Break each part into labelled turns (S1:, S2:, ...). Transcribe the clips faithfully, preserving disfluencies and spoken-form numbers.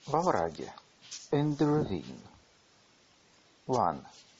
S1: Во враге. In the ravine. One.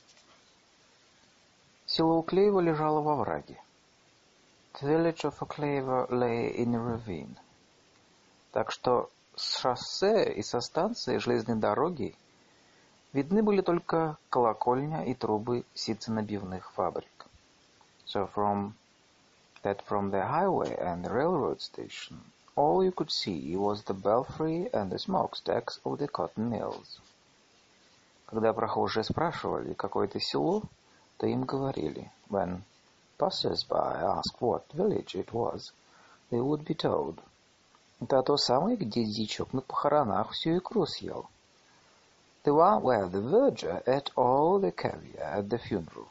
S1: Село Уклеево лежало во враге. The village of Uklеево lay in a ravine. Так что с шоссе и со станции железной дороги видны были только колокольня и трубы ситценабивных фабрик. So from that from the highway and the railroad station, all you could see was the belfry and the smokestacks of the cotton mills. Когда прохожие спрашивали, какое это село, то им говорили, when passers-by asked what village it was, they would be told, это то самое, где дичок на похоронах всю икру съел. The one where the verger ate all the caviar at the funeral.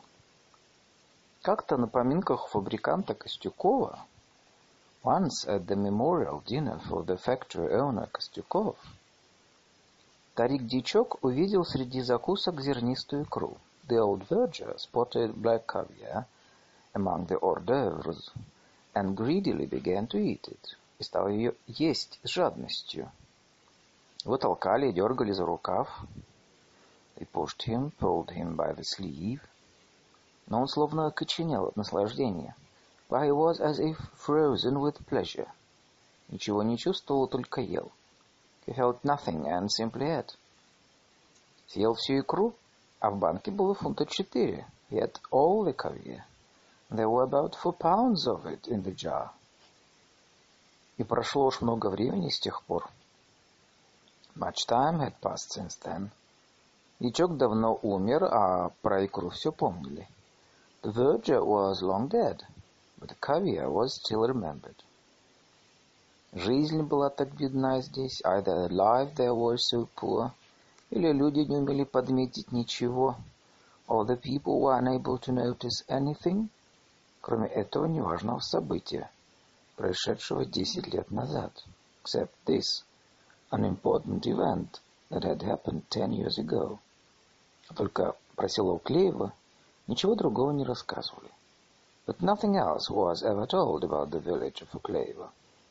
S1: Как-то на поминках фабриканта Костюкова, once at the memorial dinner for the factory owner Костюков, старик-дичок увидел среди закусок зернистую икру. The old verger spotted black caviar among the hors d'oeuvres and greedily began to eat it. И стал ее есть с жадностью. Его толкали и дергали за рукав. They pushed him, pulled him by the sleeve. Но он словно окоченел от наслаждения. But he was as if frozen with pleasure. Ничего не чувствовал, только ел. He felt nothing and simply ate. Съел всю икру, а в банке было фунта четыре. He ate all the caviar. There were about four pounds of it in the jar. И прошло уж много времени с тех пор. Much time had passed since then. Дичок давно умер, а про икру все помнили. The verger was long dead, but the caviar was still remembered. Жизнь была так бедна здесь, either life there was so poor, или люди не умели подметить ничего, or the people were unable to notice anything, кроме этого неважного события, происшедшего десять лет назад, except this unimportant event that had happened ten years ago. Только про село Уклеево ничего другого не рассказывали. But nothing else was ever told about the village of Уклеево.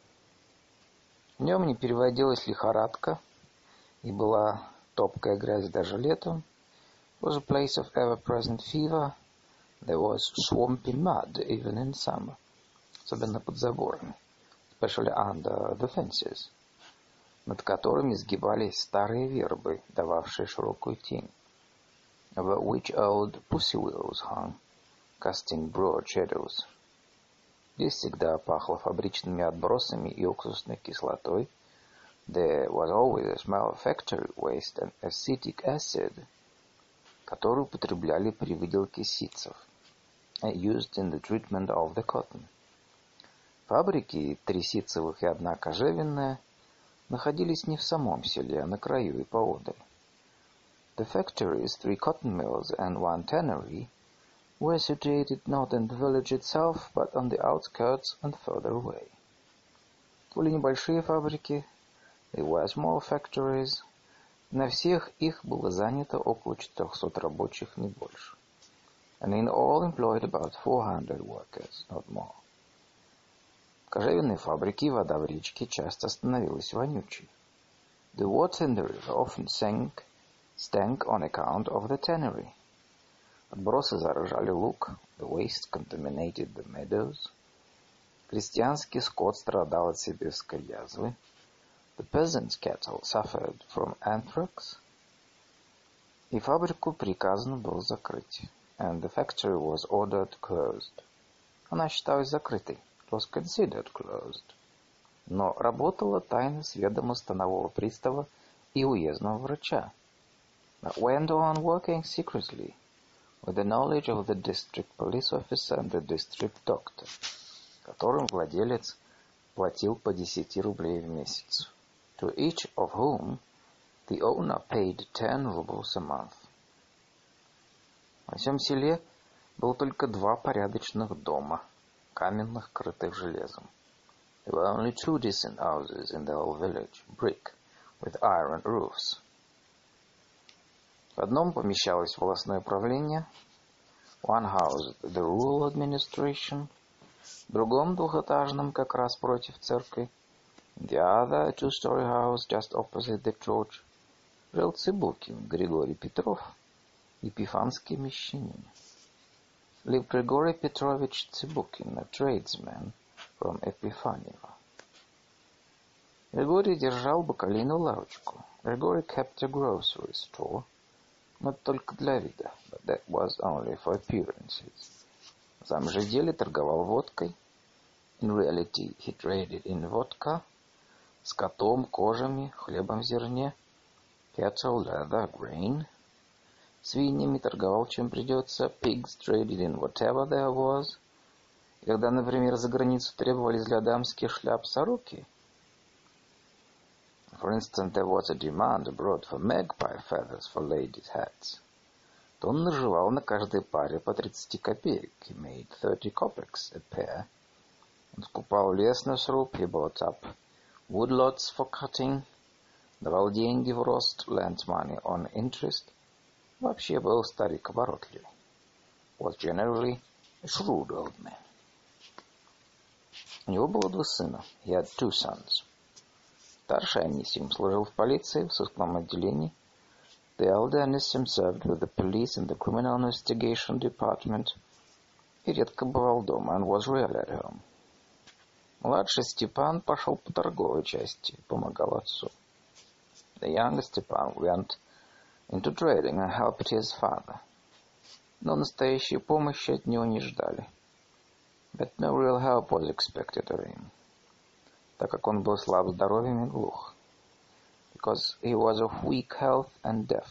S1: В нем не переводилась лихорадка, и была топкая грязь даже летом. It was a place of ever-present fever. There was swampy mud even in summer, особенно под заборами, especially under the fences, над которыми сгибались старые вербы, дававшие широкую тень, over which old pussy willows hung, casting broad shadows. Здесь всегда пахло фабричными отбросами и уксусной кислотой. There was always a smell of factory waste and acetic acid, которую употребляли при выделке ситцев, used in the treatment of the cotton. Фабрики, три ситцевых и одна кожевенная, находились не в самом селе, а на краю и поодаль. The factories, three cotton mills and one tannery, were situated not in the village itself, but on the outskirts and further away. Это были небольшие фабрики, they were small factories. На всех их было занято около четырехсот рабочих, не больше. And in all employed about four hundred workers, not more. В кожевенной фабрике вода в речке часто становилась вонючей. The water in the river often sank, stank on account of the tannery. Отбросы заражали луг, the waste contaminated the meadows. Крестьянский скот страдал от сибирской язвы. The peasants' cattle suffered from anthrax. И фабрику приказано было закрыть. And the factory was ordered closed. Она считалась закрытой. It was considered closed. Но работала тайно с ведома станового пристава и уездного врача. But went on working secretly with the knowledge of the district police officer and the district doctor, которым владелец платил по десяти рублей в месяц, to each of whom the owner paid ten rubles a month. Во всем селе было только два порядочных дома, каменных, крытых железом. There were only two decent houses in the whole village, brick, with iron roofs. В одном помещалось волостное управление, one housed the rural administration, в другом двухэтажном, как раз против церкви, In the other two-story house just opposite the church жил Цыбукин Григорий Петров, епифанский мещанин. Lived Grigory Petrovich Цыбукин, a tradesman from Epifanieva. Григорий держал бакалейную лавочку. Григорий kept a grocery store, но только для вида, but that was only for appearances. На самом же деле торговал водкой. In reality, he traded in vodka, скотом, кожами, хлебом в зерне, cattle, leather, grain. Свиньями торговал чем придется, pigs traded in whatever there was. И когда, например, за границу требовались для дамских шляп сороки, for instance, there was a demand abroad for magpie feathers for ladies' hats, то он наживал на каждой паре по тридцать копеек. He made thirty kopecks a pair. Он скупал лес на сруб, he bought up woodlots for cutting, давал деньги в рост, lent money on interest. Вообще был старик оборотливый. Was generally a shrewd old man. У него было два сына. He had two sons. Старший Анисим служил в полиции, в сыскном отделении. The elder Anisim served with the police in the criminal investigation department и редко бывал дома, and was rarely at home. Младший Степан пошел по торговой части, помогал отцу. The younger Stepan went into trading and helped his father. Но настоящей помощи от него не ждали. But no real help was expected of him, так как он был слаб здоровьем и глух. Because he was of weak health and deaf.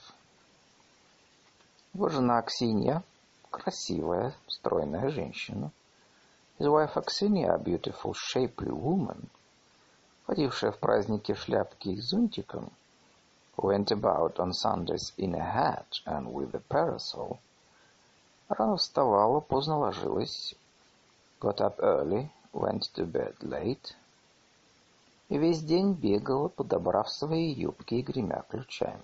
S1: Его жена Аксинья, красивая, стройная женщина. His wife Aksinia, a beautiful, shapely woman, ходившая в праздники в шляпке и зонтиком, who went about on Sundays in a hat and with a parasol, рано вставала, поздно ложилась, got up early, went to bed late, и весь день бегала, подобрав свои юбки и гремя ключами.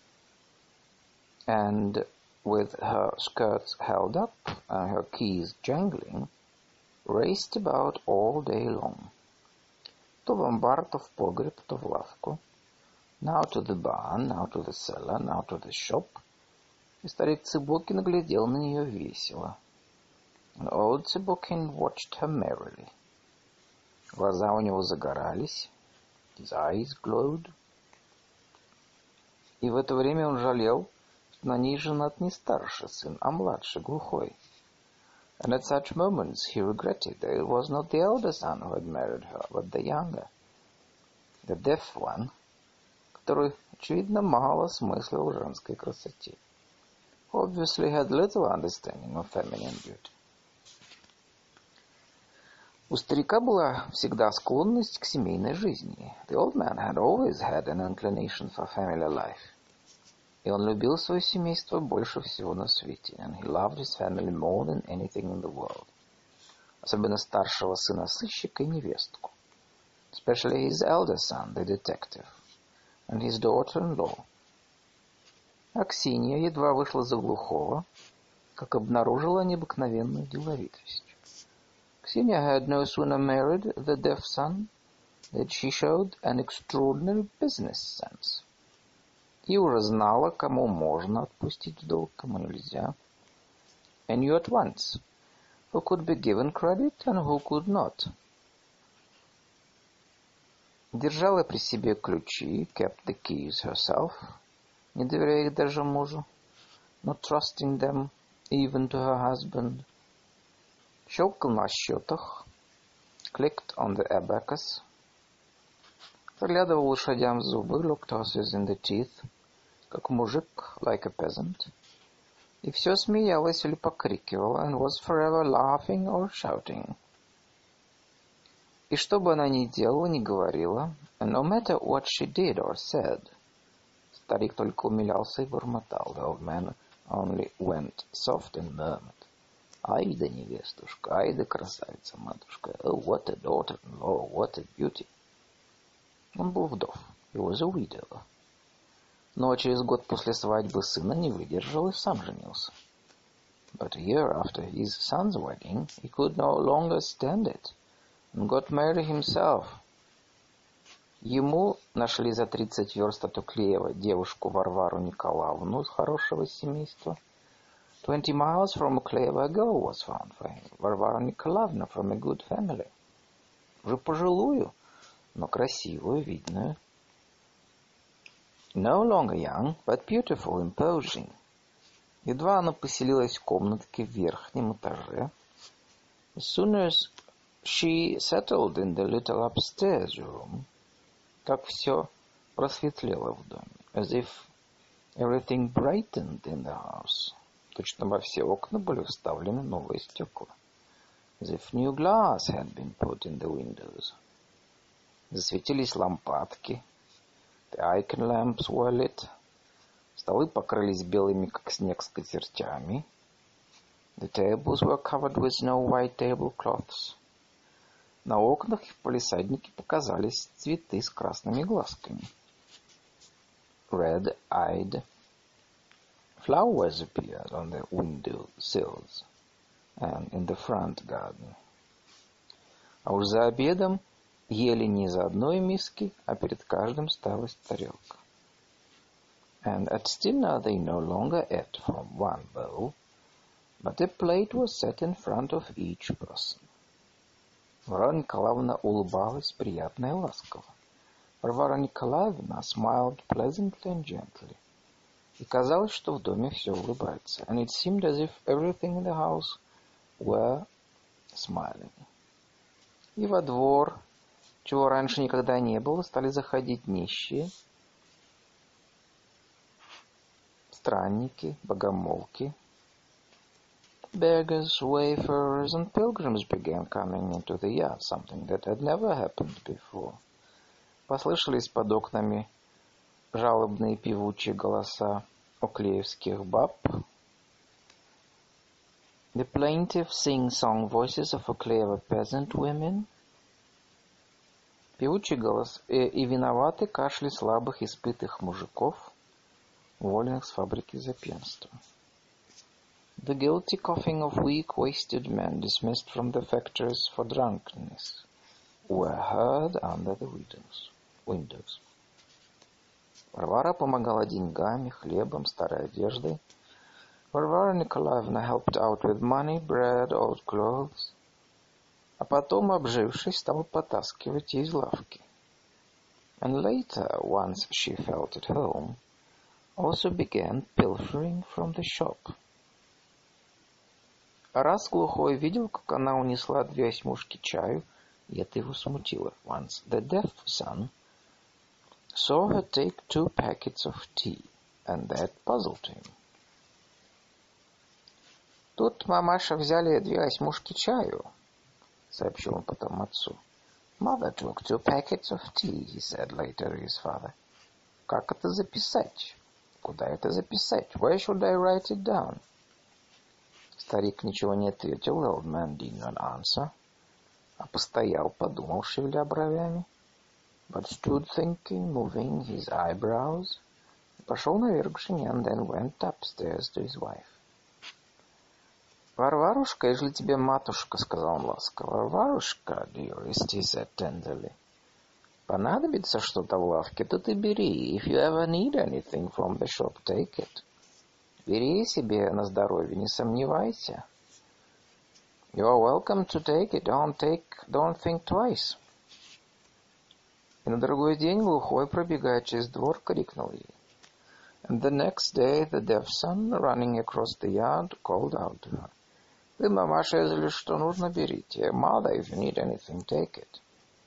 S1: And with her skirts held up and her keys jangling, raced about all day long. То в амбар, то в погреб, то в лавку. Now to the barn, now to the cellar, now to the shop. И старик Цыбукин глядел на нее весело. And old Цыбукин watched her merrily. Глаза у него загорались. His eyes glowed. И в это время он жалел, что на ней женат не старший сын, а младший, глухой. And at such moments he regretted that it was not the elder son who had married her, but the younger, the deaf one, который, очевидно, мало смыслил в женской красоте. Obviously had little understanding of feminine beauty. У старика была всегда склонность к семейной жизни. The old man had always had an inclination for family life. И он любил свое семейство больше всего на свете. And he loved his family more than anything in the world. Особенно старшего сына сыщика и невестку. Especially his elder son, the detective. And his daughter-in-law. Аксинья едва вышла за глухого, как обнаружила необыкновенную деловитость. Аксинья had no sooner married the deaf son that she showed an extraordinary business sense. И уже знала, кому можно отпустить в долг, кому нельзя. And knew at once who could be given credit and who could not. Держала при себе ключи, kept the keys herself, не доверяя их даже мужу, not trusting them even to her husband. Щелкал на счетах, clicked on the abacus, заглядывал лошадям в зубы, looked horses in the teeth, как мужик, like a peasant, и все смеялась или покрикивала, and was forever laughing or shouting. И что бы она ни делала, ни говорила, and no matter what she did or said, старик только умилялся и бормотал. The old man only went soft and murmured. Ай да невестушка, ай да красавица-матушка, oh, what a daughter-in-law, what a beauty. Он был вдов, he was a widower. Но через год после свадьбы сына не выдержал и сам женился. But a year after his son's wedding, he could no longer stand it, and got married himself. Ему нашли за тридцать верст от Уклеева девушку Варвару Николаевну из хорошего семейства. Twenty miles from Uklеева a girl was found for him, Varvara Nikolaevna from a good family. Уже пожилую, но красивую, видную. No longer young, but beautiful, imposing. Едва она поселилась в комнатке в верхнем этаже. As soon as she settled in the little upstairs room, как все просветлело в доме, as if everything brightened in the house. Точно во все окна были вставлены новые стекла. As if new glass had been put in the windows. Засветились лампадки. The icon lamps were lit. Столы покрылись белыми, как снег, скатертями. The tables were covered with snow white tablecloths. На окнах в палисаднике показались цветы с красными глазками. Red-eyed flowers appeared on the window sills and in the front garden. А уж за обедом ели не из одной миски, а перед каждым ставилась тарелка. And at dinner they no longer ate from one bowl, but a plate was set in front of each person. Варвара Николаевна улыбалась приятно и ласково. Варвара Николаевна smiled pleasantly and gently. И казалось, что в доме все улыбается. And it seemed as if everything in the house were smiling. И во двор, чего раньше никогда не было, стали заходить нищие, странники, богомолки. Beggars, wayfarers, and pilgrims began coming into the yard, something that had never happened before. Послышались под окнами жалобные певучие голоса уклеевских баб. The plaintive sing-song voices of Уклеева peasant women. Певучий голос и, и виноваты кашли слабых испытых мужиков, уволенных с фабрики за пьянство. The guilty coughing of weak, wasted men dismissed from the factories for drunkenness were heard under the windows. windows. Варвара помогала деньгами, хлебом, старой одеждой. Varvara Nikolaevna helped out with money, bread, old clothes. А потом, обжившись, стала потаскивать из лавки. And later, once she felt at home, also began pilfering from the shop. Раз глухой видел, как она унесла две осьмушки чаю, и это его смутило. Once the deaf son saw her take two packets of tea, and that puzzled him. Тут мамаша взяли две осьмушки чаю, сообщил он потом отцу. Mother took two packets of tea, he said later to his father. Как это записать? Куда это записать? Where should I write it down? Старик ничего не ответил, the old man did not answer, а постоял, подумал, шевеля бровями, but stood thinking, moving his eyebrows, и пошел наверх к жене, and then went upstairs to his wife. «Варварушка, ежели тебе матушка, — сказал он ласково, — Варварушка, dearest, he said tenderly, понадобится что-то в лавке, то ты бери. If you ever need anything from the shop, take it. Бери себе на здоровье, не сомневайся. You are welcome to take it. Don't take, don't think twice. И на другой день глухой, пробегая через двор, крикнул ей. And the next day the deaf son, running across the yard, called out to her. Вы, мамаша, если что нужно, берите. Mother, if you need anything, take it.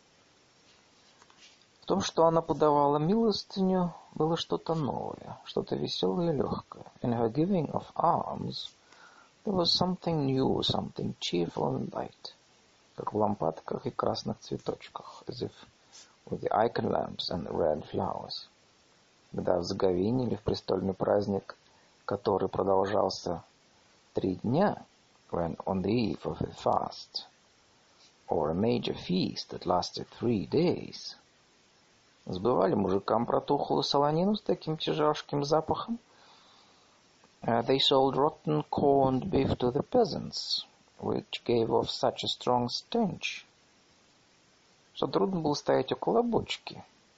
S1: В том, что она подавала милостыню, было что-то новое, что-то веселое и легкое. In her giving of alms, there was something new, something cheerful and light, как в лампадках и красных цветочках, as if with the icon lamps and the red flowers. Когда в Заговине или в престольный праздник, который продолжался три дня, when on the eve of a fast, or a major feast that lasted three days, сбывали мужикам протухлую солонину с таким тяжелым запахом. Uh, they sold rotten corned beef to the peasants, which gave off such a strong stench, что трудно было стоять около бочки.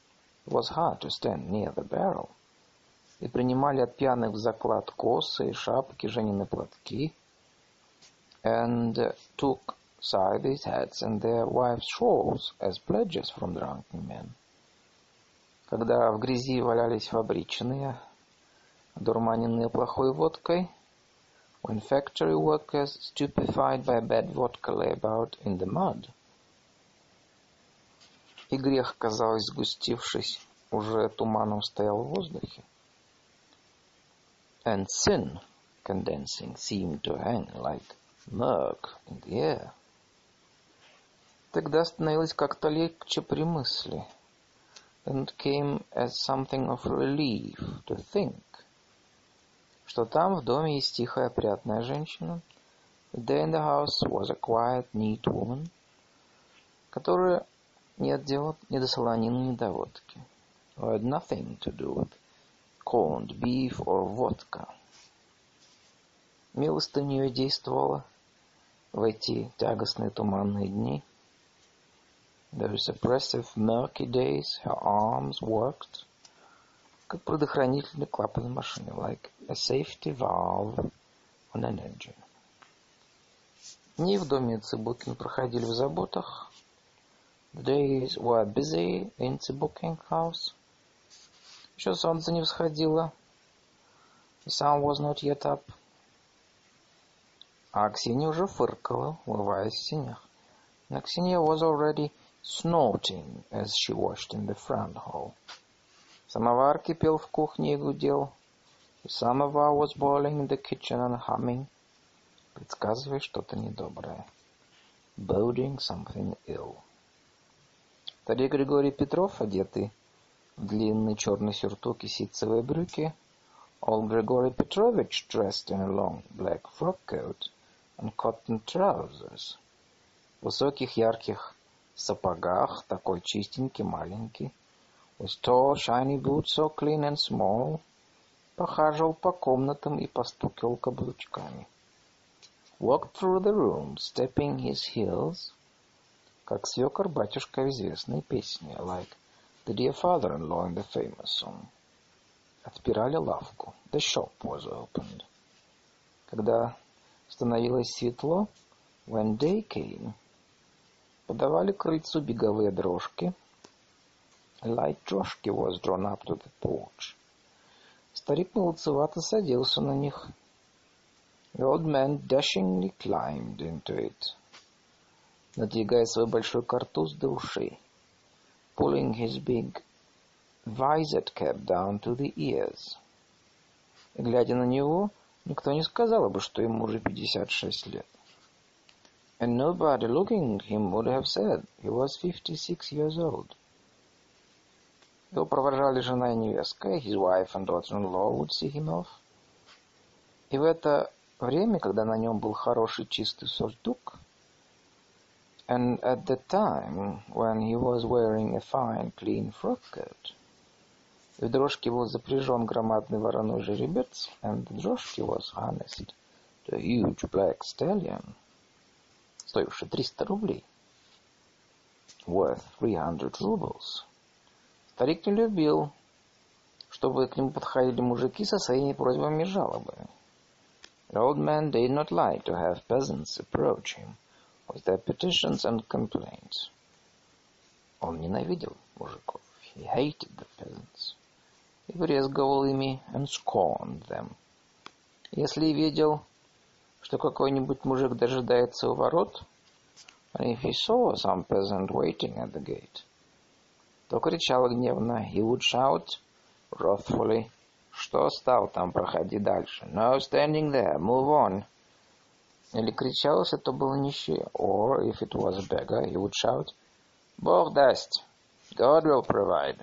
S1: It was hard to stand near the barrel. И принимали от пьяных в заклад косы и шапки, женины платки, and uh, took scythes, hats, and their wives' shawls as pledges from drunken men. Когда в грязи валялись фабричные, одурманенные плохой водкой, when factory workers, stupefied by bad vodka, lay about in the mud, и грех, казалось, сгустившись, уже туманом стоял в воздухе, and sin, condensing, seemed to hang like murk in the air. Тогда становилось как-то легче при мысли, and it came as something of relief to think, что там в доме есть тихая, опрятная женщина, that there in the house was a quiet, neat woman, которая нет дела ни до солонины, ни до водки, who had nothing to do with corned beef or vodka. Милостыня ее действовала в эти тягостные туманные дни. Those oppressive murky days, her arms worked, как предохранительный клапан машины, like a safety valve on an engine. Дни в доме Цыбукин проходили в заботах. The days were busy in Цыбукин house. Еще солнце не всходило. The sun was not yet up. А Аксинья уже фыркала, умываясь в сенях. And Аксинья was already snorting as she washed in the front hall. Самовар кипел в кухне и гудел. The samovar was boiling in the kitchen and humming, предсказывая что-то недоброе. Boding something ill. Старик Григорий Петров, одетый в длинный черный сюртук и ситцевые брюки, old Grigory Petrovich, dressed in a long black frock coat and cotton trousers, в высоких ярких сапогах, такой чистенький, маленький, with tall shiny boots so clean and small, похаживал по комнатам и постукивал каблучками. Walked through the room, stepping his heels, как свекор батюшка в известной песне, like the dear father-in-law in the famous song. Отпирали лавку. The shop was opened. Когда становилось светло, when day came, подавали к крыльцу беговые дрожки. A light droshky was drawn up to the porch. Старик молодцевато садился на них. The old man dashingly climbed into it, надвигая свой большой картуз до ушей, pulling his big visored cap down to the ears. И, глядя на него, никто не сказал бы, что ему уже пятьдесят шесть лет. And nobody looking at him would have said he was fifty-six years old. Его провожали жена и невестка, his wife and daughter-in-law would see him off. И в это время, когда на нем был хороший чистый сюртук, and at the time when he was wearing a fine, clean frock coat, в дрожке был запряжен громадный вороной жеребец, and the droshky was harnessed to a huge black stallion, стоивший триста рублей, worth three hundred rubles. Старик не любил, чтобы к нему подходили мужики со своими просьбами и жалобами. The old man did not like to have peasants approach him with their petitions and complaints. Он ненавидел мужиков. He hated the peasants. И брезговал ими and scorned them. Если видел, что какой-нибудь мужик дожидается у ворот, and if he saw some peasant waiting at the gate, то кричал гневно, he would shout wrathfully, что стал там, проходи дальше. No standing there, move on. Или кричал, если то был нищий, or if it was a beggar, he would shout, Бог даст, God will provide.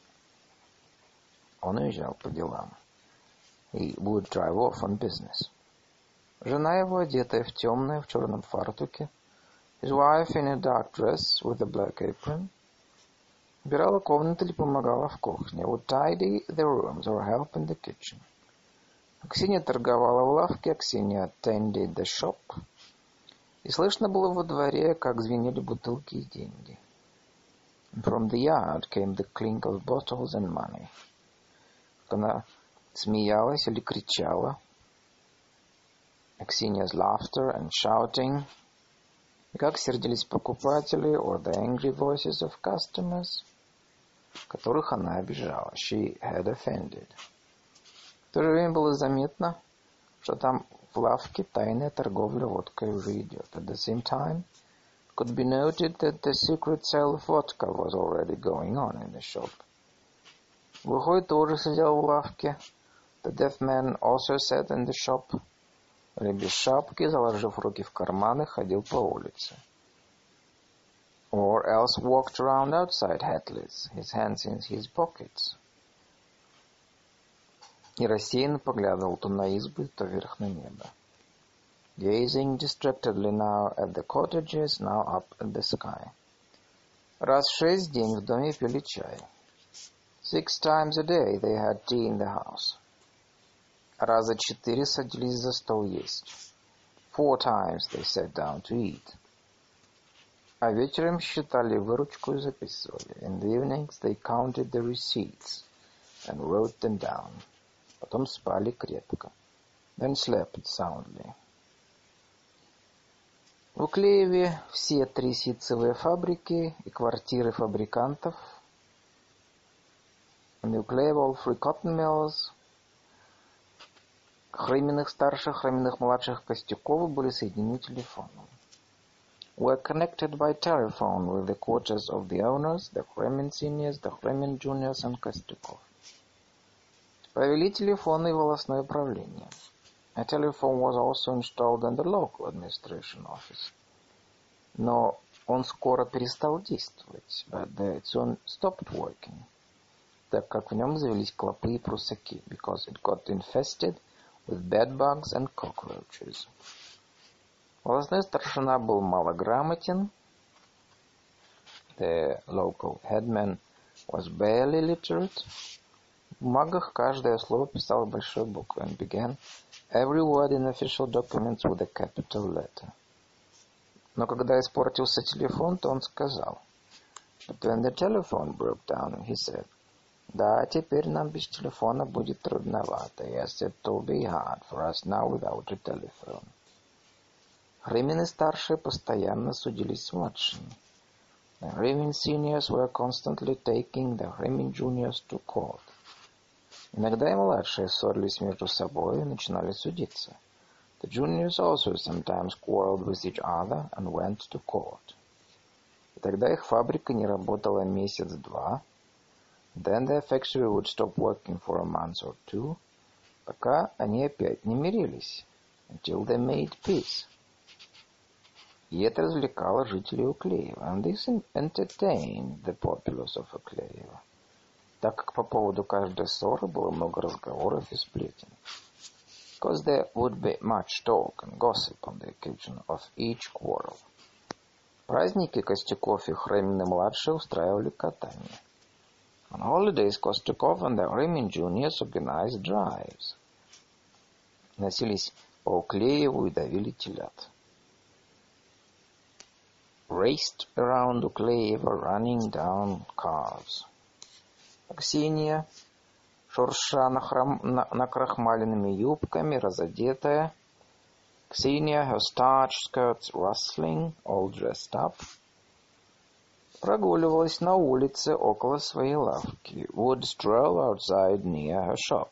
S1: Он уезжал по делам. He would drive off on business. Жена его, одетая в темное, в черном фартуке, his wife in a dark dress with a black apron, убирала комнаты или помогала в кухне, would tidy the rooms or help in the kitchen. Аксинья торговала в лавке, Аксинья attended the shop. И слышно было во дворе, как звенели бутылки и деньги. From the yard came the clink of bottles and money. Она смеялась или кричала. Ksenia's laughter and shouting. И как сердились покупатели, or the angry voices of customers, которых она обижала. She had offended. В то же время было заметно, что там в лавке тайная торговля водкой уже идет. At the same time, it could be noted that the secret sale of vodka was already going on in the shop. Глухой тоже сидел в лавке. The deaf man also sat in the shop. Или без шапки, заложив руки в карманы, ходил по улице. Or else walked around outside hatless, his hands in his pockets. И рассеянно поглядывал то на избы, то вверх на небо. Gazing distractedly now at the cottages, now up at the sky. Раз в шесть в день в доме пили чай. Six times a day they had tea in the house. Раза четыре садились за стол есть. Four times they sat down to eat. А вечером считали выручку и записывали. In the evenings they counted the receipts and wrote them down. Потом спали крепко. Then slept soundly. В Уклееве все три ситцевые фабрики и квартиры фабрикантов. In Уклееве all three cotton mills, Хреминых старших, Хреминых младших Костюкова были соединены телефоном. Were connected by telephone with the quarters of the owners, the Хремин seniors, the Хремин juniors and Костюков. Провели телефонное и волостное управление. A telephone was also installed in the local administration office. Но он скоро перестал действовать, but it soon stopped working, так как в нем завелись клопы и прусаки, because it got infested with bedbugs and cockroaches. Волостной старшина был малограмотен. The local headman was barely literate. В бумагах каждое слово писал большой буквой and began every word in official documents with a capital letter. Но когда испортился телефон, то он сказал. But when the telephone broke down, he said, да, теперь нам без телефона будет трудновато. Yes, it will be hard for us now without a telephone. Хремины старшие постоянно судились с младшими. The Хремин seniors were constantly taking the Хремин juniors to court. Иногда и младшие ссорились между собой и начинали судиться. The juniors also sometimes quarreled with each other and went to court. И тогда их фабрика не работала месяц-два. Then their factory would stop working for a month or two, пока они опять не мирились, until they made peace. И это развлекало жителей Уклеева, and this entertained the populace of Уклеева, так как по поводу каждой ссоры было много разговоров и сплетен. Because there would be much talk and gossip on the occasion of each quarrel. Праздники Костюков и Хремины-младшие устраивали катание. On holidays, Kostukov and the Хремин juniors organized drives. Носились по Уклееву и давили телят. Raced around Уклеева, running down calves. Ксения, шурша нахрам... на... накрахмаленными юбками, разодетая. Ksenia, her starched skirts rustling, all dressed up. Прогуливалась на улице около своей лавки. Would stroll outside near her shop.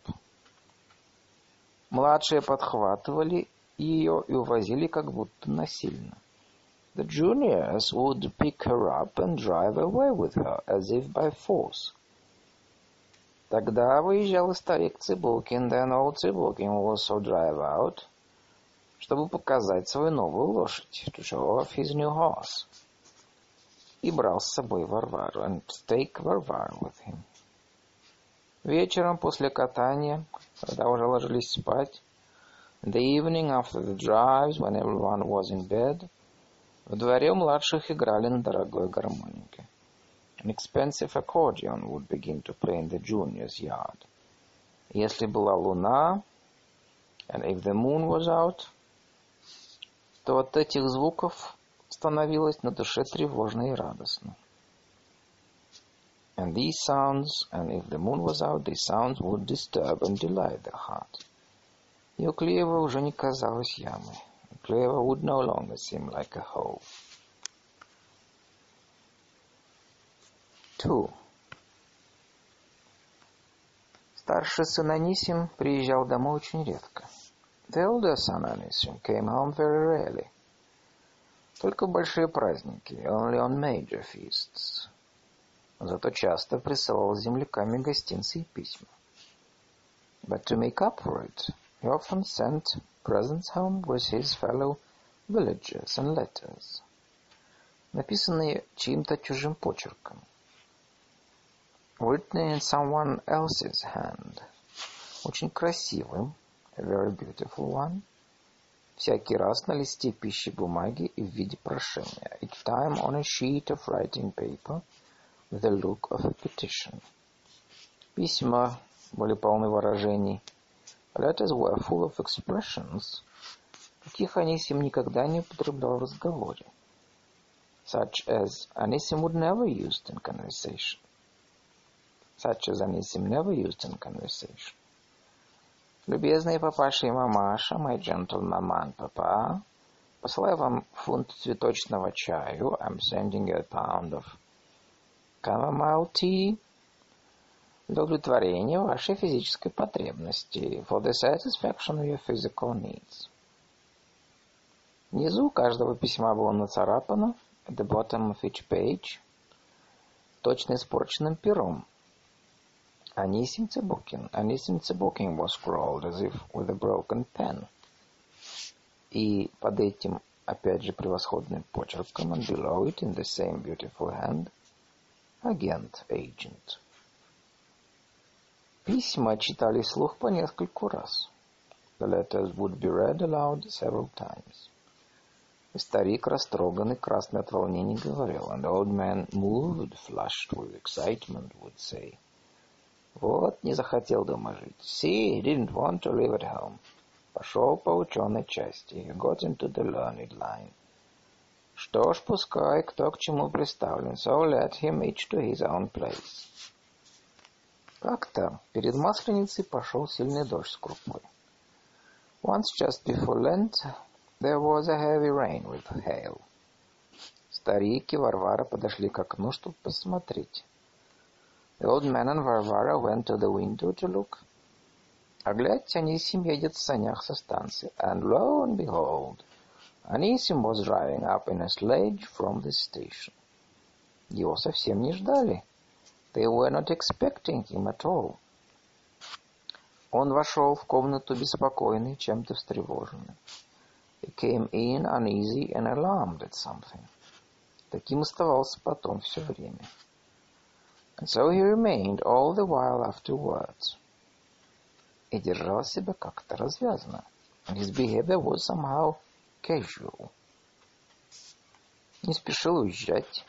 S1: Младшие подхватывали ее и увозили как будто насильно. The juniors would pick her up and drive away with her, as if by force. Тогда выезжал старик Цыбулкин, then old Цыбулкин will also drive out, чтобы показать свою новую лошадь, to show off his new horse. И брал с собой Варвару, and take Варвару with him. Вечером после катания, когда уже ложились спать, in the evening after the drives, when everyone was in bed, в дворе у младших играли на дорогой гармонике. An expensive accordion would begin to play in the juniors' yard. Если была луна, and if the moon was out, то от этих звуков становилось на душе тревожно и радостно. And these sounds, and if the moon was out, these sounds would disturb and delight the heart. Ее клеево уже не казалось ямой. Клеево would no longer seem like a hole. Two. Старший сын Анисим приезжал домой очень редко. The older son Anisim came home very rarely. Только в большие праздники, only on major feasts. Зато часто присылал с земляками гостинцы и письма. But to make up for it, he often sent presents home with his fellow villagers and letters, написанные чьим-то чужим почерком, written in someone else's hand, очень красивым, a very beautiful one, всякий раз на листе пищи бумаги и в виде прошения, each time on a sheet of writing paper, with the look of a petition. Письма были полны выражений. Letters were full of expressions, каких Анисим никогда не употреблял в разговоре, such as Anisim would never use in conversation. Such as Anisim never used in conversation. Любезные папаша и мамаша, my gentle mama and papa, посылаю вам фунт цветочного чаю. I'm sending you a pound of chamomile tea для удовлетворения вашей физической потребности, for the satisfaction of your physical needs. Внизу каждого письма было нацарапано, at the bottom of each page, точно испорченным пером. Анисим Цыбукин. Анисим Цыбукин was scrawled as if with a broken pen. И под этим, опять же, превосходным почерком, and below it, in the same beautiful hand, агент, agent. Письма читали вслух по нескольку раз. The letters would be read aloud several times. И старик, растроганный, красный от волнения, говорил, and the old man, moved, flushed with excitement, would say, вот, не захотел дома жить. See, he didn't want to live at home. Пошел по ученой части. He got into the learned line. Что ж, пускай, кто к чему приставлен. So let him each to his own place. Как-то перед Масленицей пошел сильный дождь с крупой. Once just before Lent, there was a heavy rain with hail. Старик и Варвара подошли к окну, чтобы посмотреть. The old man and Varvara went to the window to look. А глядь, Анисим едет в санях со станции. And lo and behold, Anisim was driving up in a sledge from the station. Его совсем не ждали. They were not expecting him at all. Он вошел в комнату беспокойный, чем-то встревоженный. He came in uneasy and alarmed at something. Таким оставался потом все время. And so he remained all the while afterwards. И держал себя как-то развязно. And his behavior was somehow casual. Не спешил уезжать.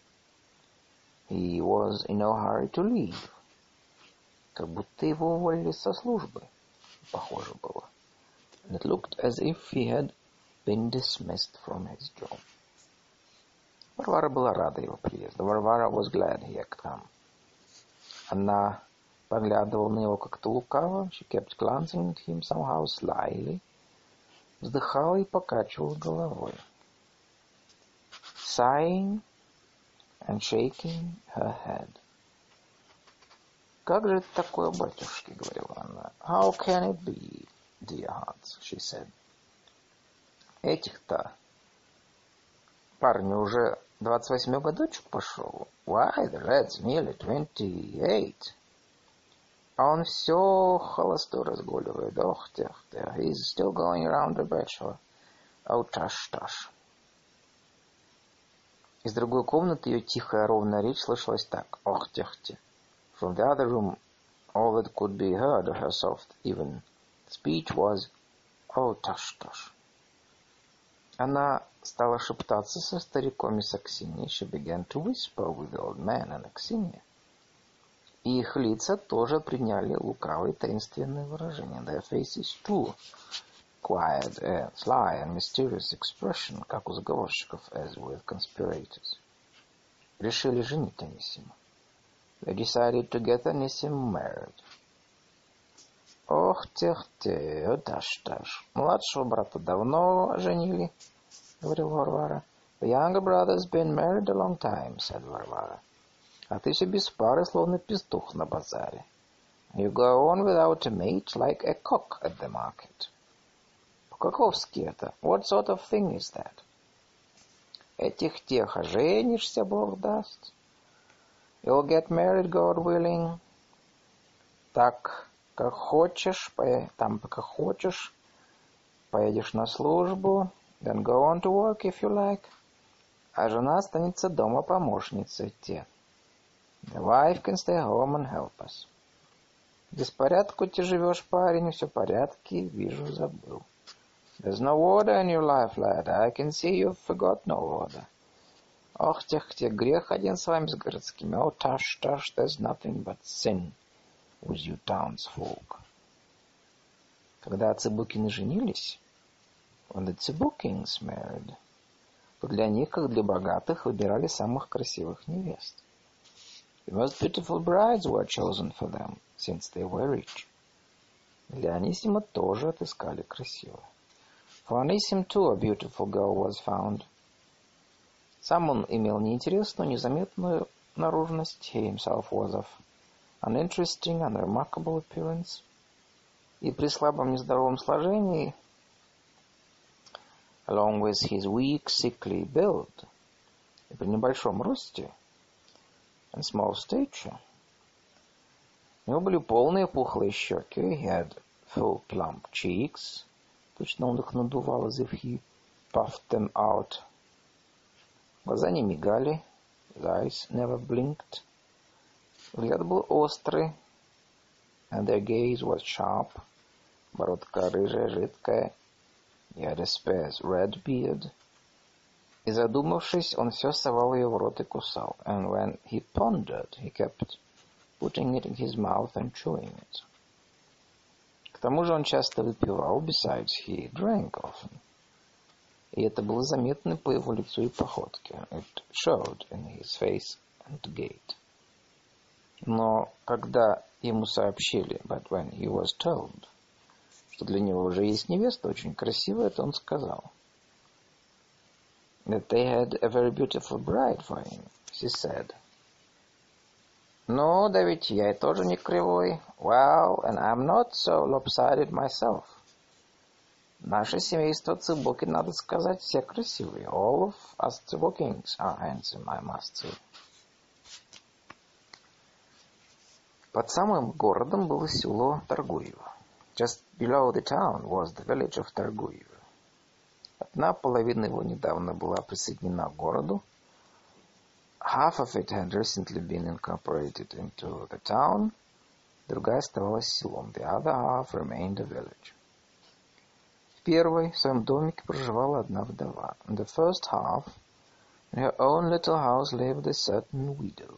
S1: He was in no hurry to leave. Как будто его уволили со службы. Похоже было. And it looked as if he had been dismissed from his job. Варвара была рада его приезду. Варвара was glad he had come. Она поглядывала на него как-то лукаво. She kept glancing at him somehow slyly. Вздыхала и покачивала головой. Sighing and shaking her head. «Как же это такое, батюшки?» — говорила она. «How can it be, dear hearts?» — she said. «Этих-то парню уже двадцать восьмой годочек пошел. Why, the lad's nearly twenty-eight. А он все холостой разгуливает. Ох, тех, тех. He's still going around the bachelor. Oh, tush, tush». Из другой комнаты ее тихая ровная речь слышалась так. Ох, тех, тех. From the other room, all that could be heard of her soft, even speech was, oh, tush, tush. Она стала шептаться со стариком и с Аксиньей. She began to whisper with the old man and Аксинья. И их лица тоже приняли лукавые таинственные выражения. Their faces too acquired a sly and mysterious expression, как у заговорщиков, as with conspirators. Решили женить Анисима. they decided to get Анисим married. Ох, тех-те, даш-даш. Младшего брата давно женили, говорил Варвара. The younger brother's been married a long time, said Варвара. А ты все без пары, словно петух на базаре. You go on without a mate, like a cock at the market. По-каковски это? What sort of thing is that? Этих-тех, а женишься, Бог даст. You'll get married, God willing. Так, как хочешь, там, как хочешь, поедешь на службу, then go on to work if you like. А жена останется дома помощницей те. The wife can stay home and help us. Беспорядку ты живешь, парень, все порядки, вижу, забыл. There's no order in your life, lad. I can see you've forgot no order. Ох, тех-тех, грех один с вами, с городскими. Oh, tush, tush, there's nothing but sin with you townsfolk. Когда Цыбукины женились, when the Цыбукins married, то для них, как для богатых, выбирали самых красивых невест. The most beautiful brides were chosen for them, since they were rich. Для Анисима тоже отыскали красивую. For Anisim too a beautiful girl was found. Сам он имел неинтересную, незаметную наружность. He himself was of uninteresting and remarkable appearance. И при слабом нездоровом сложении, along with his weak, sickly build, и при небольшом росте, and small stature, у него были полные пухлые щеки. He had full plump cheeks. Точно он их надувал, as if he puffed them out. Глаза не мигали. His eyes never blinked. Взгляд был острый. And their gaze was sharp. Бородка рыжая, жидкая. He had a sparse red beard. И задумавшись, он все совал ее в рот и кусал. And when he pondered, he kept putting it in his mouth and chewing it. К тому же он часто выпивал. Besides, he drank often. И это было заметно по его лицу и походке. It showed in his face and gait. Но когда ему сообщили, but when he was told, что для него уже есть невеста очень красивая, то он сказал, that they had a very beautiful bride for him. He said, ну, да ведь я и тоже не кривой. Well, and I'm not so lopsided myself. Наше семейство Цыбукин, надо сказать, все красивые. All of us Цыбукins are handsome, I must say. Под самым городом было село Торгуево. Just below the town was the village of Торгуево. Одна половина его недавно была присоединена к городу. Half of it had recently been incorporated into the town. Другая оставалась селом. The other half remained a village. В первой, в своем домике, проживала одна вдова. In the first half, in her own little house lived a certain widow.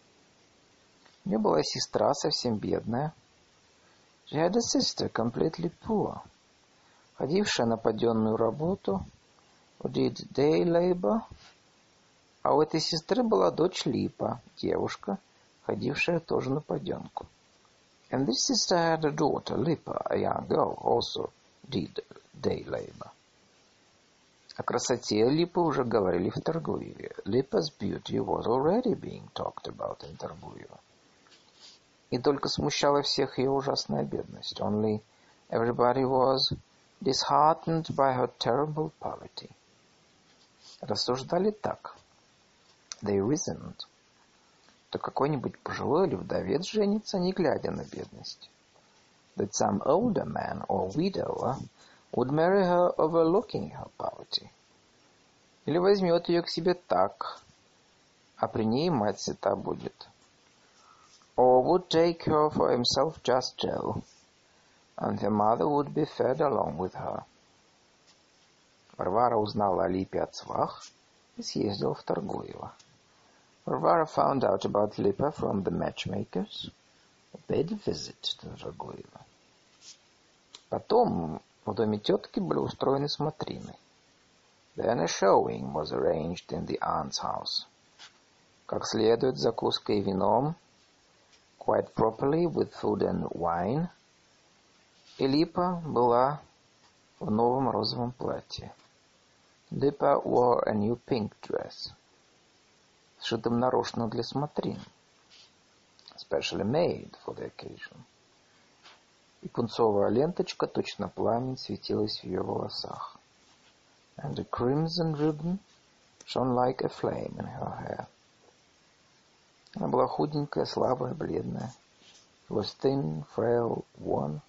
S1: У нее была сестра, совсем бедная. She had a sister, completely poor, ходившая на паденную работу, who did day labor. А у этой сестры была дочь Липа, девушка, ходившая тоже на паденку. And this sister had a daughter, Lipa, a young girl, also did day labor. О красоте Липы уже говорили в Торгуеве. Lipa's beauty was already being talked about in Торгуево. И только смущала всех ее ужасная бедность. Only everybody was disheartened by her terrible poverty. Рассуждали так. They reasoned, что какой-нибудь пожилой или вдовец женится, не глядя на бедность. That some older man or widower would marry her overlooking her poverty. Или возьмет ее к себе так, а при ней мать сыта будет. Or would take her for himself just Joe, and her mother would be fed along with her. Варвара узнала о Липе от свах и съездила в Торгуево. Varvara found out about Lipa from the matchmakers and paid a visit to Торгуево. Потом в доме тетки были устроены смотрины. Then a showing was arranged in the aunt's house. Как следует, закуской и вином. quite properly with food and wine. И Липа была в новом розовом платье. Lipa wore a new pink dress, сшитым нарочно для смотрин, specially made for the occasion. И пунцовая ленточка, точно пламень, светилась в ее волосах. And a crimson ribbon shone like a flame in her hair. Она была худенькая, слабая, бледная. She was thin, frail, worn.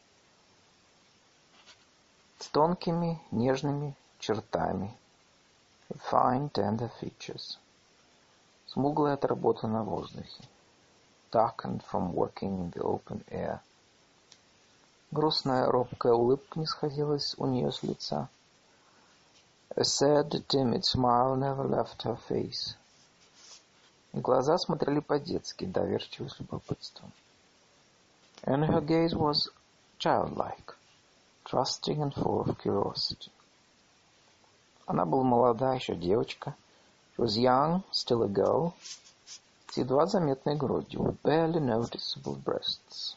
S1: С тонкими, нежными чертами. With fine, tender features. Смуглая от работы на воздухе. Darkened from working in the open air. Грустная, робкая улыбка не сходилась у нее с лица. A sad, timid smile never left her face. И глаза смотрели по-детски, доверчиво с любопытством. And her gaze was childlike, trusting and full of curiosity. Она была молода, еще девочка. She was young, still a girl, с едва заметной грудью, with barely noticeable breasts.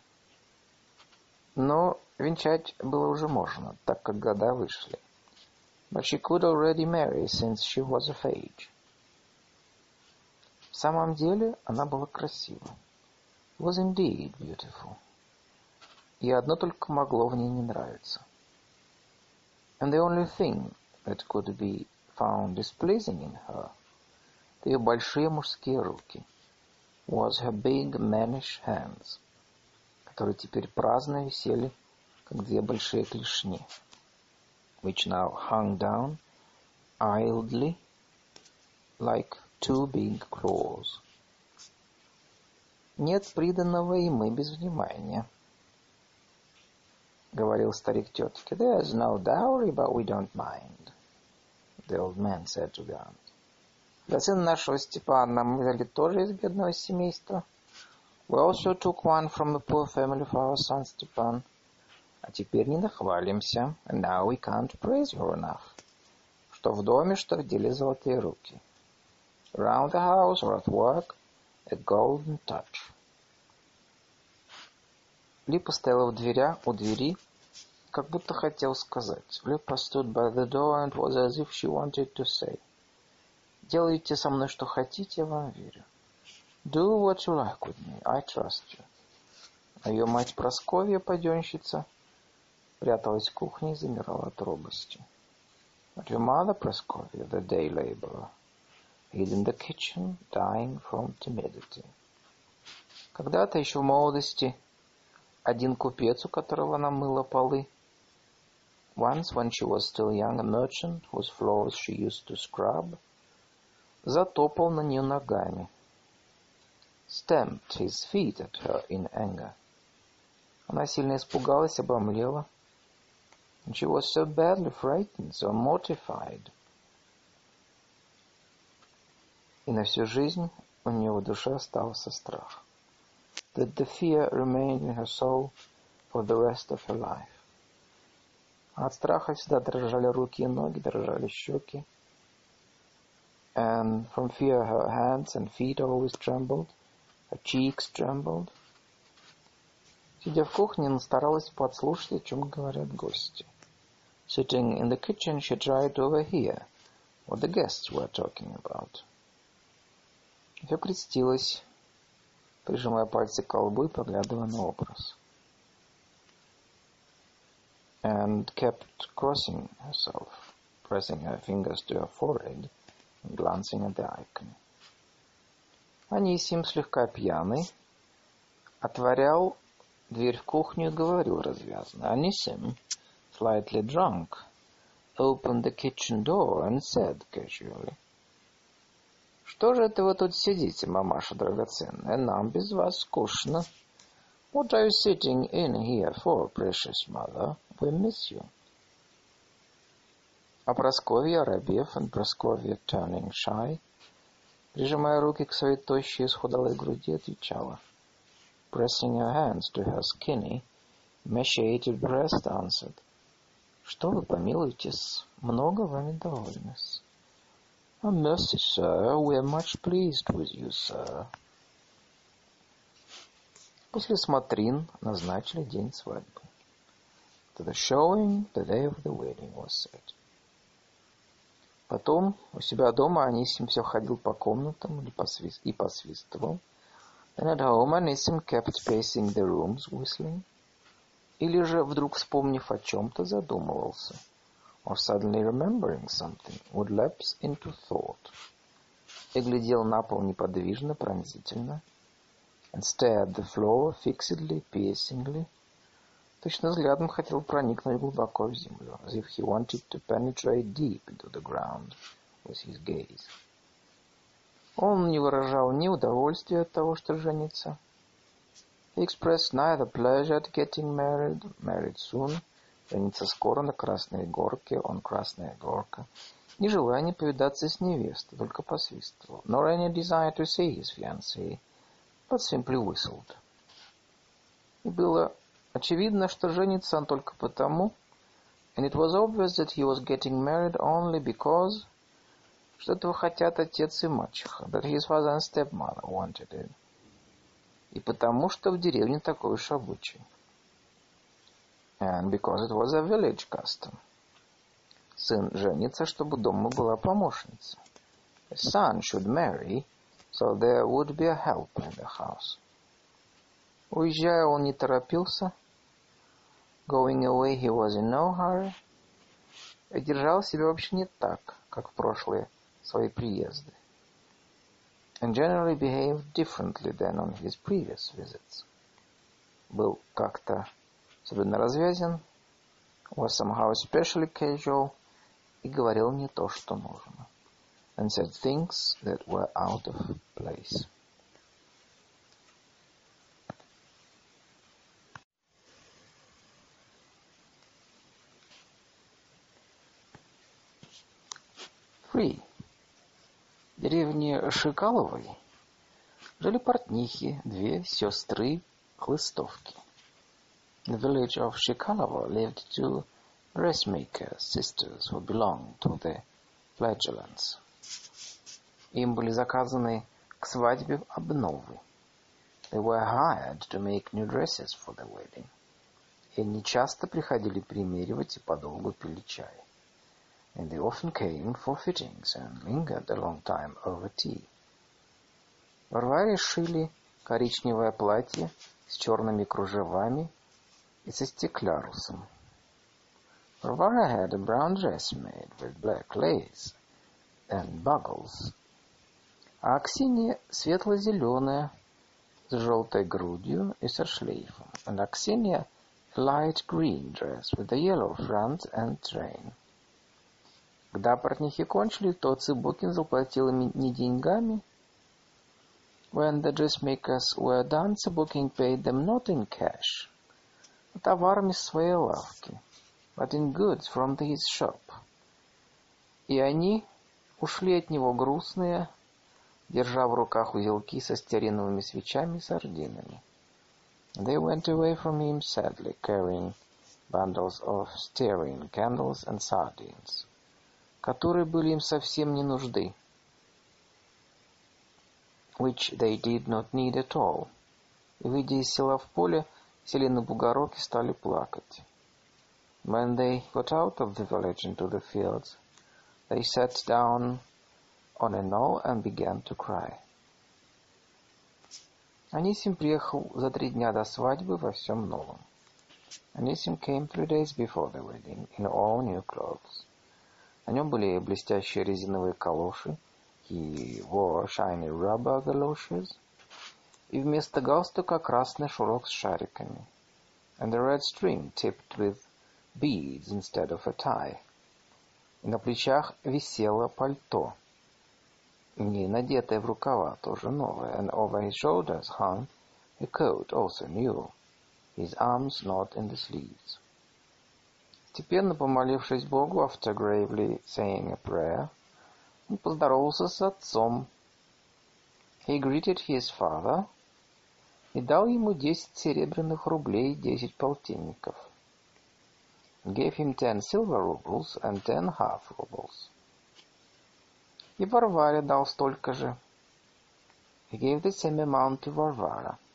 S1: Но венчать было уже можно, так как года вышли. But she could already marry, since she was of age. В самом деле она была красива. She was indeed beautiful. И одно только могло в ней не нравиться. And the only thing that could be found displeasing in her, ее большие мужские руки, was her big mannish hands, которые теперь праздно висели, как две большие клешни, which now hung down idly like two big claws. Нет приданого, и мы без внимания, говорил старик тетке. There's no dowry, but we don't mind, the old man said to God. Для сына нашего Степана мы взяли тоже из бедного семейства. We also took one from a poor family for our son Stepan. А теперь не нахвалимся. And now we can't praise her enough. Что в доме, что в деле золотые руки. Around the house or at work, a golden touch. Липа стояла в дверях, у двери, как будто хотел сказать. Липа stood by the door and was as if she wanted to say. Делайте со мной что хотите, я вам верю. Do what you like with me, I trust you. А ее мать Прасковья, паденщица, пряталась в кухне и замирала от робости. But your mother, Praskovia, the day laborer, hid in the kitchen, dying from timidity. Когда-то еще в молодости один купец, у которого она мыла полы, once, when she was still young, a merchant whose floors she used to scrub, затопал на нее ногами, stamped his feet at her in anger. Она сильно испугалась, обомлела. And she was so badly frightened, so mortified. И на всю жизнь у нее в душе остался страх. That the fear remained in her soul for the rest of her life. От страха всегда дрожали руки и ноги, дрожали щеки. And from fear her hands and feet always trembled, her cheeks trembled. Сидя в кухне, она старалась подслушать, о чем говорят гости. Sitting in the kitchen, she tried to overhear what the guests were talking about. Все крестилась, прижимая пальцы к колбу и поглядывая на образ. And kept crossing herself, pressing her fingers to her forehead and glancing at the icon. Анисим, слегка пьяный, отворял дверь в кухню и говорил развязно. Анисим, slightly drunk, opened the kitchen door and said casually, «Что же это вы тут сидите, мамаша драгоценная? Нам без вас скучно. What are you sitting in here for, precious mother? We miss you». А Прасковья, оробев, and Прасковья, turning shy, прижимая руки к своей тощей исхудалой груди, отвечала, pressing her hands to her skinny, emaciated breast, answered, «Что вы, помилуйтесь, много вами довольны-с». «Oh, mercy, sir, we are much pleased with you, sir». После смотрин назначили день свадьбы. To the showing, the day of the wedding was set. Потом у себя дома Анисим все ходил по комнатам и посвистывал. Then at home Anisim kept pacing the rooms, whistling. Или же, вдруг вспомнив о чем-то, задумывался. Or suddenly remembering something, would lapse into thought. И глядел на пол неподвижно, пронзительно. And stared the floor fixedly, piercingly. Точно взглядом хотел проникнуть глубоко в землю, as if he wanted to penetrate deep into the ground with his gaze. Он не выражал ни удовольствия от того, что женится. He expressed neither pleasure at getting married, married soon, жениться скоро на Красной Горке, on Красная Горка, ни желания повидаться с невестой, только посвистывал, nor any desire to see his fiancée, but simply whistled. И было очевидно, что женится он только потому, and it was obvious that he was getting married only because, что этого хотят отец и мачеха, that his father and stepmother wanted it, и потому, что в деревне такой уж обычай, and because it was a village custom. Сын женится, чтобы дома была помощница. A son should marry, so there would be a helper in the house. Уезжая, он не торопился. Going away, he was in no hurry. И держал себя вообще не так, как в прошлые свои приезды. And generally behaved differently than on his previous visits. Был как-то особенно развязен, was somehow especially casual, и говорил не то, что нужно. And said things that were out of place. Three. В деревне Шикаловой жили портнихи, две сестры Хлыстовки. In the village of Shikalova lived two dressmaker sisters who belonged to the Flagellants. Им были заказаны к свадьбе обновы. They were hired to make new dresses for the wedding. И они часто приходили примеривать и подолгу пили чай. And they often came for fittings and lingered a long time over tea. Варваре шили коричневое платье с черными кружевами и со стеклярусом. Varvara had a brown dress made with black lace and buckles. А Аксинья светло-зеленая с желтой грудью и со шлейфом. And Аксинья a light green dress with a yellow front and train. Когда портнихи кончили, то Цыбокин заплатил им не деньгами. When the dressmakers were done, Цыбокин paid them not in cash, а товарами своей лавки, but in goods from his shop. И они ушли от него грустные, держа в руках узелки со стеариновыми свечами и сардинами. They went away from him sadly, carrying bundles of stearine candles and sardines, которые были им совсем не нужды, which they did not need at all. И, выйдя из села в поле, сели на бугорок и стали плакать. When they got out of the village into the fields, they sat down on a knoll and began to cry. Анисим приехал за три дня до свадьбы во всем новом. Anisim came three days before the wedding in all new clothes. На нем были блестящие резиновые калоши, he wore shiny rubber galoshes, и вместо галстука красный шнурок с шариками, and a red string tipped with beads instead of a tie. И на плечах висело пальто, не надетое в рукава, тоже новое, and over his shoulders hung a coat, also new, his arms not in the sleeves. Степенно помолившись Богу, after gravely saying a prayer, он поздоровался с отцом. He greeted his father и дал ему десять серебряных рублей, десять полтинников. Gave him ten silver rubles and ten half rubles. И Варваре дал столько же. He gave the same amount to Varvara.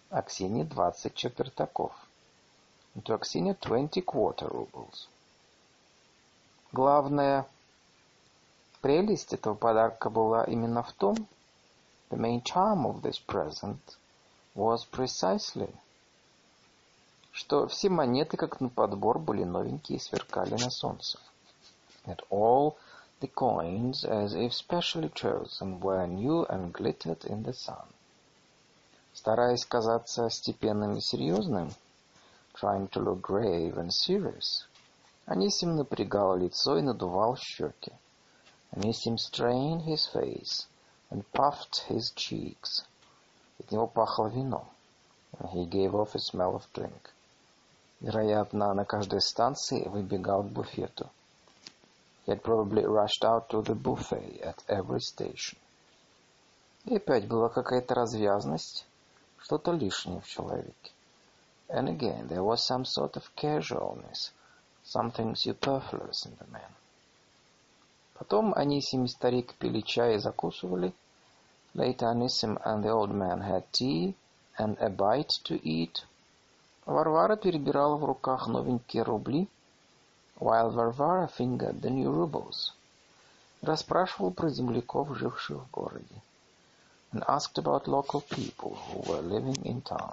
S1: Аксине двадцать четвертаков. And to Аксине twenty quarter rubles. Главная прелесть этого подарка была именно в том, the main charm of this present was precisely, что все монеты, как на подбор, были новенькие и сверкали на солнце. That all the coins, as if specially chosen, were new and glittered in the sun. Стараясь казаться степенным и серьезным, trying to look grave and serious, Анисим напрягал лицо и надувал щеки. Анисим strained his face and puffed his cheeks. От него пахло вином. And he gave off a smell of drink. Вероятно, на каждой станции выбегал к буфету. He had probably rushed out to the buffet at every station. И опять была какая-то развязность, что-то лишнее в человеке. And again, there was some sort of casualness, something superfluous in the man. Потом Анисим и старик пили чай и закусывали. Later Anisim and the old man had tea and a bite to eat. Варвара перебирала в руках новенькие рубли, while Varvara fingered the new rubles. Расспрашивал про земляков, живших в городе. And asked about local people who were living in town.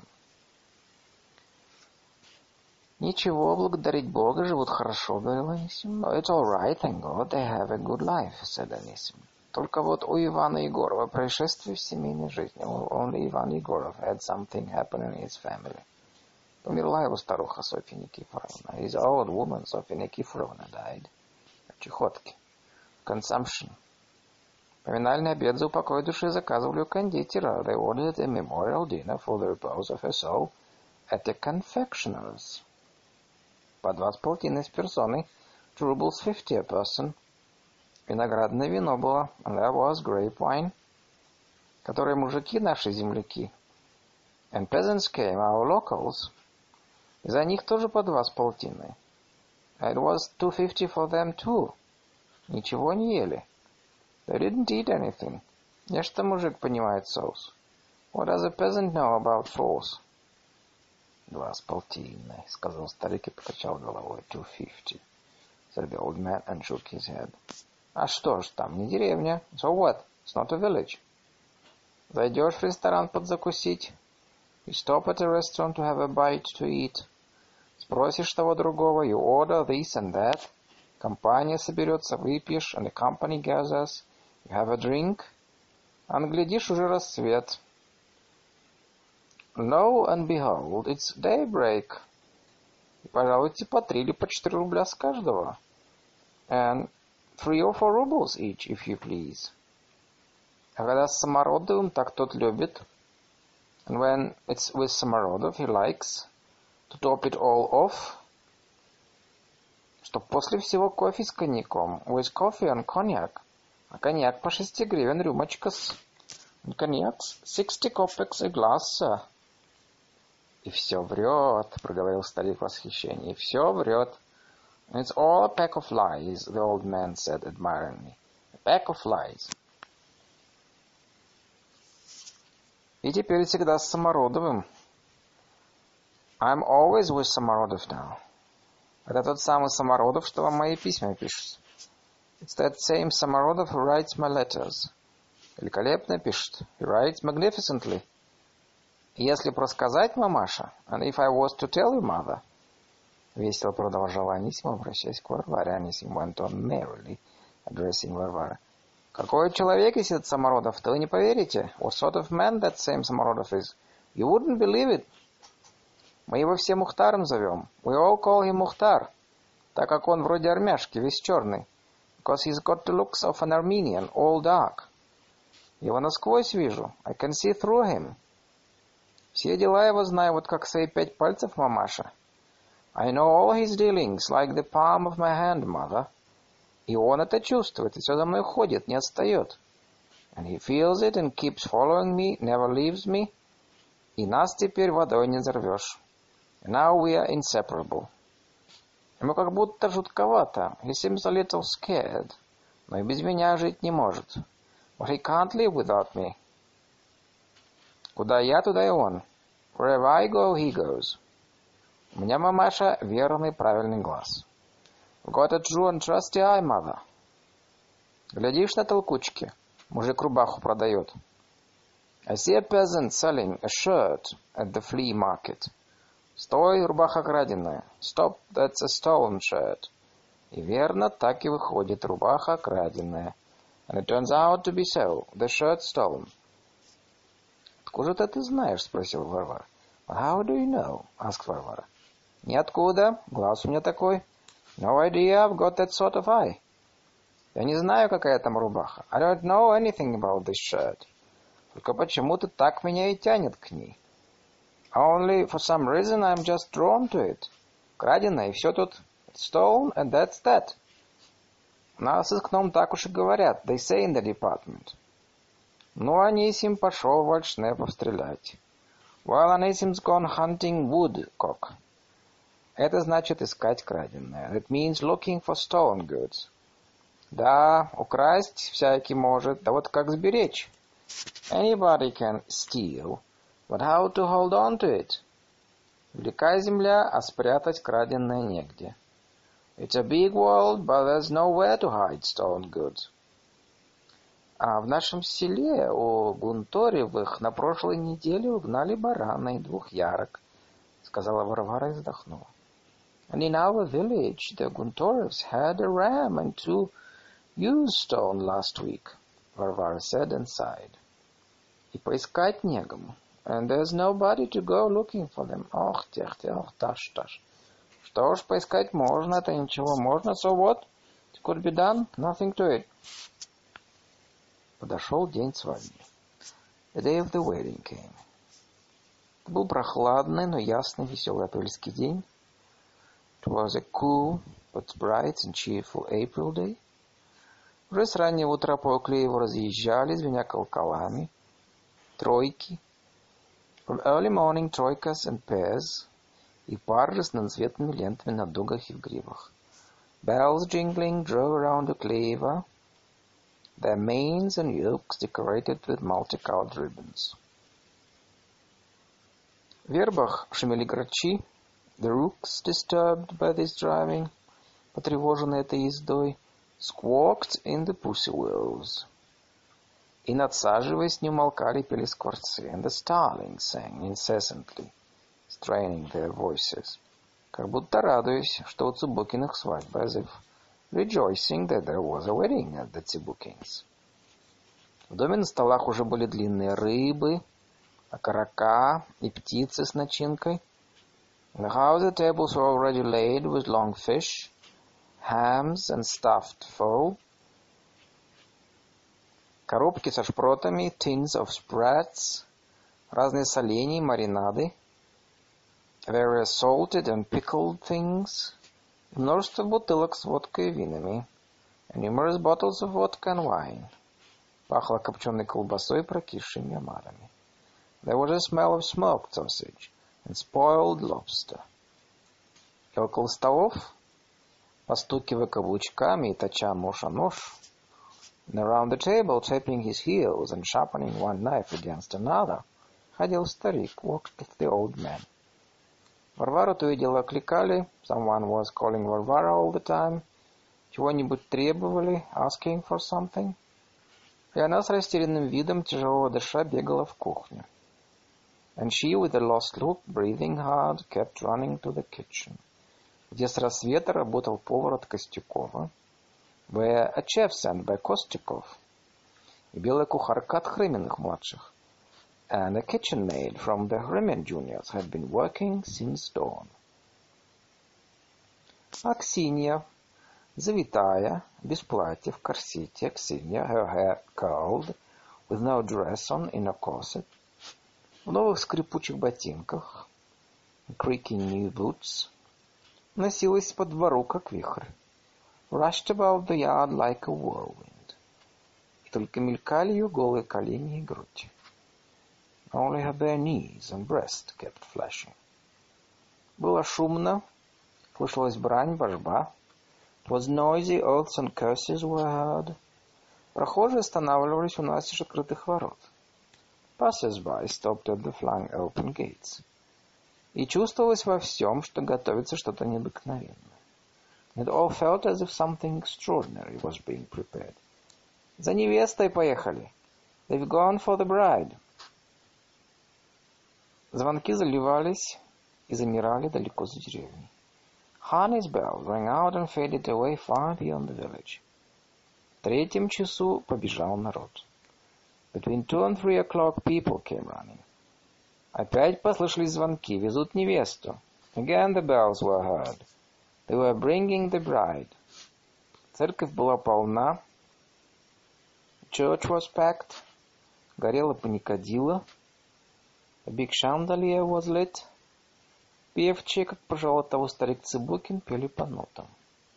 S1: Ничего, благодарить Бога, живут хорошо, говорил Анисим. It's all right, thank God, they have a good life, said Anisim. Только вот у Ивана Егорова происшествие в семейной жизни. Only Ivan Egorov had something happen in his family. Умерла его старуха Софья Никифоровна. His old woman, Софья Никифоровна, died. От чехотки. Consumption. Поминальный обед за упокой души заказывали у кондитера. They ordered a memorial dinner for the repose of her soul at a confectioner's. По два с полтиной с персоной. Two rubles fifty a person. Виноградное вино было. And there was grape wine. Которые мужики, наши земляки. And peasants came, our locals. И за них тоже по два с полтиной. It was two fifty for them too. Ничего не ели. They didn't eat anything. Нечто мужик понимает соус. What does a peasant know about sauce? Два с полтиной, сказал старик и покачал головой. Two fifty, said the old man and shook his head. А что ж, там не деревня. So what? It's not a village. Зайдешь в ресторан подзакусить. You stop at a restaurant to have a bite to eat. Спросишь того другого. You order this and that. Компания соберется, выпьешь, and the company gathers. You have a drink. А наглядишь, уже рассвет. Lo and behold, it's daybreak. И пожалуйте по три или по четыре рубля с каждого. And three or four rubles each, if you please. А когда с Самородовым, так тот любит. And when it's with Samorodov, he likes to top it all off. Чтоб после всего кофе с коньяком. With coffee and cognac. А коньяк по шести гривен рюмочка-с. And коньяк sixty kopecks a glass, sir. И все врет, проговорил старик в восхищении. И все врет. And it's all a pack of lies, the old man said admiringly. A pack of lies. И теперь всегда с Самородовым. I'm always with Samorodov now. Это тот самый Самородов, что вам мои письма пишет. It's that same Samorodov who writes my letters. Великолепно пишет. He writes magnificently. И если просказать, мамаша, and if I was to tell you, mother, весело продолжала Анисим, обращаясь к Варваре. Анисим went on merrily, addressing Варвара. Какой человек есть этот Самородов, то вы не поверите. What sort of man that same Samorodov is? You wouldn't believe it. Мы его все Мухтаром зовем. We all call him Мухтар, так как он вроде армяшки, весь черный. Because he's got the looks of an Armenian, all dark. Его насквозь вижу. I can see through him. Все дела его знаю, вот как свои пять пальцев, мамаша. I know all his dealings, like the palm of my hand, mother. И он это чувствует, и все за мной ходит, не отстает. And he feels it and keeps following me, never leaves me. И нас теперь водой не взорвешь. And now we are inseparable. Ему как будто жутковато. He seems a little scared. Но и без меня жить не может. But he can't live without me. Куда я, туда и он. Wherever I go, he goes. У меня, мамаша, верный правильный глаз. I've got a true and trusty eye, mother. Глядишь на толкучки, мужик рубаху продает. I see a peasant selling a shirt at the flea market. Стой, рубаха краденая. Stop, that's a stolen shirt. И верно, так и выходит, рубаха краденая. And it turns out to be so. The shirt stolen. Откуда ты знаешь? Спросил Варвара. How do you know? Asked Варвара. Ниоткуда. Глаз у меня такой. No idea. I've got that sort of eye. Я не знаю, какая там рубаха. I don't know anything about this shirt. Только почему-то так меня и тянет к ней. Only for some reason I'm just drawn to it. Краденая, и все тут. Stolen, and that's that. У нас с окном так уж и говорят. They say in the department. Ну, Анисим пошел вальшнепов стрелять. Well, Anisim's gone hunting woodcock. Это значит искать краденое. That means looking for stolen goods. Да, украсть всякий может. Да вот как сберечь? Anybody can steal. But how to hold on to it? Велика земля, а спрятать краденое негде. It's a big world, but there's nowhere to hide stolen goods. А в нашем селе у Гунторевых на прошлой неделе угнали барана и двух ярок, сказала Варвара и вздохнула. And in our village the Guntorevs had a ram and two ewes stolen last week, Varvara said and sighed. И поискать негому. And there's nobody to go looking for them. Ох, тех, тех, таш, таш. Что ж, поискать можно, это ничего можно. So what? It could be done. Nothing to it. Подошел день свадьбы. The day of the wedding came. Это был прохладный, но ясный, веселый апрельский день. It was a cool, but bright and cheerful April day. Уже с раннего утра по Оклееву разъезжали, звеня колоколами, тройки. From early morning trojkas and pairs, и пары с разноцветными лентами на дугах и в гривах. Bells jingling drove around Okleyva, their manes and yokes decorated with multicolored ribbons. В вербах шумели грачи, the rooks, disturbed by this driving, потревоженные этой ездой, squawked in the pussy willows. И, надсаживаясь, не умолкали, пели скворцы, and the starlings sang incessantly, straining their voices, как будто радуясь, что у Цыбукиных свадьба, as if rejoicing that there was a wedding at the Цыбукins. В доме на столах уже были длинные рыбы, окорока и птицы с начинкой. In the house the tables were already laid with long fish, hams and stuffed fowl, коробки со шпротами, tins of sprats, разные соленья, маринады, various salted and pickled things, и множество бутылок с водкой и винами, and numerous bottles of vodka and wine. Пахло копченой колбасой и прокисшими омарами. There was a smell of smoked sausage and spoiled lobster. И около столов, постукивая каблучками и точа нож о нож, and around the table, tapping his heels and sharpening one knife against another, ходил старик, walked the old man. Варвару то и дело окликали, someone was calling Varvara all the time, чего-нибудь требовали, asking for something, и она с растерянным видом, тяжело дыша, бегала в кухню. And she, with a lost look, breathing hard, kept running to the kitchen, где с рассвета работал повар от Костюкова, where a chef sent by Kostykov, и белая кухарка от Хрыминых-младших, and a kitchen maid from the Hrymin juniors had been working since dawn. Аксинья, завитая, без платья, в корсете, Аксинья, her hair curled, with no dress on, in a corset, в новых скрипучих ботинках, creaking new boots, носилась по двору, как вихрь, rushed about the yard like a whirlwind, и только мелькали ее голые колени и грудь. Only her bare knees and breast kept flashing. Было шумно, слышалась брань, божба. It was noisy, oaths and curses were heard. Прохожие останавливались у настежь открытых ворот. Passers-by stopped at the flung open gates. И чувствовалось во всем, что готовится что-то необыкновенное. It all felt as if something extraordinary was being prepared. За невестой поехали. They've gone for the bride. Звонки заливались и замирали далеко за деревней. Harney's bell rang out and faded away far beyond the village. В третьем часу побежал народ. Between two and three o'clock people came running. Опять послышались звонки. Везут невесту. Again the bells were heard. They were bringing the bride. Церковь была полна. Church was packed. Горела паникадилла. A big chandelier was lit. Певчие, как пожелал того старик Цыбукин, пели по нотам.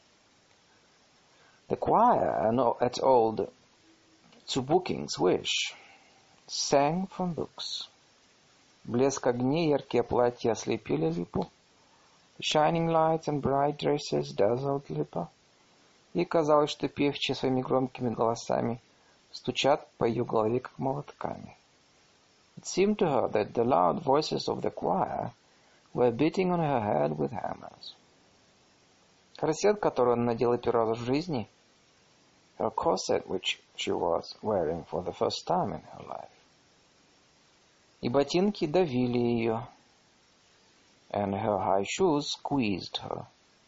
S1: The choir, at old Цыбукин's wish, sang from books. Блеск огней, яркие платья ослепили Липу. The shining lights and bright dresses dazzled Lipa. Ей казалось, что певчие своими громкими голосами стучат по ее голове, как молотками. It seemed to her that the loud voices of the choir were beating on her head with hammers. Корсет, который она надела первый раз в жизни, her corset, which she was wearing for the first time in her life, и ботинки давили ее, and her high shoes squeezed her.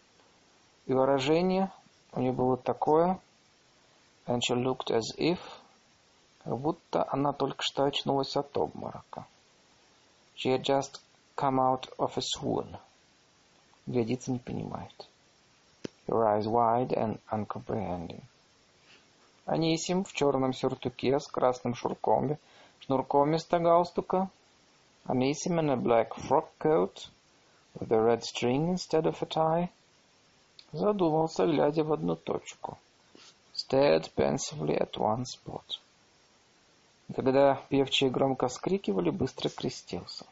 S1: И выражение у нее было такое, and she looked as if, как будто она только что очнулась от обморока. She had just come out of a swoon. Глядится, не понимает. Her eyes wide and uncomprehending. Анисим в черном сюртуке с красным шнурком, шнурком вместо галстука. Анисим in a black frock coat with a red string instead of a tie. Задумался, глядя в одну точку. Stared pensively at one spot. Когда певчие громко вскрикивали, быстро крестился.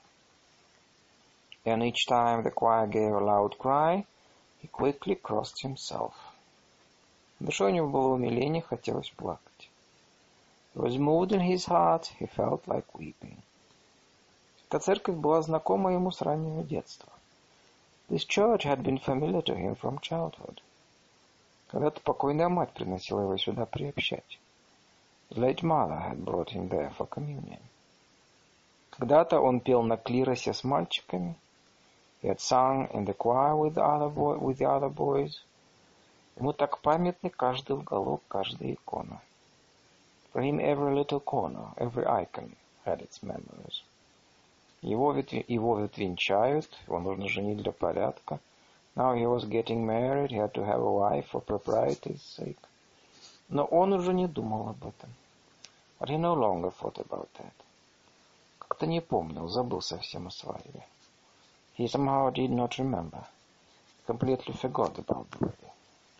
S1: And each time the choir gave a loud cry, he quickly crossed himself. В душе у него было умиление, хотелось плакать. He was moved in his heart, he felt like weeping. Эта церковь была знакома ему с раннего детства. This church had been familiar to him from childhood. Когда-то покойная мать приносила его сюда приобщать. His late mother had brought him there for communion. Когда-то он пел на клиросе с мальчиками. He had sung in the choir with the other, boy, with the other boys. Ему так памятны каждый уголок, каждая икона. For him every little corner, every icon had its memories. Его ведь, его ведь венчают, его нужно женить для порядка. Now he was getting married, he had to have a wife for propriety's sake. Но он уже не думал об этом. But he no longer thought about that. Как-то не помнил, забыл совсем о свадьбе. He somehow did not remember. Completely forgot about the wedding.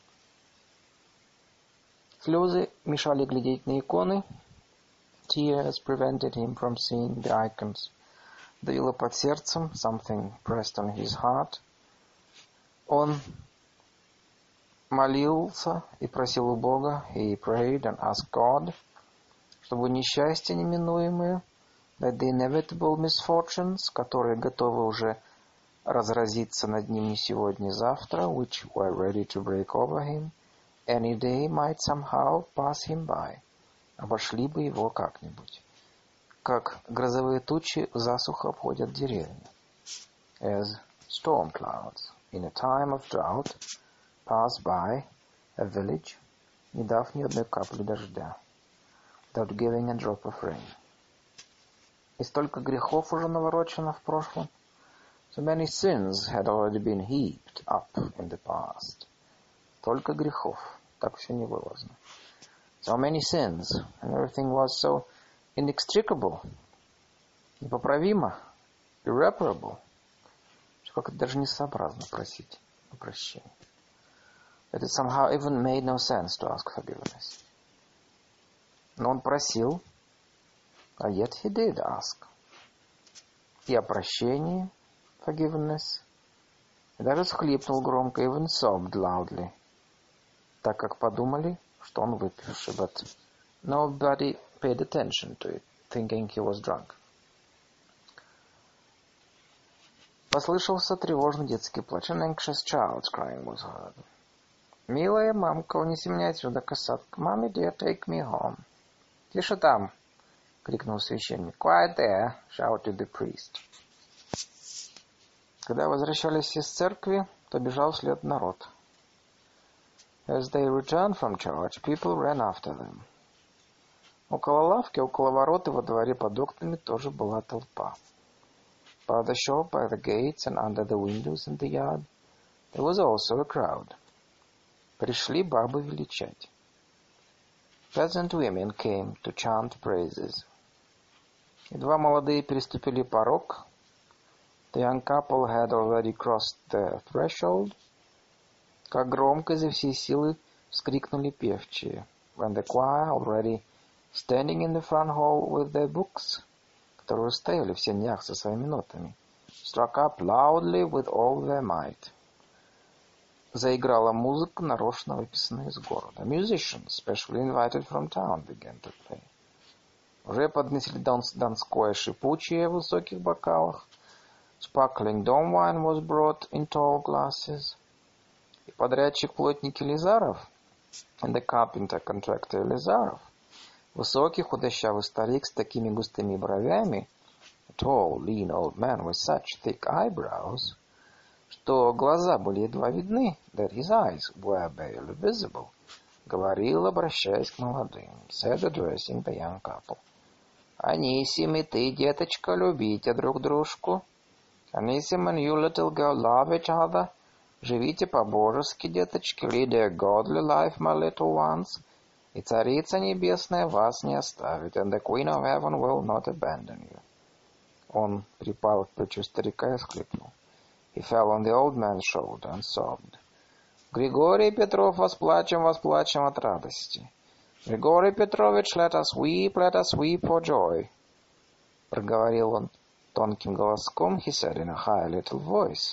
S1: Слезы мешали глядеть на иконы. Tears prevented him from seeing the icons. Давило под сердцем, something pressed on his heart. Он молился и просил у Бога, he prayed and asked God, чтобы несчастья неминуемые, that the inevitable misfortunes, которые готовы уже разразиться над ним не сегодня, не завтра, which were ready to break over him, any day might somehow pass him by, обошли бы его как-нибудь, как грозовые тучи засуха обходят деревню, as storm clouds in a time of drought pass by a village, не дав ни одной капли дождя, without giving a drop of rain. И столько грехов уже наворочено в прошлом. So many sins had already been heaped up in the past. Только грехов, так все невылазно. So many sins, and everything was so inextricable, непоправимо, irreparable, что как-то даже несообразно просить о прощении. That it somehow even made no sense to ask forgiveness. Но он просил, а yet he did ask. И о прощении, forgiveness, и даже всхлипнул громко, even sobbed loudly, так как подумали, что он выпивший, but nobody paid attention to it, thinking he was drunk. Послышался тревожный детский плач. An anxious child's crying was heard. «Милая мамка, унеси меня отсюда, касатка. Mommy dear, take me home». «Тише там!» — крикнул священник. «Quiet there!» — shouted the priest. Когда возвращались из церкви, то бежал вслед народ. As they returned from church, people ran after them. Около лавки, около ворот и во дворе под окнами тоже была толпа. By the shop, by the gates, and under the windows in the yard, there was also a crowd. Пришли бабы величать. Peasant women came to chant praises. Едва молодые переступили порог, the young couple had already crossed the threshold, как громко изо всей силы вскрикнули певчие. When the choir, already standing in the front hall with their books, которые стояли в сенях со своими нотами, struck up loudly with all their might. Заиграла музыка, нарочно выписанная из города. Musicians, specially invited from town, began to play. Уже поднесли донское шипучее в высоких бокалах. Sparkling Dom wine was brought in tall glasses. И подрядчик-плотник Елизаров, and the carpenter contractor Елизаров, высокий худощавый старик с такими густыми бровями, a tall, lean old man with such thick eyebrows, что глаза были едва видны, that his eyes were barely visible, говорил, обращаясь к молодым, said, addressing the young couple. Анисим и ты, деточка, любите друг дружку. Анисим and you, little girl, love each other. Живите по-божески, деточки, lead a godly life, my little ones. И Царица Небесная вас не оставит, and the Queen of Heaven will not abandon you. Он припал к плечу старика и всхлипнул. He fell on the old man's shoulder and sobbed. Григорий Петров, восплачем, восплачем от радости. Григорий Петрович, let us weep, let us weep for joy. Проговорил он тонким голоском, he said in a high little voice.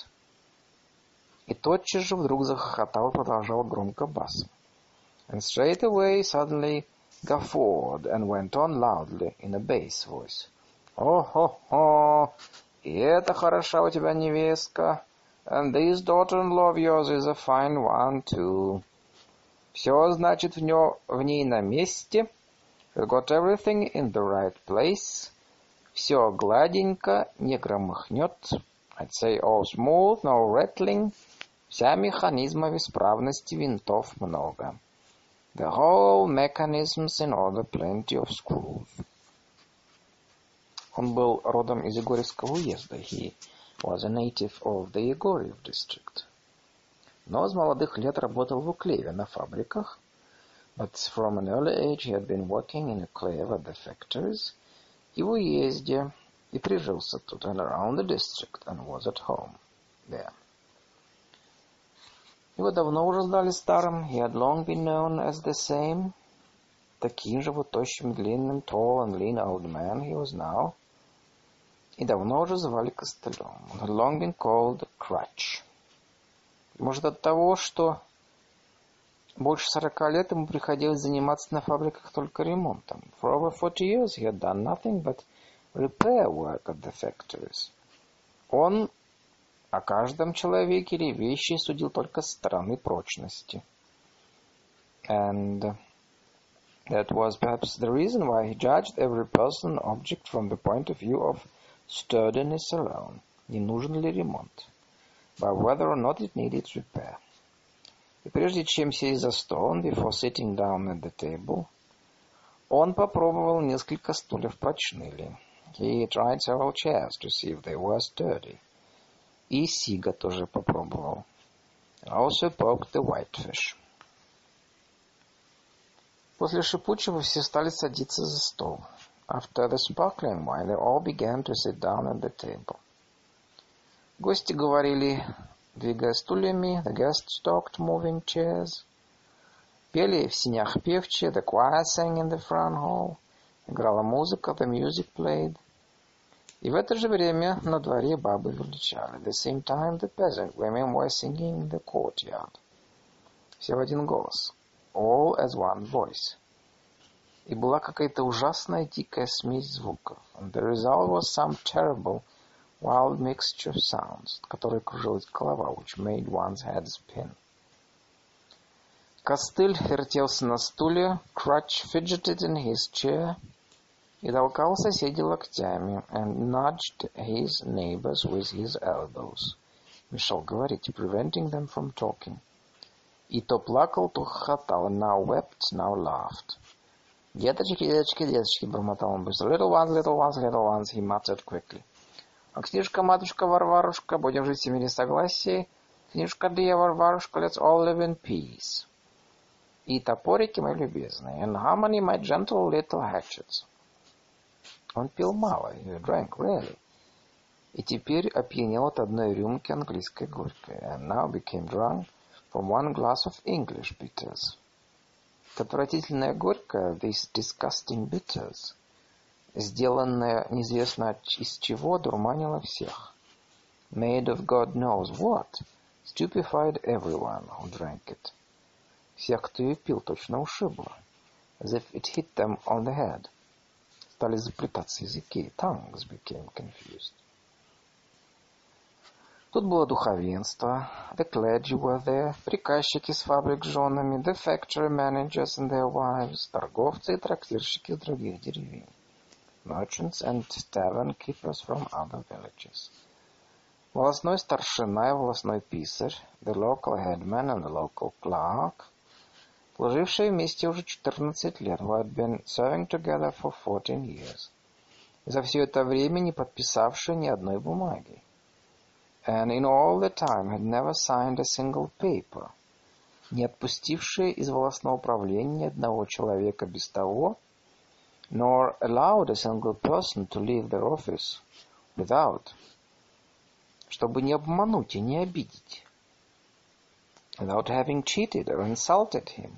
S1: И тотчас же вдруг захохотал, продолжал громко басом. And straight away suddenly guffawed and went on loudly in a bass voice. О-хо-хо! И это хороша у тебя невестка. And this daughter-in-law of yours is a fine one, too. Все, значит, в, нё, в ней на месте. You've got everything in the right place. Все гладенько, не громыхнет. I'd say all smooth, no rattling. Вся механизма в исправности, винтов много. The whole mechanism's in order, plenty of screws. Он был родом из Егорьевского уезда. He was a native of the Егорьев district. Но с молодых лет работал в Уклееве на фабриках. But from an early age he had been working in Uklеев at the factories. И в уезде. И прижился тут and around the district and was at home there. Его давно уже знали старым. He had long been known as the same. Таким же вот тощим, длинным, tall and lean old man he was now. И давно уже звали костылем. Он had long been called Crutch. Может, от того, что больше сорока лет ему приходилось заниматься на фабриках только ремонтом. For over forty years he had done nothing but repair work at the factories. Он о каждом человеке или вещи судил только с стороны прочности. And that was perhaps the reason why he judged every person and object from the point of view of sturdiness alone. Не нужен ли ремонт? By whether or not it needed repair. И прежде чем сесть за стол, before sitting down at the table, он попробовал несколько стульев, прочны ли. He tried several chairs to see if they were sturdy. И сига тоже попробовал. Also poked the whitefish. После шипучего все стали садиться за стол. After the sparkling wine, they all began to sit down at the table. Гости говорили, двигая стульями, the guests talked, moving chairs. Пели в сенях певчие, the choir sang in the front hall. Играла музыка, the music played. И в это же время на дворе бабы величали. At the same time, the peasant women were singing in the courtyard. Все в один голос. All as one voice. И была какая-то ужасная дикая смесь звуков. And the result was some terrible, wild mixture of sounds, от которой кружилась голова, which made one's head spin. Костыль вертелся на стуле, Crutch fidgeted in his chair, и толкал соседей локтями, and nudged his neighbors with his elbows. Мешал говорить, preventing them from talking. И то плакал, то хохотал, now wept, now laughed. «Деточки, деточки, деточки», — бормотал он быстро. «Little ones, little ones, little ones», — he muttered quickly. «А книжка, матушка Варварушка, будем жить в мире согласия. Книжка, dear Варварушка, let's all live in peace». И топорики, мои любезные, and harmony, my gentle little hatchets. Он пил мало, he drank rarely. И теперь опьянел от одной рюмки английской горькой, and now became drunk from one glass of English bitters. Отвратительная горькая, this disgusting bitters, сделанная неизвестно из чего, дурманила всех. Made of God knows what, stupefied everyone who drank it. Всех, кто ее пил, точно ушибло, as if it hit them on the head. Стали заплетаться языки, tongues became confused. Тут было духовенство, the clergy were there, приказчики с фабрик с женами, the factory managers and their wives, торговцы и трактирщики из других деревень, merchants and tavern keepers from other villages. Волостной старшина и волостной писарь, the local headman and the local clerk, служившие вместе уже четырнадцать лет, who had been serving together for fourteen years, и за все это время не подписавшие ни одной бумаги. And in all the time had never signed a single paper, не отпустившие из волостного управления ни одного человека без того, nor allowed a single person to leave their office without, чтобы не обмануть и не обидеть, without having cheated or insulted him.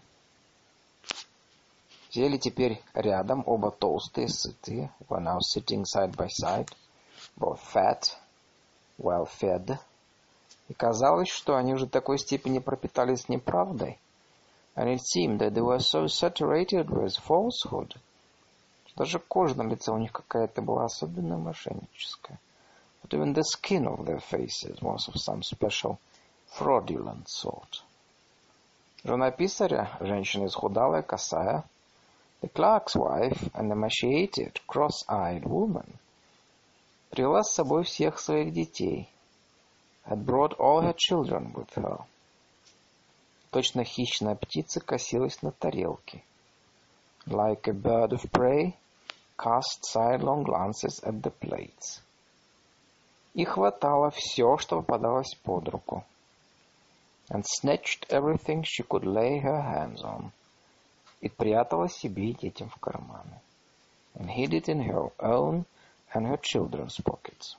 S1: Сели теперь рядом, оба толстые, сытые, were now sitting side by side, both fat, well fed, и казалось, что они уже до такой степени пропитались неправдой, and it seemed that they were so saturated with falsehood, что даже кожа на лице у них какая-то была особенно мошенническая. But even the skin of their faces was of some special fraudulent sort. Жена писаря, женщина исхудалая, косая, the clerk's wife, an emaciated, cross-eyed woman, привела с собой всех своих детей, had brought all her children with her. Точно хищная птица косилась на тарелке. Like a bird of prey, cast sidelong glances at the plates. И хватала все, что попадалось под руку. And snatched everything she could lay her hands on. И прятала себе и детям в карманы. And hid it in her own and her children's pockets.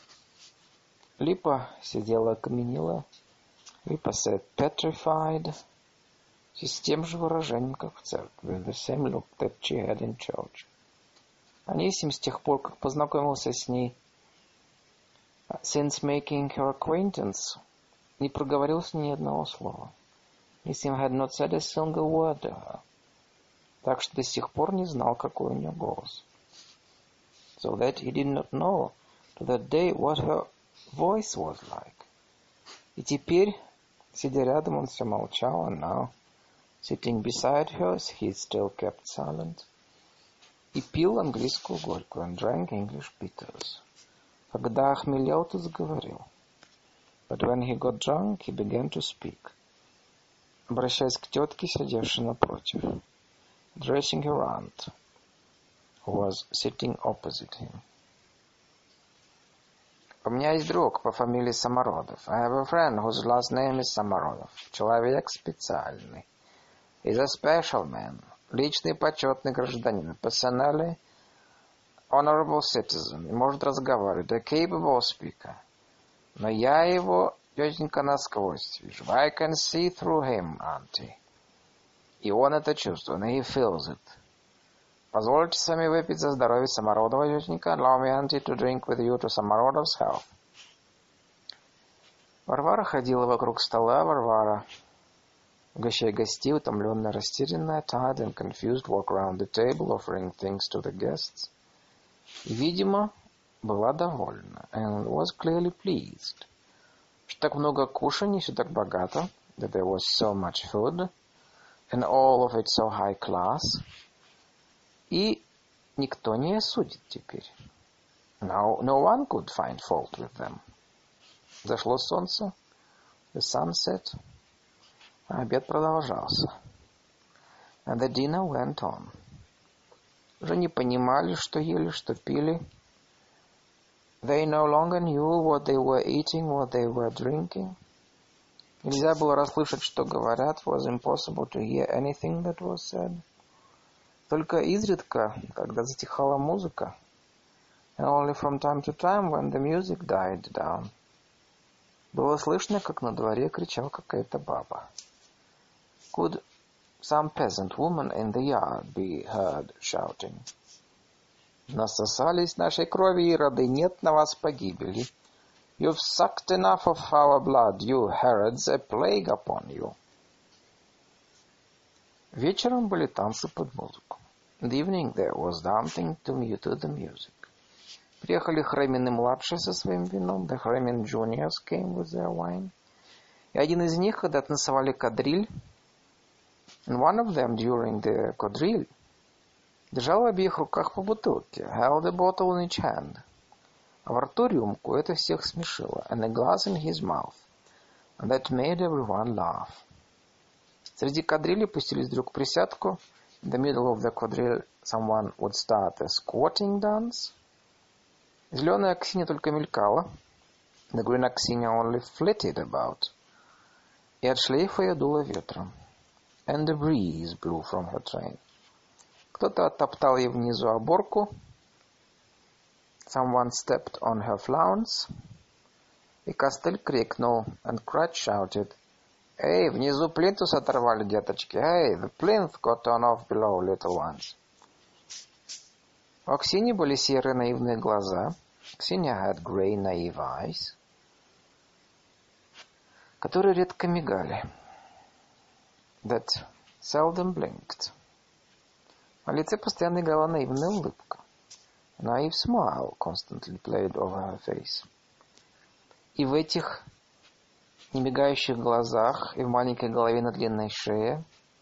S1: Липа сидела окаменела. Липа sat petrified, с тем же выражением, как в церкви, with the same look that she had in church. Анисим с тех пор, как познакомился с ней, since making her acquaintance, не проговорил с ней ни одного слова. Анисим had not said a single word to her, так что до сих пор не знал, какой у нее голос. So that he did not know to that day what her voice was like. И теперь, сидя рядом, он все молчал, and now, sitting beside her, he still kept silent, и пил английскую горькую, and drank English bitters. Когда охмелел, то заговорил. But when he got drunk, he began to speak, обращаясь к тетке, сидевшей напротив, addressing her aunt, who was sitting opposite him. У меня есть друг по фамилии Самородов. I have a friend whose last name is Самородов. Человек специальный. He's a special man. Личный почетный гражданин. Personally honorable citizen. И может разговаривать. A capable speaker. Но я его, тетенька, насквозь вижу. I can see through him, auntie. И он это чувствует. And he feels it. Позвольте сами выпить за здоровье Самородова, тетенька. Allow me, auntie, to drink with you to Самородов's health. Варвара ходила вокруг стола. Варвара Угощая гостей, утомленная, растерянная, tired and confused, walk around the table, offering things to the guests. И, видимо, была довольна, and was clearly pleased. Что так много кушаний, все так богато, that there was so much food, and all of it so high class. И никто не осудит теперь. Now, no one could find fault with them. Зашло солнце, the sun set, а обед продолжался. And the dinner went on. Уже не понимали, что ели, что пили. They no longer knew what they were eating, what they were drinking. Нельзя было расслышать, что говорят. It was impossible to hear anything that was said. Только изредка, когда затихала музыка, and only from time to time when the music died down, было слышно, как на дворе кричала какая-то баба. Could some peasant woman in the yard be heard shouting? Насосались нашей крови, ироды, нет на вас погибели. You've sucked enough of our blood, you Herods, a plague upon you. Вечером были танцы под музыку. In the evening there was dancing to the music. Приехали Хремины-младшие со своим вином. The Хремин juniors came with their wine. И один из них, когда танцевали кадриль, and one of them during the quadrille, держал в обеих руках по бутылке, held a bottle in each hand. А во рту рюмку, это всех смешило, and a glass in his mouth, and that made everyone laugh. Среди кадрили пустились вдруг присядку. In the middle of the quadrille someone would start a squatting dance. Зеленая Аксинья только мелькала. The green Аксинья only flitted about. И от шлейфа ее дуло ветром. And the breeze blew from her train. Кто-то оттоптал ей внизу оборку. Someone stepped on her flounce. И Костыль крикнул, and Cratch shouted, «Эй, внизу плинтус оторвали, деточки! Эй, the plinth got torn off below, little ones!» У Аксиньи были серые наивные глаза. Аксинья had grey naive eyes, которые редко мигали. That seldom blinked. На лице постоянно играла наивная улыбка. A naive smile constantly played over her face. И в этих немигающих глазах, и в маленькой голове на длинной шее,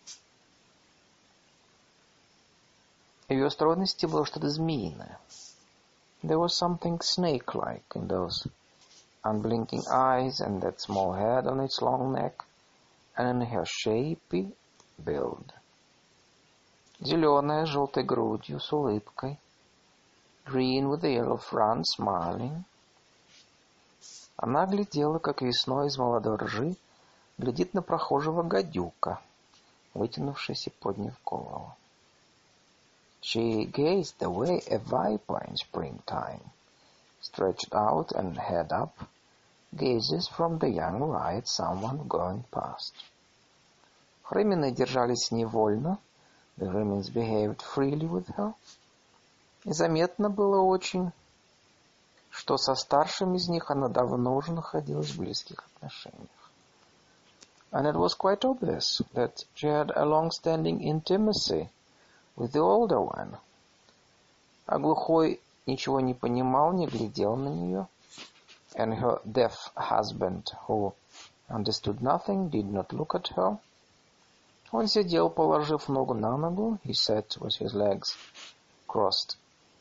S1: в ее стройности было что-то змеиное. There was something snake-like in those unblinking eyes and that small head on its long neck, and in her shapy build. Зеленая, с желтой грудью, с улыбкой. Green with the yellow front, smiling. Она глядела, как весной из молодой ржи глядит на прохожего гадюка, вытянувшийся и подняв голову. She gazed the way a viper in springtime, stretched out and head up, gazes from the young rye at someone going past. Хремины держались невольно, the Hремins behaved freely with her, и заметно было очень, что со старшим из них она давно уже находилась в близких отношениях. And it was quite obvious that she had a long-standing intimacy with the older one. А глухой ничего не понимал, не глядел на нее. And her deaf husband, who understood nothing, did not look at her. Он сидел, положив ногу на ногу. He sat with his legs crossed.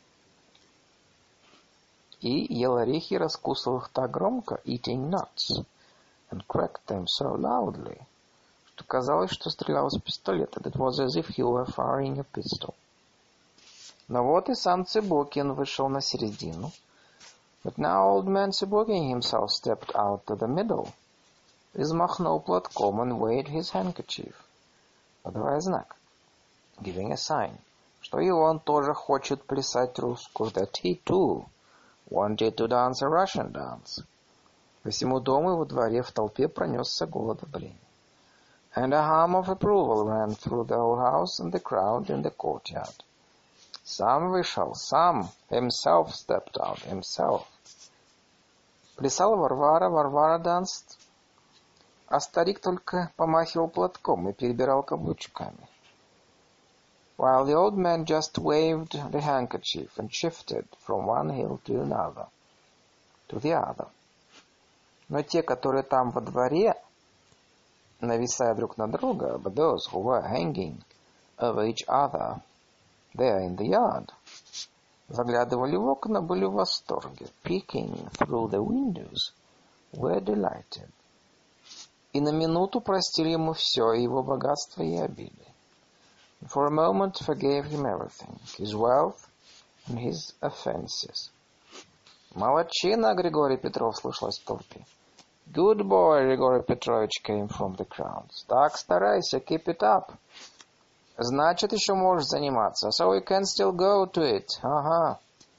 S1: И ел орехи, раскусывал их так громко, eating nuts, and cracked them so loudly, что казалось, что стрелял из пистолета. It was as if he were firing a pistol. Но вот и сам Цыбокин вышел на середину. But now old man Цыбокин himself stepped out to the middle, взмахнул платком and waved his handkerchief, подавая знак, giving a sign, что и он тоже хочет плясать русскую, that he too wanted to dance a Russian dance. По всему дому и во дворе в толпе пронесся гул одобрения. And a hum of approval ran through the whole house and the crowd in the courtyard. Сам вышел, сам, himself stepped out, himself. Плясала Варвара, Варвара danced. а старик только помахивал платком и перебирал каблучками. While the old man just waved the handkerchief and shifted from one hill to another, to the other. Но те, которые там во дворе, нависая друг на друга, but those who were hanging over each other there in the yard, заглядывали в окна, были в восторге, peeking through the windows, were delighted. И на минуту простили ему все, его богатство и обилие. For a moment forgave him everything, his wealth and his offenses. Молодчина, Григорий Петров, слышалось в толпе. Good boy, Григорий Петрович, came from the crowds. Так, старайся, keep it up. Значит, еще можешь заниматься. So you can still go to it. Ага.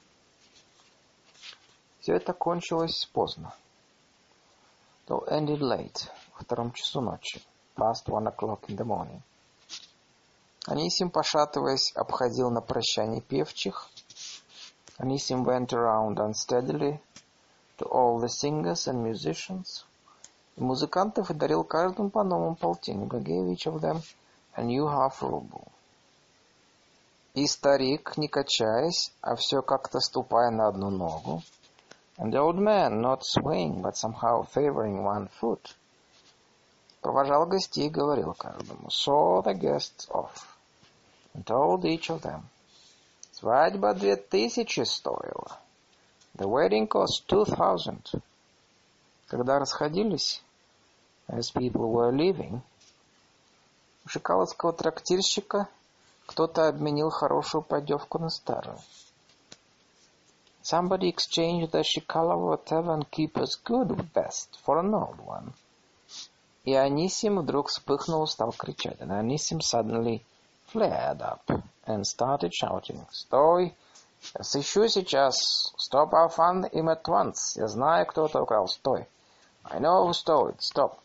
S1: Все это кончилось поздно. It all ended late, во втором часу ночи. Past one o'clock in the morning. Анисим, пошатываясь, обходил на прощание певчих. Анисим went around unsteadily to all the singers and musicians. И музыкантов и дарил каждому по новому полтиннику. Gave each of them a new half ruble. И старик, не качаясь, а все как-то ступая на одну ногу. And the old man, not swaying, but somehow favoring one foot, провожал гостей и говорил каждому. Saw the guests off. And told each of them. Свадьба две тысячи стоила. The wedding cost two thousand. Когда расходились, as people were leaving, у шикаловского трактирщика кто-то обменил хорошую поддевку на старую. Somebody exchanged the Shikalova tavern keeper's good best for an old one. И Анисим вдруг вспыхнул и стал кричать. And Анисим suddenly flared up and started shouting. Стой! Я сыщу сейчас. Stop, I'll find him at once. Я знаю, кто это украл. Стой! I know who stole it. Stop!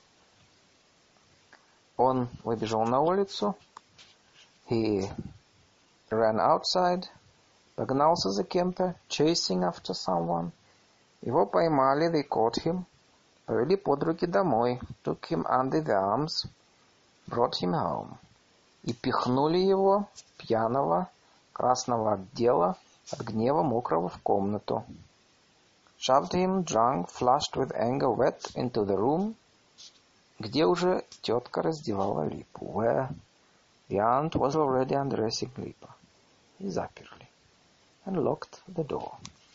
S1: Он выбежал на улицу. He ran outside. Погнался за кем-то. Chasing after someone. Его поймали. They caught him. Повели под руки домой. Took him under the arms. Brought him home. И пихнули его, пьяного, красного от дела, от гнева мокрого в комнату. Shoved him, drunk, flushed with anger, wet, into the room, где уже тетка раздевала Липу, where the aunt was already undressing Lipa. И заперли. And locked the door.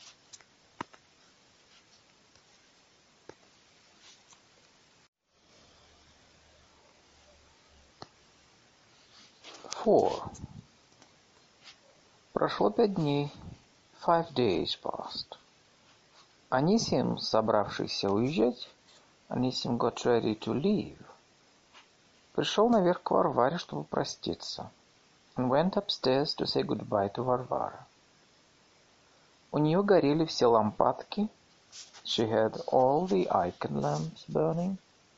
S1: Four. Прошло пять дней. Five days passed. Анисим, собравшийся уезжать, Анисим got ready to leave, пришел наверх к Варваре, чтобы проститься, and went upstairs to say goodbye to Варвара. У нее горели все лампадки. She had all the icon lamps burning.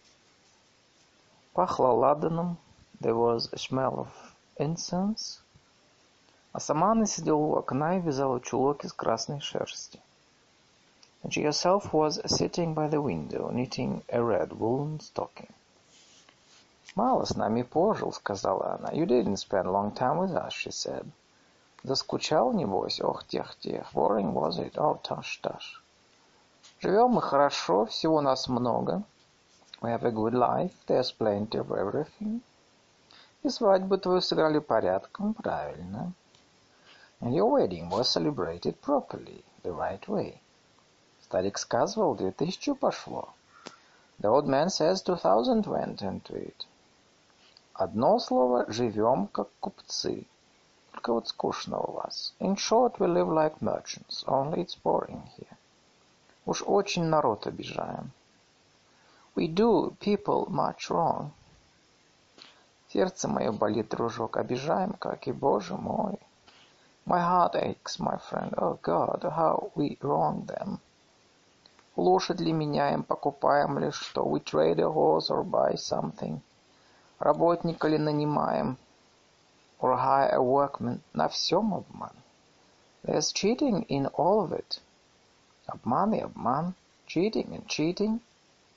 S1: Пахло ладаном. There was a smell of incense. А сама она сидела у окна и вязала чулок из красной шерсти. And she herself was sitting by the window, knitting a red woolen stocking. «Мало с нами пожил», — сказала она. «You didn't spend a long time with us», she said. «Заскучал, небось? Ох, тех-тех. Boring was it? Oh, таш-таш. Живем мы хорошо, всего нас много. We have a good life, there's plenty of everything. И свадьбу твою сыграли порядком, правильно. And your wedding was celebrated properly, the right way. Старик сказывал, две тысячи пошло. The old man says two thousand went into it. Одно слово, живем как купцы. Только вот скучно у вас. In short, we live like merchants, only it's boring here. Уж очень народ обижаем. We do people much wrong. Сердце мое болит, дружок, обижаем, как и, Боже мой. My heart aches, my friend. Oh God, how we wrong them. Лошадь ли меняем, покупаем ли что? We trade a horse or buy something. Работника ли нанимаем? Or hire a workman? На всем обман. There's cheating in all of it. Обман и обман. Cheating and cheating.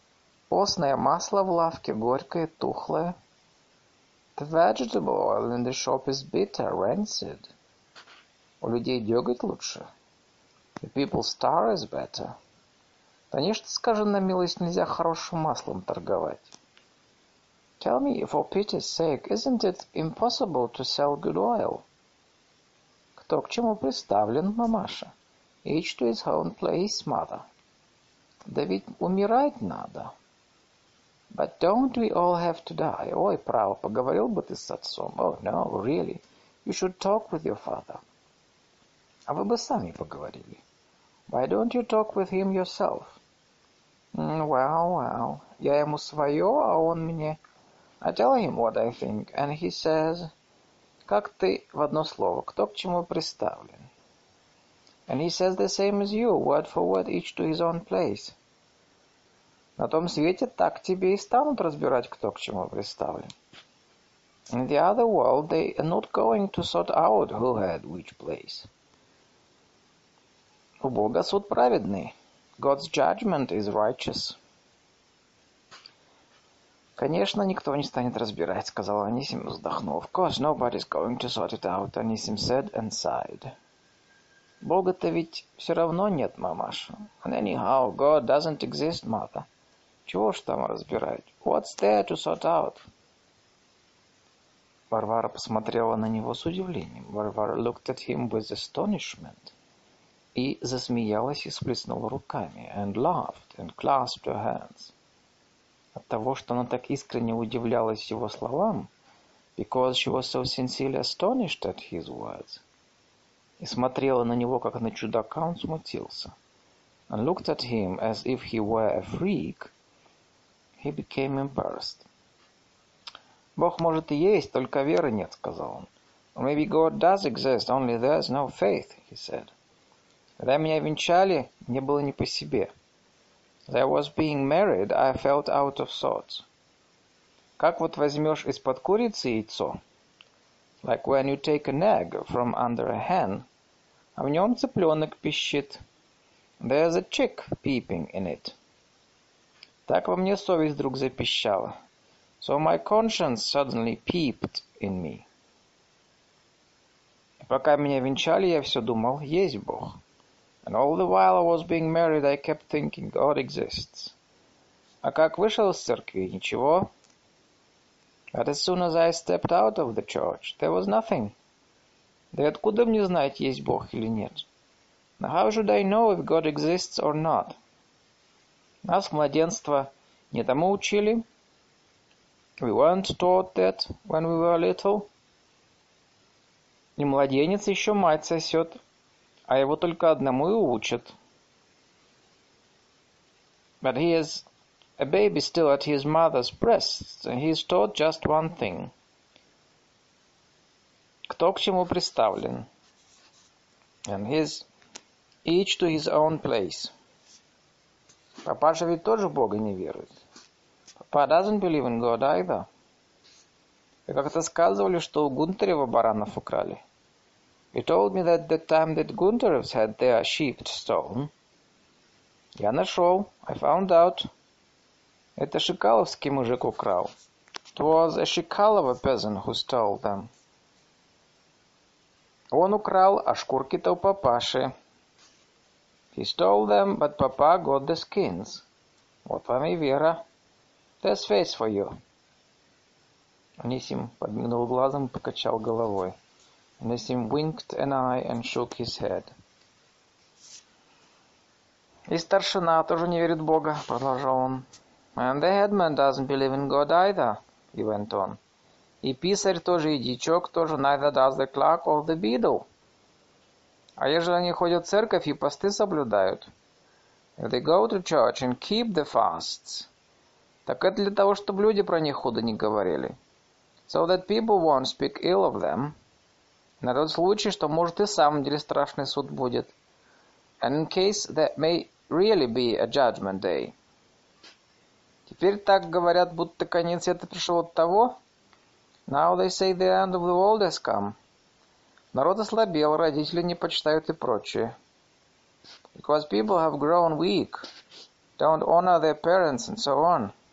S1: Постное масло в лавке горькое, тухлое. The vegetable oil in the shop is bitter, rancid. У людей деготь лучше. The people's star is better. Конечно, скажи на милость, нельзя хорошим маслом торговать. Tell me, for pity's sake, isn't it impossible to sell good oil? Кто к чему приставлен, мамаша? Each to his own place, mother. Да ведь умирать надо. But don't we all have to die? Ой, право, поговорил бы ты с отцом. Oh, no, really. You should talk with your father. А вы бы сами поговорили. Why don't you talk with him yourself? Mm, well, well. Я ему свое, а он мне... I tell him what I think, and he says... Как ты в одно слово, кто к чему приставлен? And he says the same as you, word for word, each to his own place. На том свете так тебе и станут разбирать, кто к чему приставлен. In the other world, they are not going to sort out who had which place. У Бога суд праведный. God's judgment is righteous. Конечно, никто не станет разбирать, сказал Анисим, вздохнув. Of course, nobody's going to sort it out, Анисим said and sighed. Бога-то ведь все равно нет, мамаша. And anyhow, God doesn't exist, mother. Чего ж там разбирать? What's there to sort out? Варвара посмотрела на него с удивлением. Варвара looked at him with astonishment. И засмеялась и сплеснула руками. And laughed and clasped her hands. От того, что она так искренне удивлялась его словам, because she was so sincerely astonished at his words, и смотрела на него, как на чудака, он смутился. And looked at him as if he were a freak, he became embarrassed. Бог может и есть, только веры нет, сказал он. Or maybe God does exist, only there's no faith, he said. Когда меня венчали, мне было не по себе. As I was being married, I felt out of sorts. Как вот возьмешь из-под курицы яйцо, like when you take an egg from under a hen, а в нем цыпленок пищит. There's a chick peeping in it. Так во мне совесть вдруг запищала. So my conscience suddenly peeped in me. И пока меня венчали, я все думал, есть Бог. And all the while I was being married, I kept thinking, God exists. А как вышел из церкви, ничего. But as soon as I stepped out of the church, there was nothing. Да и откуда мне знать, есть Бог или нет? Now how should I know if God exists or not? Нас, младенства, не тому учили. We weren't taught that when we were little. И младенец еще мать сосет, а его только одному и учат. But he is a baby still at his mother's breasts, and he is taught just one thing. Кто к чему приставлен? And his each to his own place. Папаша ведь тоже в Бога не верует. Papa doesn't believe in God either. Вы как-то сказывали, что у Гунтарева баранов украли. You told me that the time that Guntarevs had their sheep stolen. Я нашел. I found out. Это шикаловский мужик украл. It was a Shikalova peasant who stole them. Он украл, а шкурки-то у папаши. He stole them, but Papa got the skins. Вот вам и вера. There's faith for you. Анисим подмигнул глазом и покачал головой. Анисим winked an eye and shook his head. И старшина тоже не верит в Бога, продолжал он. And the headman doesn't believe in God either, he went on. И писарь тоже, и дичок тоже, neither does the clerk or the beadle. А ежели они ходят в церковь и посты соблюдают, if they go to church and keep the fasts, так это для того, чтобы люди про них худо не говорили. So that people won't speak ill of them. На тот случай, что может и в самом деле страшный суд будет. And in case there may really be a judgment day. Теперь так говорят, будто конец света пришел от того. Now they say the end of the world has come. Народ ослабел, родители не почитают и прочее. Because people have grown weak, don't honor their parents and so on.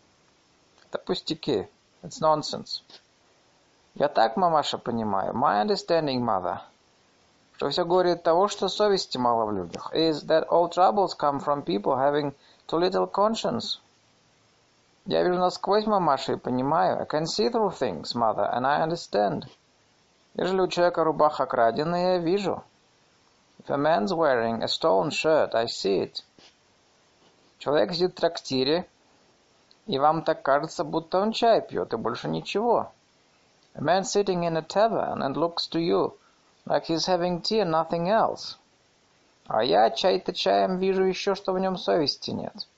S1: Это пустяки. It's nonsense. Я так, мамаша, понимаю. My understanding, mother, что все горе от того, что совести мало в людях, is that all troubles come from people having too little conscience. Я вижу насквозь, мамаша, и понимаю. I can see through things, mother, and I understand. Ежели у человека рубаха краденая, я вижу. If a man's wearing a stolen shirt, I see it. Человек сидит в трактире, и вам так кажется, будто он чай пьет, и больше ничего. A man sitting in a tavern and looks to you like he's having tea and nothing else. А я чай-то чаем вижу еще, что в нем совести нет.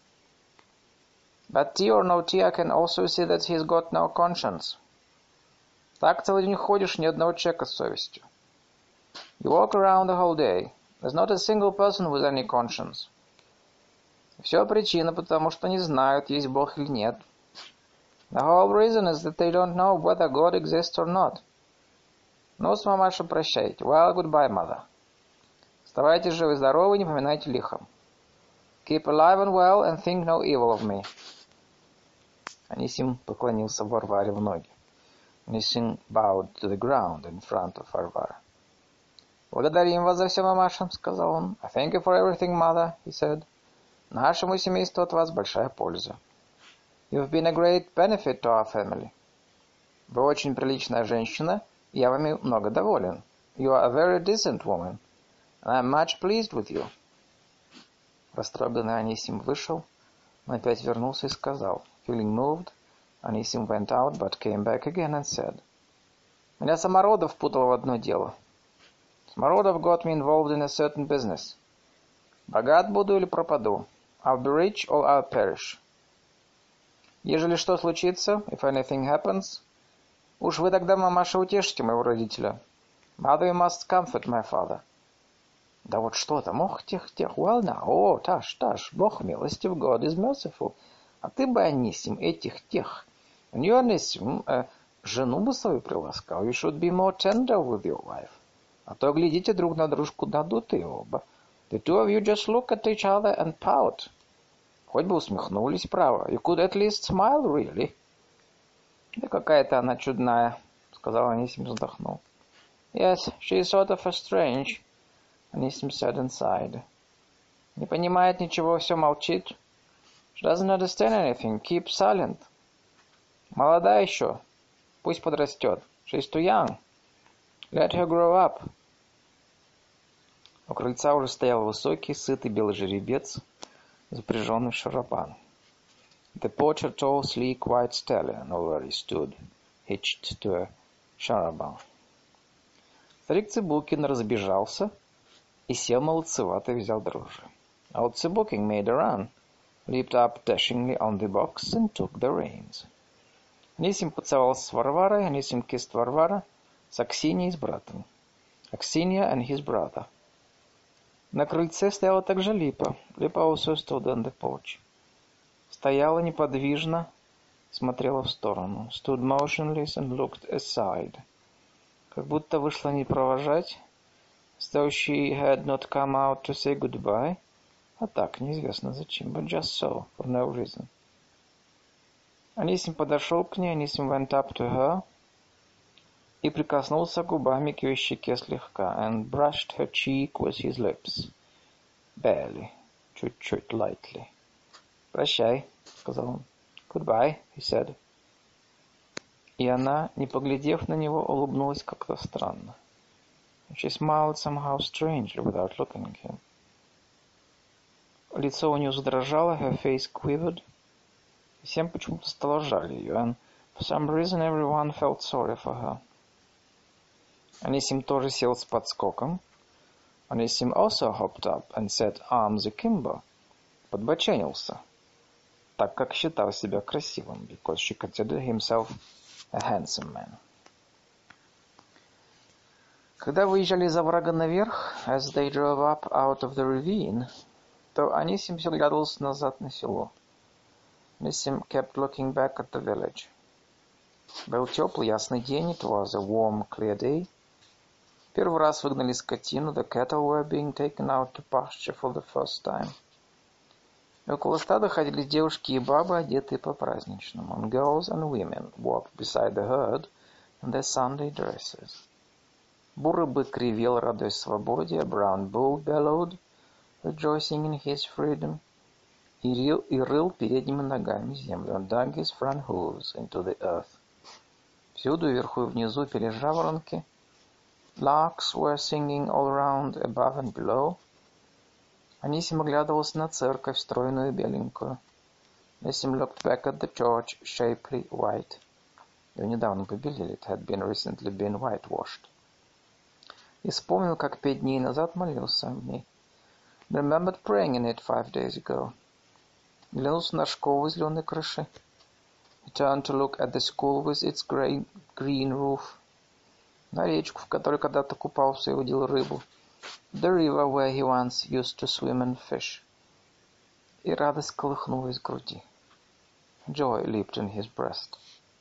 S1: But tea or no tea, I can also see that he's got no conscience. Так целый день ходишь, ни одного человека с совестью. You walk around the whole day. There's not a single person with any conscience. Все причина, потому что не знают, есть Бог или нет. The whole reason is that they don't know whether God exists or not. Ну, с мамаша, прощайте. Well, goodbye, mother. Оставайтесь живы-здоровы, не поминайте лихом. Keep alive and well, and think no evil of me. Анисим поклонился Варваре в ноги. Анисим bowed to the ground in front of Varvara. «Благодарим вас за все, мамаша», — сказал он. «I thank you for everything, mother», — he said. «Нашему семейству от вас большая польза. You've been a great benefit to our family. Вы очень приличная женщина, и я вами много доволен. You are a very decent woman, and I'm much pleased with you». Растроганный Анисим вышел, но опять вернулся и сказал. Feeling moved, Анисим went out, but came back again and said, «Меня Самородов впутал в одно дело. Самородов got me involved in a certain business. Богат буду или пропаду? I'll be rich or I'll perish. Ежели что случится, if anything happens, уж вы тогда, мамаша, утешите моего родителя. Mother, you must comfort my father». Да вот что там, ох, тех, тех, well now, о, таш, таш, Бог милостив, God is merciful. А ты бы, Анисим, этих, тех, and you, Анисим, э, жену бы свою приласкал, you should be more tender with your wife. А то глядите друг на дружку надутые оба. The two of you just look at each other and pout. Хоть бы усмехнулись, право. You could at least smile, really. Да какая-то она чудная, сказал Анисим, вздохнул. Yes, she is sort of a strange, Анисим said and sighed. Не понимает ничего, все молчит. She doesn't understand anything, keeps silent. Молода еще, пусть подрастет. She's too young. Let her grow up. У крыльца уже стоял высокий, сытый белый жеребец, запряженный в шарабан. The porch a tall, sleek, white stallion already stood, hitched to a charabanc. Старик Цыбулкин разбежался и сел молодцевато и взял дрожжи. Old Цыбулкин made a run, leaped up dashingly on the box and took the reins. Анисим поцеловался с Варварой, Анисим kissed Варвара, с Аксиньей и с братом. Аксинья and his brother. На крыльце стояла также Липа. Липа also stood on the porch. Стояла неподвижно, смотрела в сторону. Stood motionless and looked aside. Как будто вышла не провожать, as though she had not come out to say goodbye, а так, неизвестно зачем, but just so, for no reason. Анисим подошел к ней, Анисим went up to her, и прикоснулся губами к ее щеке слегка, and brushed her cheek with his lips. Barely, чуть-чуть, lightly. «Прощай», — сказал он. «Goodbye», — he said. И она, не поглядев на него, улыбнулась как-то странно. She smiled somehow strangely without looking at him. Лицо у нее задрожало, her face quivered. Всем почему-то стало жаль ее, and for some reason everyone felt sorry for her. Анисим тоже сел с подскоком. Анисим also hopped up and set arms akimbo. Подбоченился, так как считал себя красивым, because she considered himself a handsome man. Когда выезжали из оврага наверх, as they drove up out of the ravine, то Анисим все глядывался назад на село. Анисим kept looking back at the village. Был теплый, ясный день, it was a warm, clear day. Первый раз выгнали скотину, the cattle were being taken out to pasture for the first time. И около стада ходили девушки и бабы, одетые по-праздничному. And girls and women walked beside the herd in their Sunday dresses. Бурый бык ревел, радуясь свободе. A brown bull bellowed, rejoicing in his freedom. И рыл, и рыл передними ногами землю. And dug his front hooves into the earth. Всюду, вверху и внизу, пели жаворонки. Larks were singing all around, above and below. Анисим оглядывался на церковь, стройную и беленькую. Анисим looked back at the church, shapely, white. Ее недавно побелили. It had been recently been whitewashed. И вспомнил, как пять дней назад молился в ней. Remembered praying in it five days ago. Глянулся на школу с зеленой крышей. He turned to look at the school with its green, green roof. На речку, в которой когда-то купался и удил рыбу. The river where he once used to swim and fish. И радость колыхнулась в груди. Joy leaped in his breast.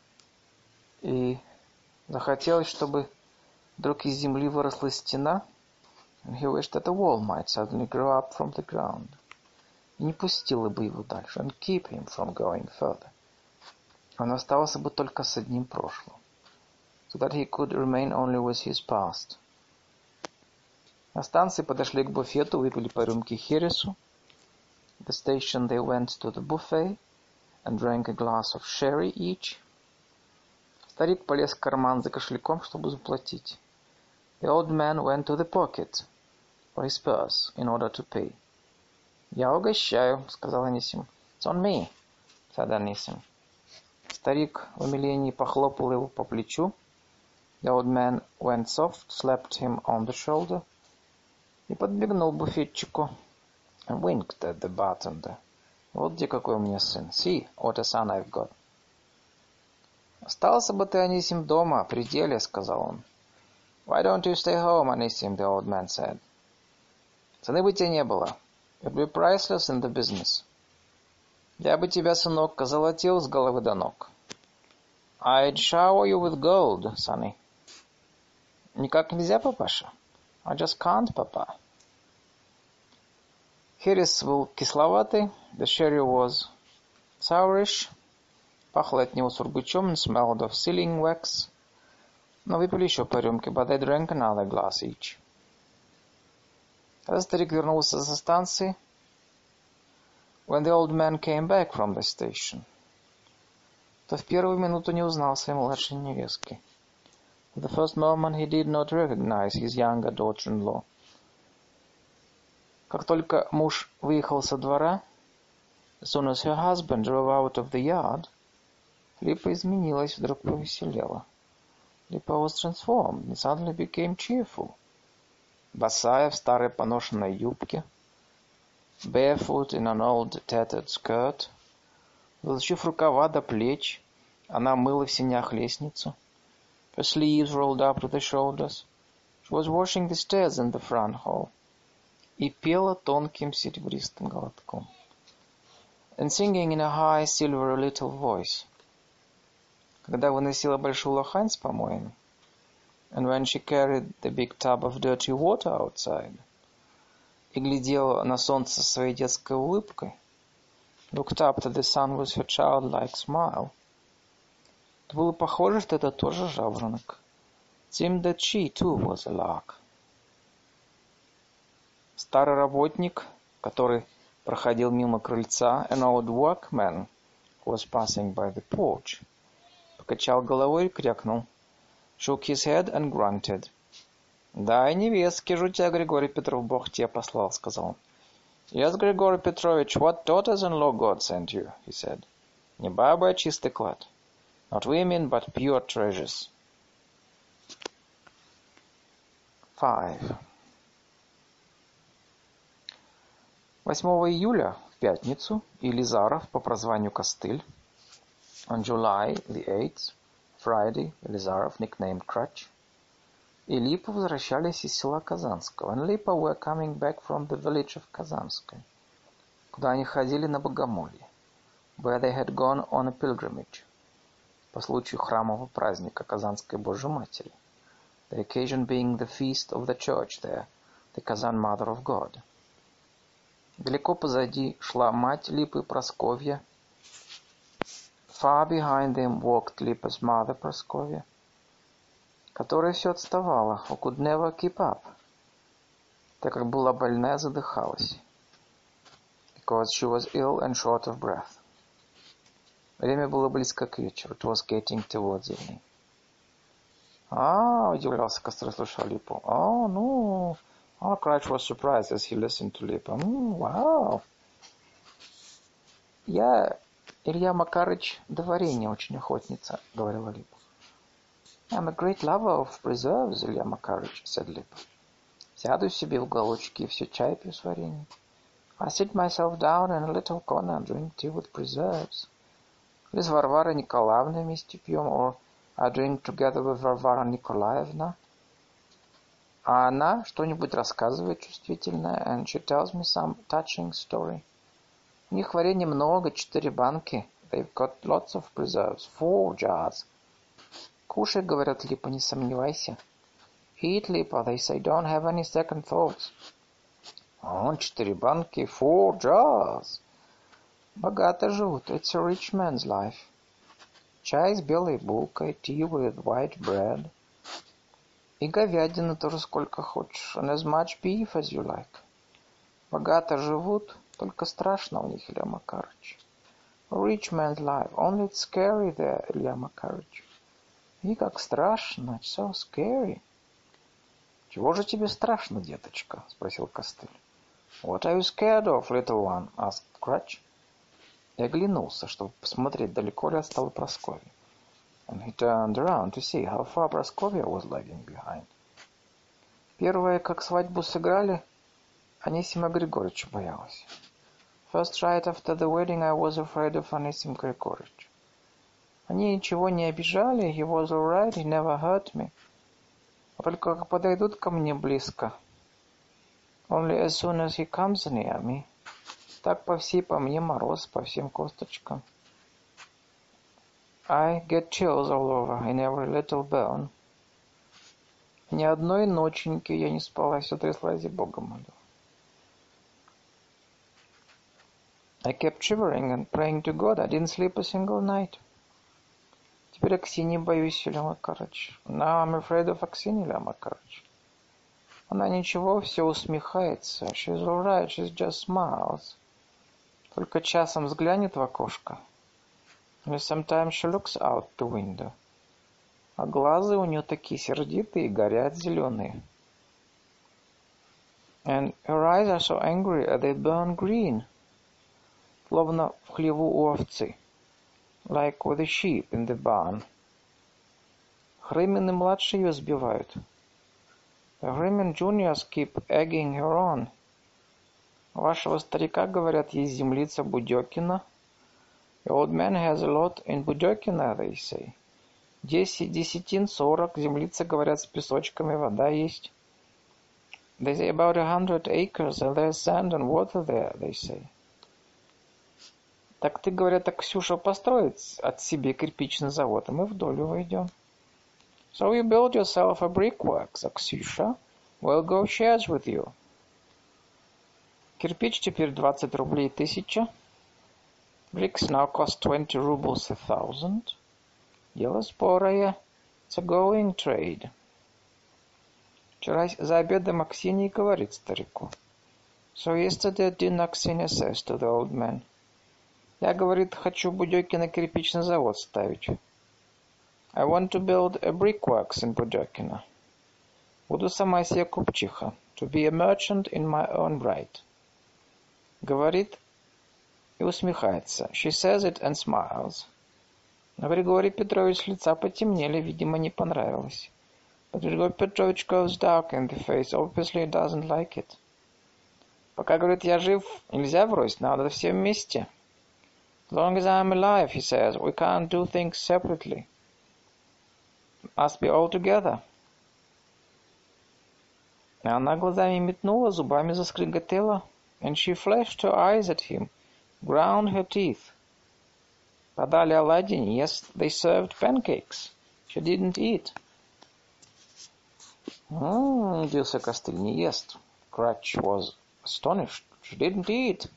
S1: И захотелось, чтобы вдруг из земли выросла стена. And he wished that a wall might suddenly grow up from the ground. И не пустила бы его дальше. And keep him from going further. Он остался бы только с одним прошлым. So that he could remain only with his past. На станции подошли к буфету, выпили по рюмке хересу. At the station they went to the buffet and drank a glass of sherry each. Старик полез в карман за кошельком, чтобы заплатить. The old man went to the pocket for his purse in order to pay. «Я угощаю», — сказал Анисим. «It's on me», — said Анисим. Старик в умилении похлопал его по плечу. The old man went soft, slapped him on the shoulder. И подбегнул буфетчику. And winked at the bartender. Вот где какой у меня сын. See, what a son I've got. Остался бы ты, Анисим, дома, при деле, сказал он. Why don't you stay home, Anisim, the old man said. Цены бы тебе не было. You'd be priceless in the business. Я бы тебя, сынок, озолотил с головы до ног. I'd shower you with gold, sonny. Никак нельзя, папаша? I just can't, papa. Херес был кисловатый. The sherry was sourish. Пахло от него сургучом. And smelled of sealing wax. Но выпили еще по рюмке. But they drank another glass each. Когда старик вернулся со станции, when the old man came back from the station, то в первую минуту не узнал своей младшей невестки. At the first moment he did not recognize his younger daughter-in-law. Как только муж выехал со двора, as soon as her husband drove out of the yard, Липа изменилась, вдруг повеселела. Липа was transformed and suddenly became cheerful. Босая в старой поношенной юбке, barefoot in an old tattered skirt, засучив рукава до плеч, она мыла в сенях лестницу. Her sleeves rolled up to the shoulders. She was washing the stairs in the front hall. И пела тонким серебристым голоском. And singing in a high, silvery little voice. Когда выносила большую лохань с помоями, and when she carried the big tub of dirty water outside, и глядела на солнце своей детской улыбкой, looked up to the sun with her childlike smile, то было похоже, что это тоже жаворонок. It seemed that she, too, was a lark. Старый работник, который проходил мимо крыльца, an old workman who was passing by the porch, покачал головой и крякнул. Shook his head and grunted. «Да, и невестки же у тебя, Григорий Петров, Бог тебя послал», — сказал он. «Yes, Grigory Petrovich, what daughters-in-law God sent you», — he said. «Не бабы, а чистый клад. Not women, but pure treasures». Five. восьмого июля, в пятницу, Елизаров по прозванию Костыль, on July the eighth, Friday, Елизаров, nicknamed Crutch, и Липа возвращались из села Казанского, and Lipa were coming back from the village of Казанское, куда они ходили на богомолье, where they had gone on a pilgrimage, по случаю храмового праздника Казанской Божьей Матери, the occasion being the feast of the church there, the Kazan Mother of God. Далеко позади шла мать Липы, Прасковья. Far behind them walked Lipa's mother, Praskovia, которая все отставала, who could never keep up, так как была больна и задыхалась, because she was ill and short of breath. Время было близко к вечеру, it was getting towards evening. А, удивлялся, Костры, слушал Липу. А, ну... Oh, Cratch was surprised as he listened to Lipa. Mm, wow. Я, Илья Макарыч, до варенья очень охотница, говорила Липа. I'm a great lover of preserves, Илья Макарыч, said Lipa. Сяду себе в уголочке и все чай пью с вареньем. I sit myself down in a little corner and drink tea with preserves. Или с Варварой Николаевной вместе пьем, or I drink together with Varvara Nikolaevna. А она что-нибудь рассказывает чувствительное, and she tells me some touching story. У них варенья много, четыре банки. They've got lots of preserves, four jars. Кушай, говорят Липа, не сомневайся. Eat, Lipa, they say, don't have any second thoughts. О, четыре банки, four jars. Богато живут, it's a rich man's life. Чай с белой булкой, tea with white bread. И говядины тоже сколько хочешь, and as much beef as you like. Богато живут, только страшно у них, Илья Макарыч. A rich man's life, only it's scary there, Илья Макарыч. И как страшно, it's so scary. Чего же тебе страшно, деточка? Спросил Костыль. What are you scared of, little one? Asked Cratch. И оглянулся, чтобы посмотреть, далеко ли отстала Прасковья. And he turned around to see how far Praskovia was lagging behind. Первое, как свадьбу сыграли, Анисима Григорьевича боялась. First right after the wedding I was afraid of Anisim Grigorich. Они ничего не обижали, he was all right, he never hurt me. А только как подойдут ко мне близко, only as soon as he comes near me, так по всей по мне мороз, по всем косточкам. I get chills all over, in every little bone. Ни одной ноченьки я не спала, все тряслась и Бога молю. I kept shivering and praying to God. I didn't sleep a single night. Теперь Аксиньи боюсь, Илья Макарыч. Now I'm afraid of Аксиньи, Илья Макарыч. Она ничего, все усмехается. She's all right, she just smiles. Только часом взглянет в окошко. And sometimes she looks out the window. А глаза у нее такие сердитые, горят зеленые. And her eyes are so angry, they burn green. Словно в хлеву у овцы. Like with the sheep in the barn. Хрымин и младшие ее сбивают. The Hrymin juniors keep egging her on. У вашего старика, говорят, есть землица Будёкина. The old man has a lot in Budёкина, they say. Десять десятин, сорок, землица, говорят, с песочками, вода есть. They say about a hundred acres, and there's sand and water there, they say. Так ты, говорят, так Ксюша построит от себе кирпичный завод, а мы в долю войдем. So you build yourself a brickworks, Ксюша. We'll go shares with you. Кирпич теперь двадцать рублей тысяча. Bricks now cost twenty rubles a thousand. Дело спорое. It's a going trade. Вчера за обедом Аксинья говорит старику. So yesterday at dinner Аксинья says to the old man. Я, говорит, хочу Будёкина кирпичный завод ставить. I want to build a brickworks in Budёкина. Буду сама себе купчиха. To be a merchant in my own right. Говорит и усмехается. She says it and smiles. Но Григорий Петрович с лица потемнели, видимо, не понравилось. But Григорий Петрович goes dark in the face, obviously doesn't like it. Пока, говорит, я жив, нельзя врозь, надо все вместе. As long as I'm alive, he says, we can't do things separately. Must be all together. И она глазами метнула, зубами заскриготела. And she flashed her eyes at him, ground her teeth. Подали оладьи, yes, they served pancakes. She didn't eat. Ммм, удивился Костыль, не ест. Cratch was astonished. She didn't eat.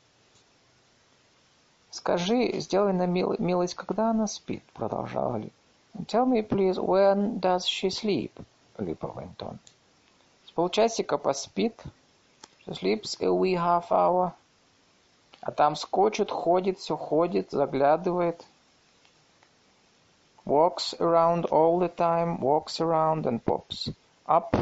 S1: Скажи, сделай нам милость, когда она спит, продолжала Липа. Tell me, please, when does she sleep? Липа went on. С полчасика поспит. She sleeps a wee half hour. А там скочит, ходит, все ходит, заглядывает. Walks around all the time, walks around and pops up.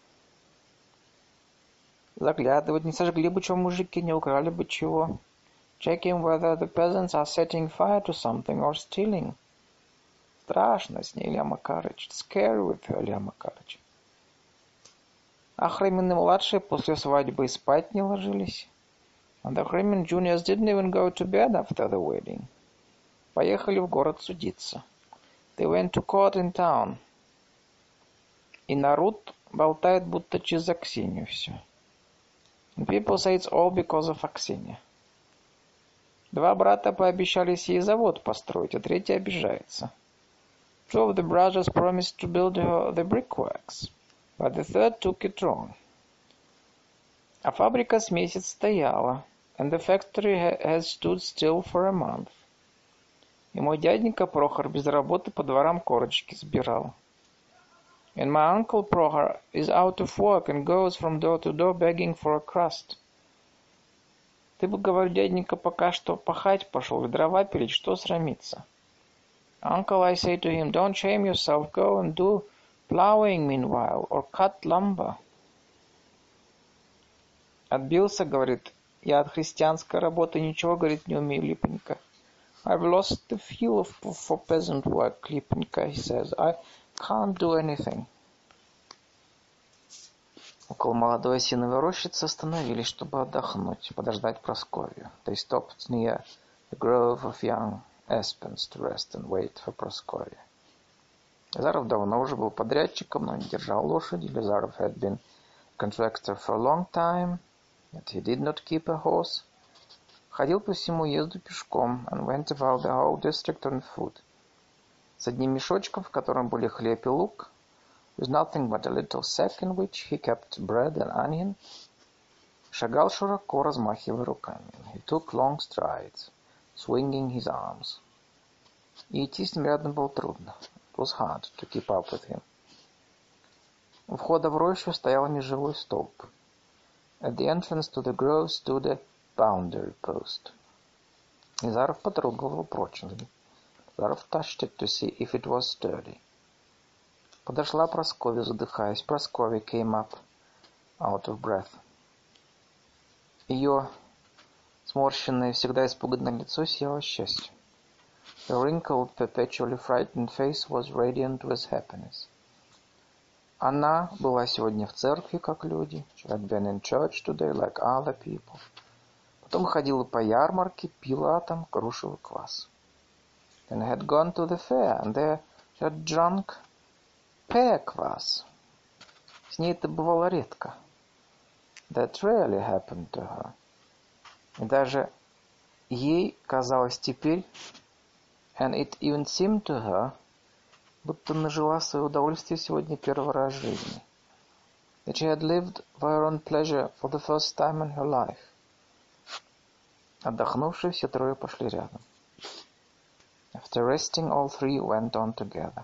S1: Заглядывать, не сожгли бы чего мужики, не украли бы чего. Checking whether the peasants are setting fire to something or stealing. Страшно с ней, Илья Макарыч. Scary with her, Илья Макарыч. Ахремины-младшие после свадьбы и спать не ложились. And the Ахремен juniors didn't even go to bed after the wedding. Поехали в город судиться. They went to court in town. И народ болтает, будто через Аксинью все. And people say it's all because of Аксинья. Два брата пообещались ей завод построить, а третий обижается. Two of the brothers promised to build her the brickworks, but the third took it wrong. А фабрика с месяц стояла, and the factory ha- has stood still for a month. И мой дяденька Прохор без работы по дворам корочки сбирал. And my uncle Prohor is out of work and goes from door to door begging for a crust. Ты бы, говорю, дяденька, пока что пахать пошел и дрова пилить, что срамиться? Uncle, I say to him, don't shame yourself, go and do plowing meanwhile, or cut lumber. Отбился, говорит, я от христианской работы ничего, говорит, не умею, Липонька. I've lost the feel of, for peasant work, Липонька, he says. I can't do anything. Около молодой осиновой рощицы остановились, чтобы отдохнуть, подождать Прасковью. They stopped near the grove of young aspens to rest and wait for Praskovia. Лизаров давно уже был подрядчиком, но не держал лошади. Лизаров had been contractor for a long time, yet he did not keep a horse. Ходил по всему уезду пешком and went about the whole district on foot. С одним мешочком, в котором были хлеб и лук, with nothing but a little sack in which he kept bread and onion. Шагал широко, размахивая руками. He took long strides, swinging his arms. И идти с ним рядом было трудно. It was hard to keep up with him. У входа в рощу стоял межевой столб. At the entrance to the grove stood a boundary post. Лизаров потрогал его прочно. Лизаров touched it to see if it was sturdy. Подошла Прасковья, задыхаясь. Прасковья came up, out of breath. Ее сморщенное, всегда испуганное лицо сияло счастьем. The wrinkled, perpetually frightened face was radiant with happiness. Она была сегодня в церкви, как люди. She had been in church today, like other people. Потом ходила по ярмарке, пила там грушевый квас. Then had gone to the fair, and there she had drunk pear kvass. С ней это бывало редко. That rarely happened to her. И даже ей казалось теперь, and it even seemed to her, будто нажила свое удовольствие сегодня первый раз в жизни. That she had lived for her own pleasure for the first time in her life. Отдохнувшие, все трое пошли рядом. After resting, all three went on together.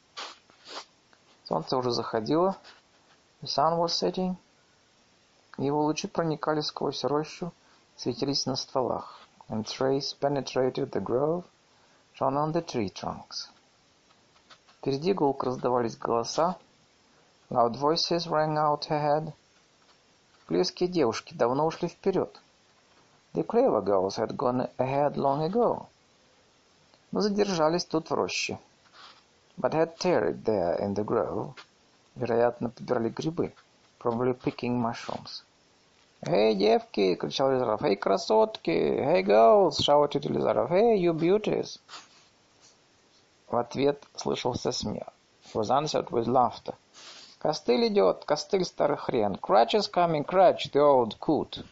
S1: Солнце уже заходило. The sun was setting. Его лучи проникали сквозь рощу, светились на стволах. And its rays penetrated the grove, shone on the tree trunks. Впереди гулко раздавались голоса. Loud voices rang out ahead. Клевские девушки давно ушли вперед. The clever girls had gone ahead long ago. Но задержались тут в роще. But had tarried there in the grove. Вероятно, подбирали грибы. Probably picking mushrooms. «Эй, девки!» — кричал Лизаров. «Эй, красотки! Hey, girls!» — shouted Лизаров. «Hey, you beauties!» В ответ слышался смех. He was answered with laughter. «Костыль идет! Костыль, старый хрен! Crutch is coming! Crutch, the old coot!»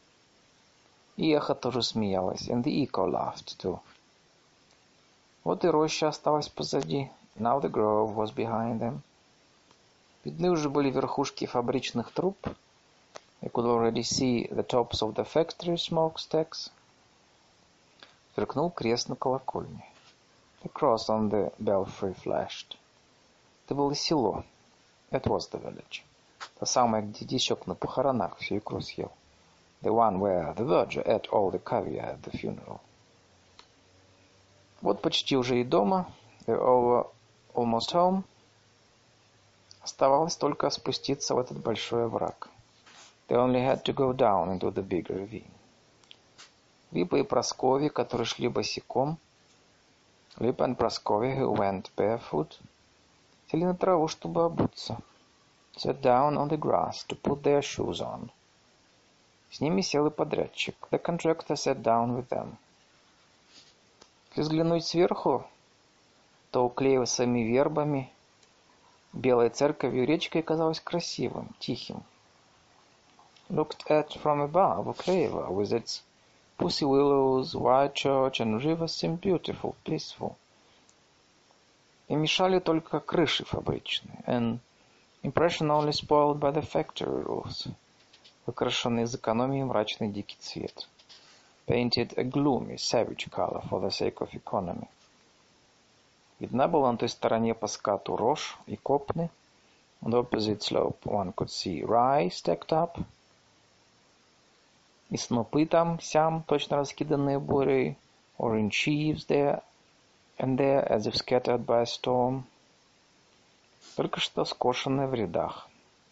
S1: И эхо тоже смеялось. And the echo laughed too. Вот и роща осталась позади. Now the grove was behind them. Видны уже были верхушки фабричных труб. They could already see the tops of the factory smokestacks. Сверкнул крест на колокольне. The cross on the belfry flashed. Это было село. It was the village. То самое, где дичок на похоронах всю икру съел. The one where the verger ate all the caviar at the funeral. Вот почти уже и дома. They're over, almost home. Оставалось только спуститься в этот большой овраг. They only had to go down into the big ravine. Липа и Прасковья, которые шли босиком, Липа and Praskovia, who went barefoot, сели на траву, чтобы обуться. Sat down on the grass to put their shoes on. С ними сел и подрядчик. The contractor sat down with them. Если взглянуть сверху, то уклеившимися вербами белой церковью речкой казалось красивым, тихим. Looked at from above, Ukleva, with its pussy willows, white church and river seemed beautiful, peaceful. И мешали только крыши фабричные, and impression only spoiled by the factory roofs, выкрашенный из экономии мрачный дикий цвет, painted a gloomy, savage color for the sake of economy. Видна была на той стороне по скату рожь и копны. On the opposite slope one could see rye stacked up. И снопы там-сям, точно раскиданные бурей, orange sheaves there and there, as if scattered by a storm. Только что скошенные в рядах.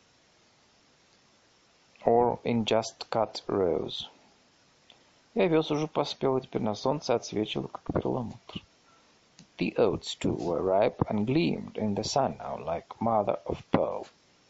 S1: Or in just cut rows. И овес уже поспел, и теперь на солнце отсвечивал, как перламутр. The oats, too, were ripe and gleamed in the sun now like mother of pearl.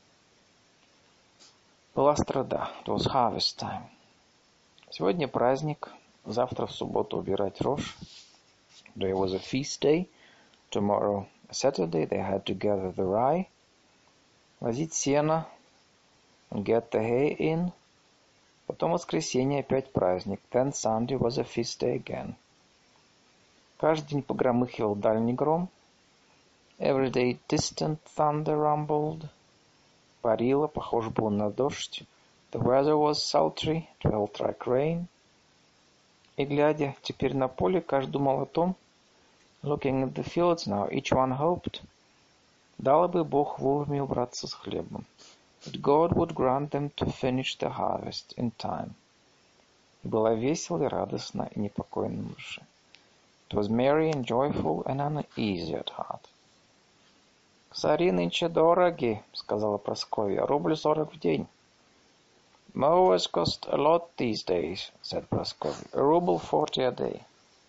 S1: Была страда. It was harvest time. Сегодня праздник, завтра в субботу убирать рожь. Today was a feast day. Tomorrow, a Saturday, they had to gather the rye, возить сено, and get the hay in. Потом воскресенье опять праздник. Then Sunday was a feast day again. Каждый день погромыхивал дальний гром. Every day distant thunder rumbled. Парило, похоже было на дождь. The weather was sultry, it felt like rain. И глядя теперь на поле, каждый думал о том, looking at the fields now, each one hoped, дал бы Бог вовремя убраться с хлебом, that God would grant them to finish the harvest in time. И было весело и радостно и непокойно на душе. It was merry and joyful and uneasy at heart. «Косари нынче дороги», — сказала Прасковья, — «рубль сорок в день». «Mowers cost a lot these days», — said Praskovia, — «a ruble forty a day».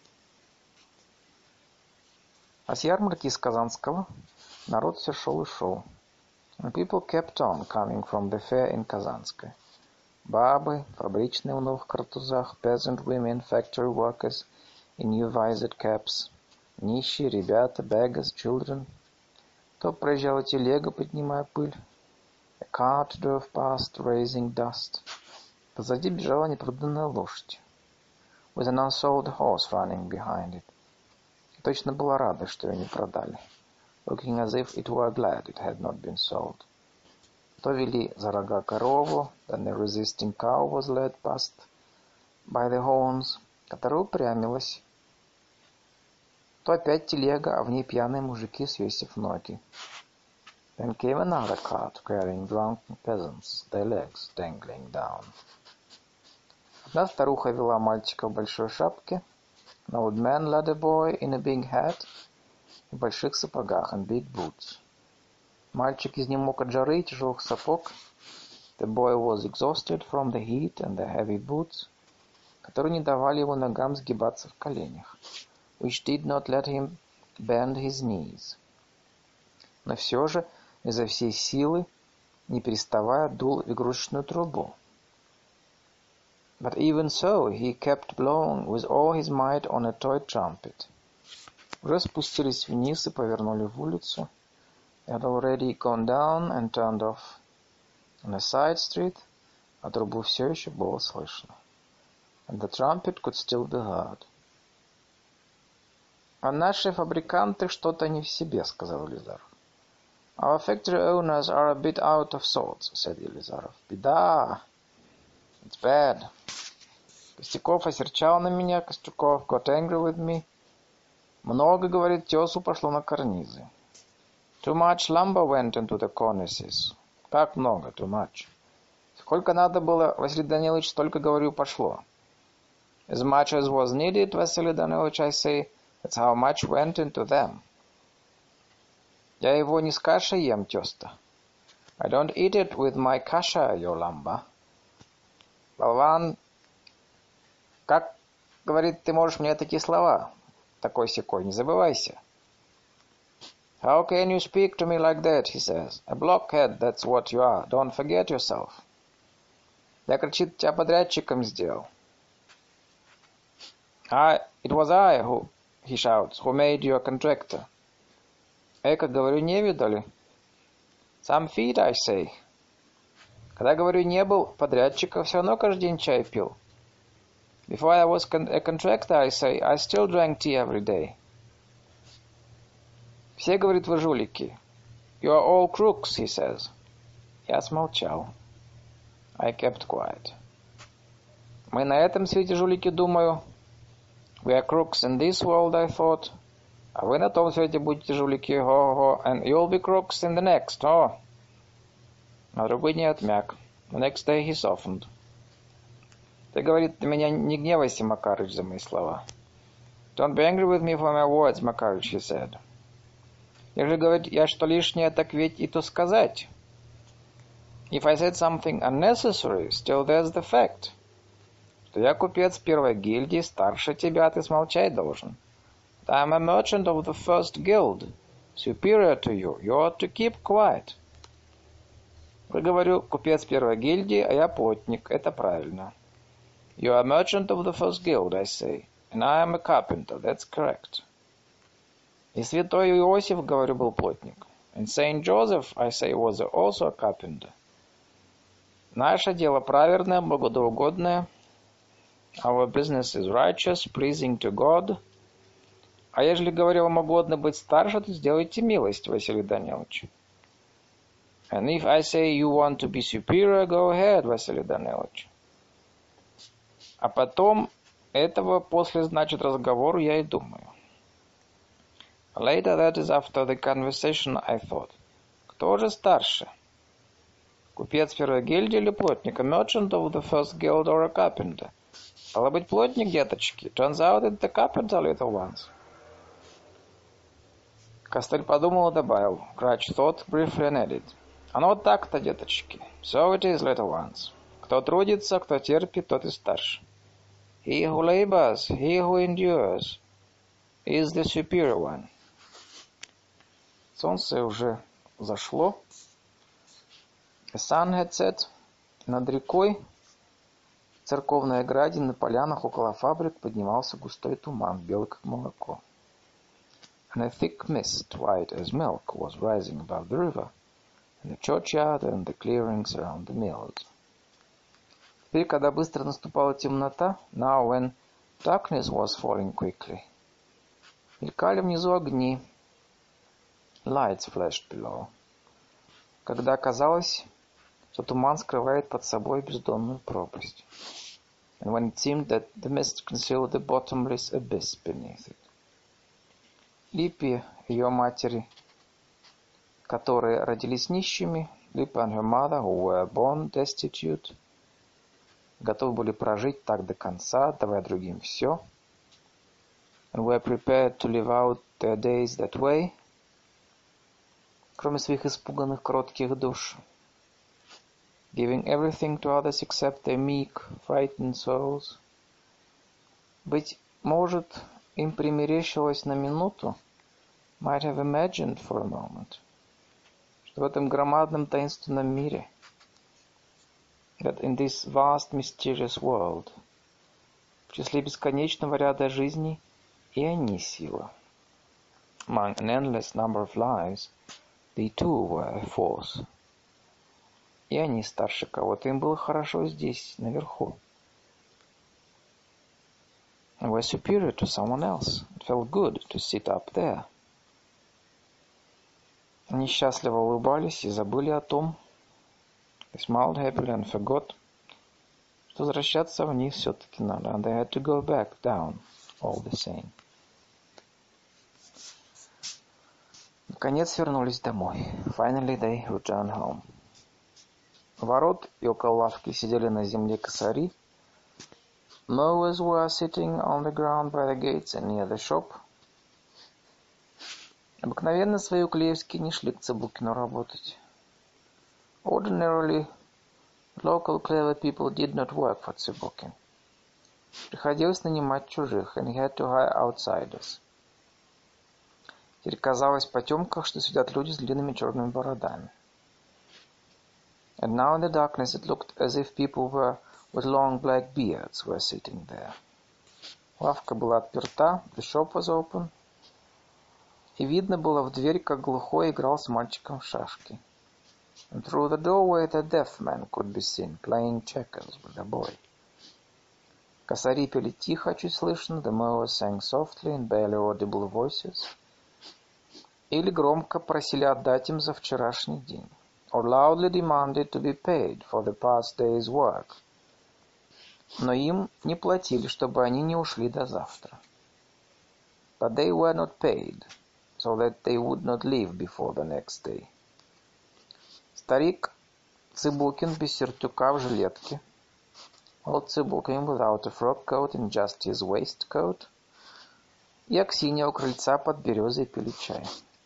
S1: А с ярмарки из Казанского народ все шел и шел. And people kept on coming from the fair in Kazanskoye. Бабы, фабричные в новых картузах, peasant women, factory workers in new visored caps, нищие, ребята, beggars, children. То проезжала телега, поднимая пыль. A cart drove past, raising dust. Позади бежала непроданная лошадь. With an unsold horse running behind it. И точно была рада, что ее не продали. Looking as if it were glad it had not been sold. То вели за рога корову, then the resisting cow was led past by the horns, которая упрямилась. То опять телега, а в ней пьяные мужики, свесив ноги. Then came another cart carrying drunken peasants, their legs dangling down. Одна старуха вела мальчика в большой шапке. An old man led a boy in a big hat, в больших сапогах and big boots. Мальчик изнемог от жары и тяжелых сапог. The boy was exhausted from the heat and the heavy boots, которые не давали его ногам сгибаться в коленях, which did not let him bend his knees. Но все же изо всей силы, не переставая, дул в игрушечную трубу. But even so, he kept blowing with all his might on a toy trumpet. Уже спустились вниз и повернули в улицу. They had already gone down and turned off on a side street, а трубу все еще было слышно. And the trumpet could still be heard. «А наши фабриканты что-то не в себе», — сказал Елизаров. «Our factory owners are a bit out of sorts», — said Елизаров. «Беда! It's bad. Костяков осерчал на меня, Костюков got angry with me. Много, говорит, тесу пошло на карнизы. Too much lumber went into the cornices. Как много? Too much. Сколько надо было, Василий Данилович, столько, говорю, пошло. As much as was needed, Василий Данилович, I say, that's how much went into them. Я его не с кашей ем, тёста. I don't eat it with my kasha, your lumber. Болван, как, говорит, ты можешь мне такие слова? Такой-сякой, не забывайся. How can you speak to me like that, he says. A blockhead, that's what you are. Don't forget yourself. Я, кричит, тебя подрядчиком сделал. I, it was I who, he shouts, who made you a contractor. Эка, говорю, не видали? Some feet, I say. Когда, говорю, не был подрядчика, все равно каждый день чай пил. Before I was con- a contractor, I say, I still drank tea every day. Все, говорит, вы жулики. You are all crooks, he says. Я смолчал. I kept quiet. Мы на этом свете жулики, думаю. We are crooks in this world, I thought. А вы на том свете будете жулики, ho-ho, and you'll be crooks in the next, oh. На другой день отмяк. The next day he softened. Ты, говорит, на меня не гневайся, Макарыч, за мои слова. Don't be angry with me for my words, Макарыч, he said. Если, говорит, я что лишнее, так ведь и то сказать. If I said something unnecessary, still there's the fact. Что я купец первой гильдии, старше тебя, ты смолчать должен. I'm a merchant of the first guild, superior to you. You ought to keep quiet. Вы, говорю, купец первой гильдии, а я плотник. Это правильно. You are a merchant of the first guild, I say, and I am a carpenter. That's correct. И святой Иосиф, говорю, был плотник. And Saint Joseph, I say, was also a carpenter. Наше дело праведное, богодоугодное. Our business is righteous, pleasing to God. А ежели, говорю, вам угодно быть старше, то сделайте милость, Василий Данилович. And if I say you want to be superior, go ahead, Василий Данилович. А потом этого после, значит, разговору я и думаю. Later, that is after the conversation, I thought. Кто же старше? Купец первой гильдии или плотник? A merchant of the first guild or a carpenter? Стало быть, плотник, деточки. Turns out it's the carpenter, little ones. Костыль подумал и добавил. Crouch thought briefly and added. Оно вот так-то, деточки. So it is, little ones. Кто трудится, кто терпит, тот и старше. He who labors, he who endures, is the superior one. Солнце уже зашло. The sun had set. Над рекой, в церковной ограде, на полянах около фабрик поднимался густой туман, белый как молоко. And a thick mist, white as milk, was rising above the river, in the churchyard and the clearings around the mills. Теперь, когда быстро наступала темнота, now when darkness was falling quickly, мелькали внизу огни, lights flashed below, когда казалось, что туман скрывает под собой бездонную пропасть, and when it seemed that the mist concealed the bottomless abyss beneath it. Липе, ее матери, которые родились нищими, Липа and her mother, who were born destitute, готовы были прожить так до конца, давая другим все, and were prepared to live out their days that way, кроме своих испуганных кротких душ, giving everything to others except their meek, frightened souls. Быть может, им примерещилось на минуту, might have imagined for a moment, что в этом громадном таинственном мире, that in this vast mysterious world, в числе бесконечного ряда жизней, и они сила. Among an endless number of lives, they too were a force. И они старше кого-то, им было хорошо здесь, наверху. And were superior to someone else. It felt good to sit up there. Они счастливо улыбались и забыли о том, they smiled happily and forgot, возвращаться вниз все-таки надо. And they had to go back down, all the same. Наконец вернулись домой. Finally they returned home. У ворот и около лавки сидели на земле косари. Mowers were sitting on the ground by the gates and near the shop. Обыкновенно свои уклеевские не шли к Цыбукину работать. Ordinarily, local clever people did not work for Цыбукин. Приходилось нанимать чужих, and he had to hire outsiders. Теперь казалось в потемках, что сидят люди с длинными черными бородами. And now in the darkness it looked as if people were with long black beards were sitting there. Лавка была отперта, the shop was open, и видно было в дверь, как глухой играл с мальчиком в шашки. And through the doorway the deaf man could be seen playing checkers with a boy. Косари пели тихо, чуть слышно, the mowers sang softly in barely audible voices, или громко просили отдать им за вчерашний день, or loudly demanded to be paid for the past day's work. Но им не платили, чтобы они не ушли до завтра. But they were not paid, so that they would not leave before the next day. Старик Цыбукин без сюртука в жилетке, old Цыбукин without a frock coat and just his waistcoat, и Аксинья у крыльца под березой пили чай.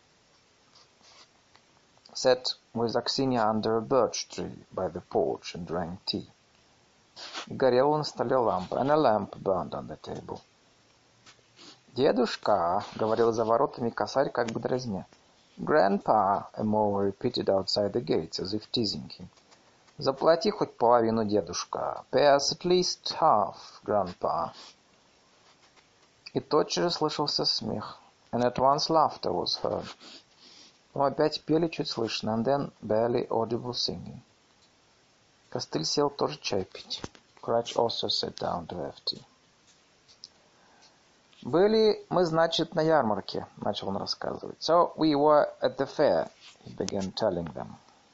S1: Sat with Аксинья under a birch tree by the porch and drank tea. И горела на столе лампа, and a lamp burned on the table. «Дедушка», — говорил за воротами косарь, как бы дразня. «Grandpa», a mower repeated outside the gates, as if teasing him. «Заплати хоть половину, дедушка. Pay us at least half, grandpa». И тотчас же слышался смех, and at once laughter was heard. Но опять пели чуть слышно, and then barely audible singing. Костыль сел тоже чай пить. Cratch also sat down to have tea. «Были мы, значит, на ярмарке», — начал он рассказывать. «So we were at the fair», — he began telling them.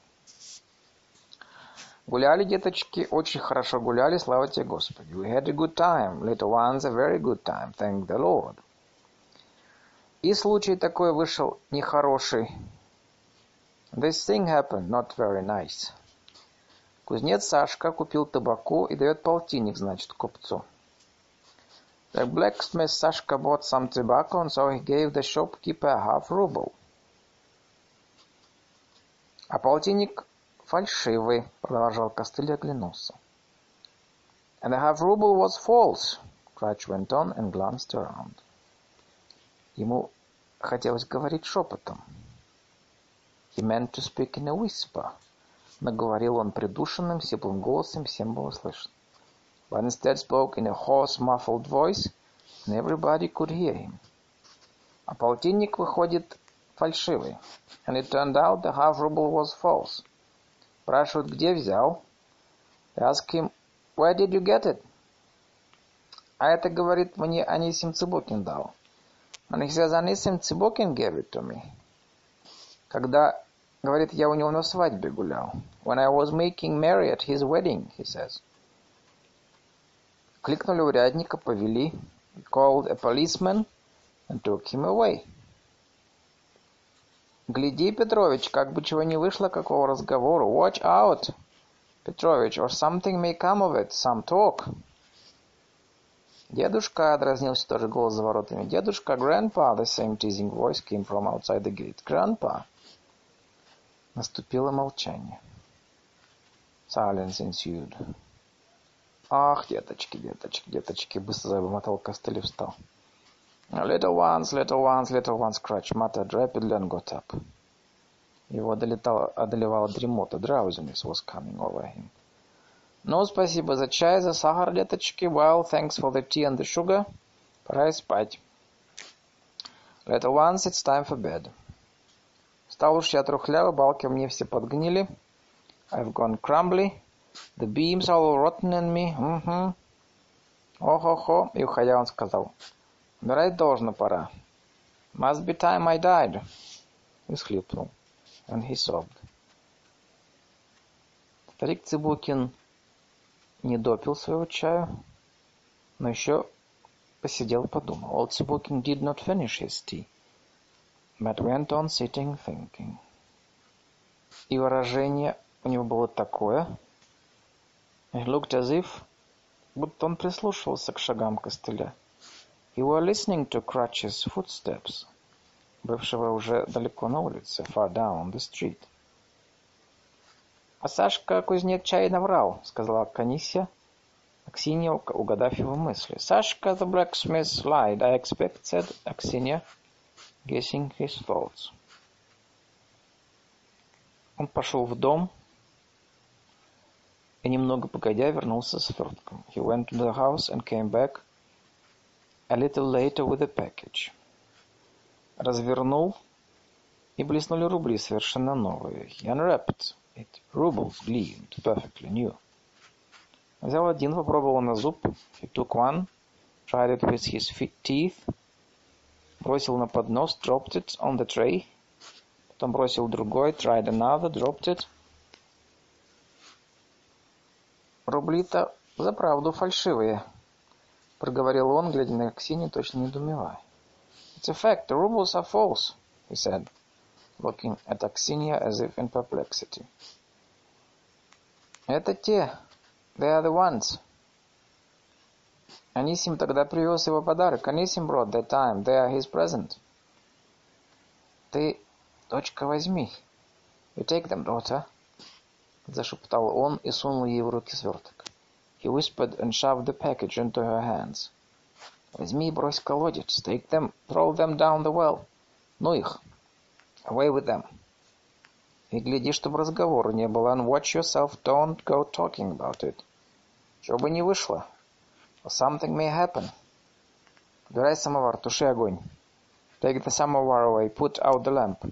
S1: «Гуляли, деточки, очень хорошо гуляли, слава тебе, Господи. We had a good time, little ones, a very good time, thank the Lord. И случай такой вышел нехороший. This thing happened, not very nice. Кузнец Сашка купил табаку и дает полтинник, значит, купцу. The blacksmith Sashka bought some tobacco, and so he gave the shopkeeper a half ruble. А полтинник фальшивый, продолжал Костыль и оглянулся. And the half ruble was false, Cratch went on and glanced around. Ему хотелось говорить шепотом. He meant to speak in a whisper. Но говорил он придушенным, сиплым голосом, всем было слышно. But instead spoke in a hoarse, muffled voice, and everybody could hear him. А полтинник, выходит, фальшивый. And it turned out the half ruble was false. Спрашивают, где взял? They ask him, where did you get it? А это, говорит, мне Анисим Цыбукин дал. And he says, Анисим Цыбукин gave it to me. Когда, говорит, я у него на свадьбе гулял. When I was making merry at his wedding, he says. Кликнули урядника, повели. He called a policeman and took him away. Гляди, Петрович, как бы чего не вышло, какого разговора. Watch out, Petrovich, or something may come of it, some talk. Дедушка, дразнился тоже голос за воротами. Дедушка, grandpa, the same teasing voice came from outside the gate. Grandpa. Наступило молчание. Silence ensued. Ах, деточки, деточки, деточки, быстро забормотал Костыль и встал. Little ones, little ones, little ones, Cratch muttered rapidly and got up. Его одолевала, одолевала дремота, drowsiness was coming over him. Ну, спасибо за чай, за сахар, деточки. Well, thanks for the tea and the sugar. Пора спать. Little ones, it's time for bed. Стал уж я трухлявый, балки мне все подгнили. I've gone crumbly. The beams are all rotten in me. Mm-hmm. Ох-охо. И уходя он сказал. Умирать должно пора. Must be time I died. И всхлипнул. And he sobbed. Старик Цыбукин не допил своего чаю, но еще посидел и подумал. Old Zebulkin did not finish his tea, but went on sitting thinking. И выражение у него было такое. He looked as if, будто он прислушивался к шагам костыля. He was listening to Cratchit's footsteps, бывшего уже далеко на улице, far down the street. — А Сашка кузнец чай наврал, — сказала Аксинья, Аксинья, угадав его мысли. — Сашка the blacksmith lied, I expect, said Аксинья, guessing his thoughts. Он пошел в дом и немного погодя вернулся с свертком. He went to the house and came back a little later with a package. Развернул, и блеснули рубли совершенно новые. He unwrapped it. Rubles gleamed, perfectly new. Взял один, попробовал на зуб. He took one, tried it with his teeth, бросил на поднос, dropped it on the tray. Потом бросил другой, tried another, dropped it. Рубли-то заправду фальшивые, проговорил он, глядя на Аксинью, точно недоумевая. It's a fact, the rubles are false, he said, looking at Аксинья as if in perplexity. Это те, they are the ones. Анисим тогда привез его подарок. Анисим brought that time, they are his present. Ты, дочка, возьми. You take them, daughter, зашептал он и сунул ей в руки сверток. He whispered and shoved the package into her hands. Возьми и брось в колодец. Take them, throw them down the well. Ну их. Away with them. И гляди, чтобы разговора не было. And watch yourself, don't go talking about it. Чего бы не вышло. Or something may happen. Убирай самовар, туши огонь. Take the samovar away, put out the lamp.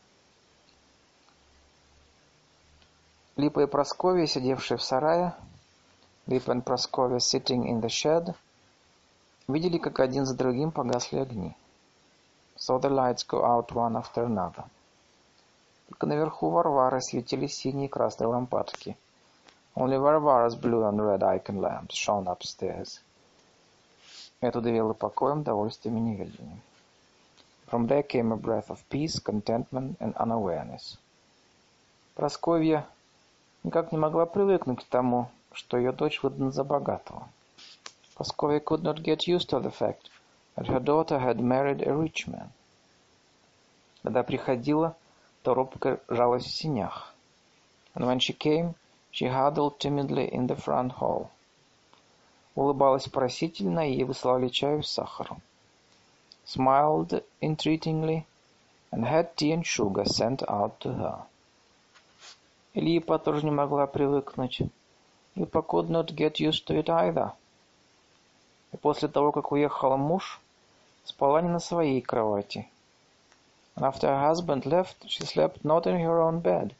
S1: Липа и Прасковья, сидевшие в сарае, Липа and Praskovia sitting in the shed, видели, как один за другим погасли огни. Saw the lights go out one after another. Только наверху Варвары светились синие и красные лампадки. Only Varvara's blue and red icon lamps shone upstairs. Это удивило покоем, довольствием и неведением. From there came a breath of peace, contentment and unawareness. Прасковья никак не могла привыкнуть к тому, что ее дочь выдана за богатого. Praskovia could not get used to the fact that her daughter had married a rich man. Когда приходила, то робко жалась в сенях. And when she came, she huddled timidly in the front hall. Улыбалась просительно, и ей выслали чаю с сахаром. Smiled entreatingly, and had tea and sugar sent out to her. И Липа тоже не могла привыкнуть. Липа could not get used to it either. И после того, как уехал муж, спала не на своей кровати. And after her husband left, she slept not in her own bed.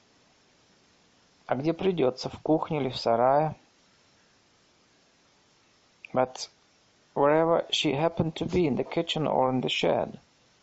S1: А где придется, в кухне или в сарае. But wherever she happened to be, in the kitchen or in the shed.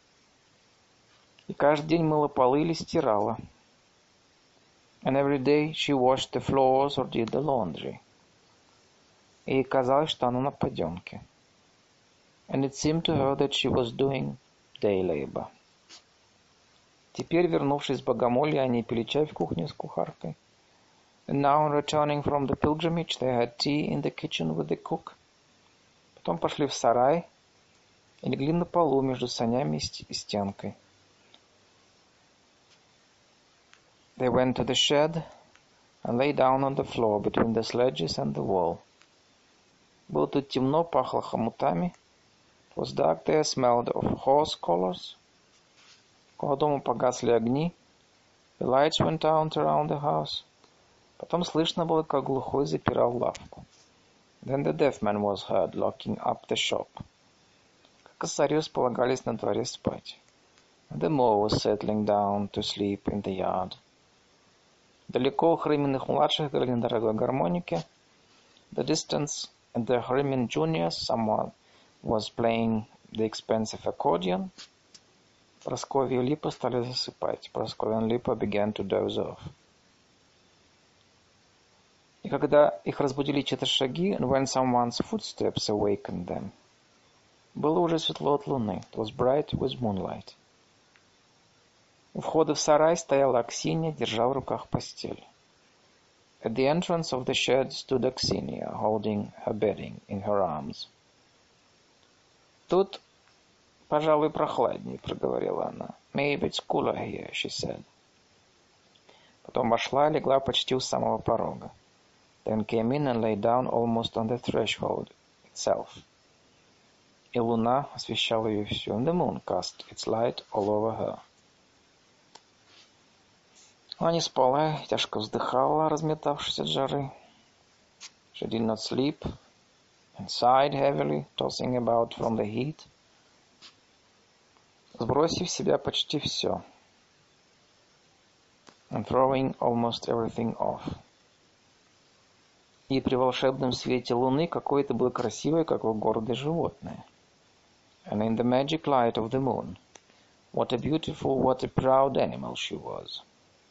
S1: И каждый день мыла полы или стирала. And every day she washed the floors or did the laundry. И ей казалось, что она на подъемке. And it seemed to her that she was doing day labor. Теперь, вернувшись с Богомолья, они пили чай в кухне с кухаркой. And now, returning from the pilgrimage, they had tea in the kitchen with the cook. Потом пошли в сарай и легли на полу между санями и стенкой. They went to the shed and lay down on the floor between the sledges and the wall. Было тут темно, пахло хомутами. It was dark there, smelled of horse collars. Около дома погасли огни. The lights went out around the house. Потом слышно было, как глухой запирал лавку. Then the deaf man was heard locking up the shop. Как косари располагались на дворе спать. And the moor was settling down to sleep in the yard. Далеко у Хрыминых младших играли на дорогой гармонике. The distance at the Hrymin juniors, someone was playing the expensive accordion. Прасковья и Липа стали засыпать. Praskovia and Lipa began to doze off. И когда их разбудили чьи-то шаги, and when someone's footsteps awakened them, было уже светло от луны. It was bright with moonlight. У входа в сарай стояла Аксинья, держа в руках постель. At the entrance of the shed stood Aksinia, holding her bedding in her arms. Тут, пожалуй, прохладнее, проговорила она. Maybe it's cooler here, she said. Потом вошла и легла почти у самого порога. Then came in and lay down almost on the threshold itself. И луна освещала ее всю. And the moon cast its light all over her. Она не спала, тяжко вздыхала, разметавшись от жары. She did not sleep and sighed heavily, tossing about from the heat. Сбросив с себя почти все. And throwing almost everything off. И при волшебном свете луны какое-то было красивое, как бы гордое животное. And in the magic light of the moon, what a beautiful, what a proud animal she was.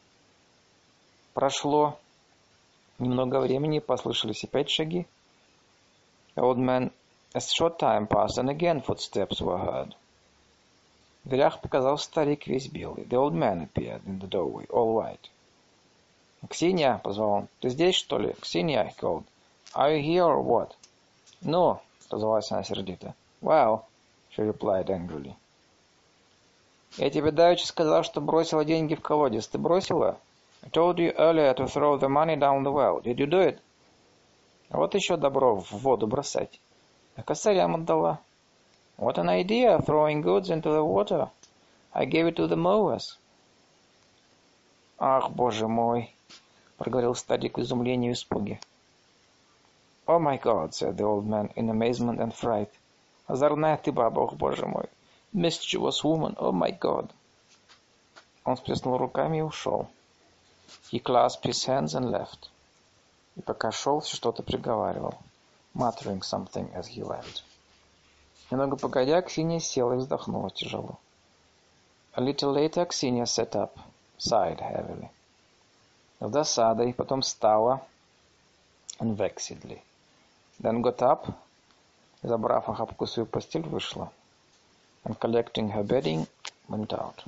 S1: Прошло немного времени, послышались опять шаги. The old man, a short time passed, and again footsteps were heard. В дверях показался старик весь белый. The old man appeared in the doorway, all white. «Ксения!» — позвал он. «Ты здесь, что ли?» «Ксения!» — he called. «Are you here or what?» «Ну!» — отозвалась она сердито. «Well!» — she replied angrily. «Я тебе давеча сказал, что бросила деньги в колодец. Ты бросила?» «I told you earlier to throw the money down the well. Did you do it?» «А вот еще добро в воду бросать. А косарям отдала». «What an idea, throwing goods into the water. I gave it to the mowers». «Ах, боже мой!» — проговорил старик в изумлении и испуге. «Oh my God!» — said the old man in amazement and fright. «Озорная ты баба, ох, боже мой! Mischievous woman, oh my God!» Он всплеснул руками и ушел. He clasped his hands and left. И пока шел, все что-то приговаривал, muttering something as he went. Немного погодя, Ксения села и вздохнула тяжело. A little later, Ksenia sat up, sighed heavily. С досадой, потом встала, and vexedly. Then got up, забрав охапку свою постель, вышла. And collecting her bedding, went out.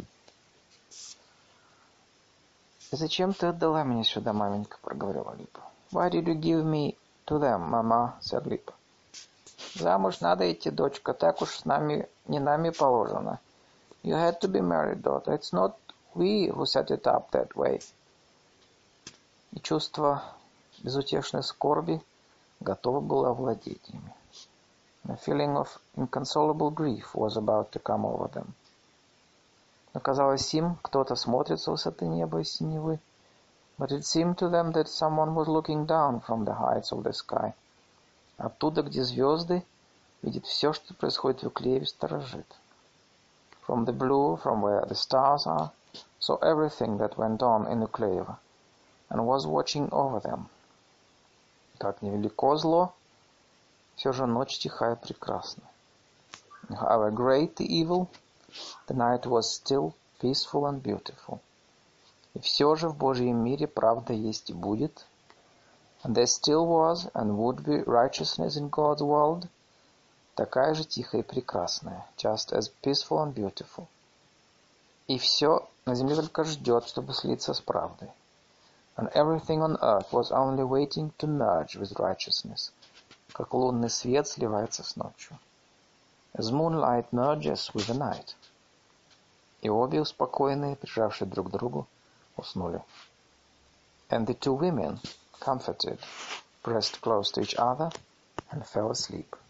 S1: «Зачем ты отдала меня сюда, маменька?» — проговорила Липа. «Why did you give me to them, mama?» — said Липа. «Замуж надо идти, дочка, так уж с нами, не нами положено. You had to be married, daughter. It's not we who set it up that way». И чувство безутешной скорби готово было овладеть ими. A feeling of inconsolable grief was about to come over them. Но казалось им, кто-то смотрит с высоты неба и синевы. But it seemed to them that someone was looking down from the heights of the sky. Оттуда, где звезды, видит все, что происходит в Эклееве, сторожит. From the blue, from where the stars are, saw everything that went on in Эклеево, and was watching over them. Как невелико зло, все же ночь тихая и прекрасна. However great the evil, the night was still peaceful and beautiful. И все же в Божьем мире правда есть и будет. And there still was and would be righteousness in God's world, такая же тихая и прекрасная, just as peaceful and beautiful. И все на земле только ждет, чтобы слиться с правдой. And everything on earth was only waiting to merge with righteousness, как лунный свет сливается с ночью. As moonlight merges with the night. И обе успокоенные, прижавшие друг к другу, уснули. And the two women, comforted, pressed close to each other and fell asleep.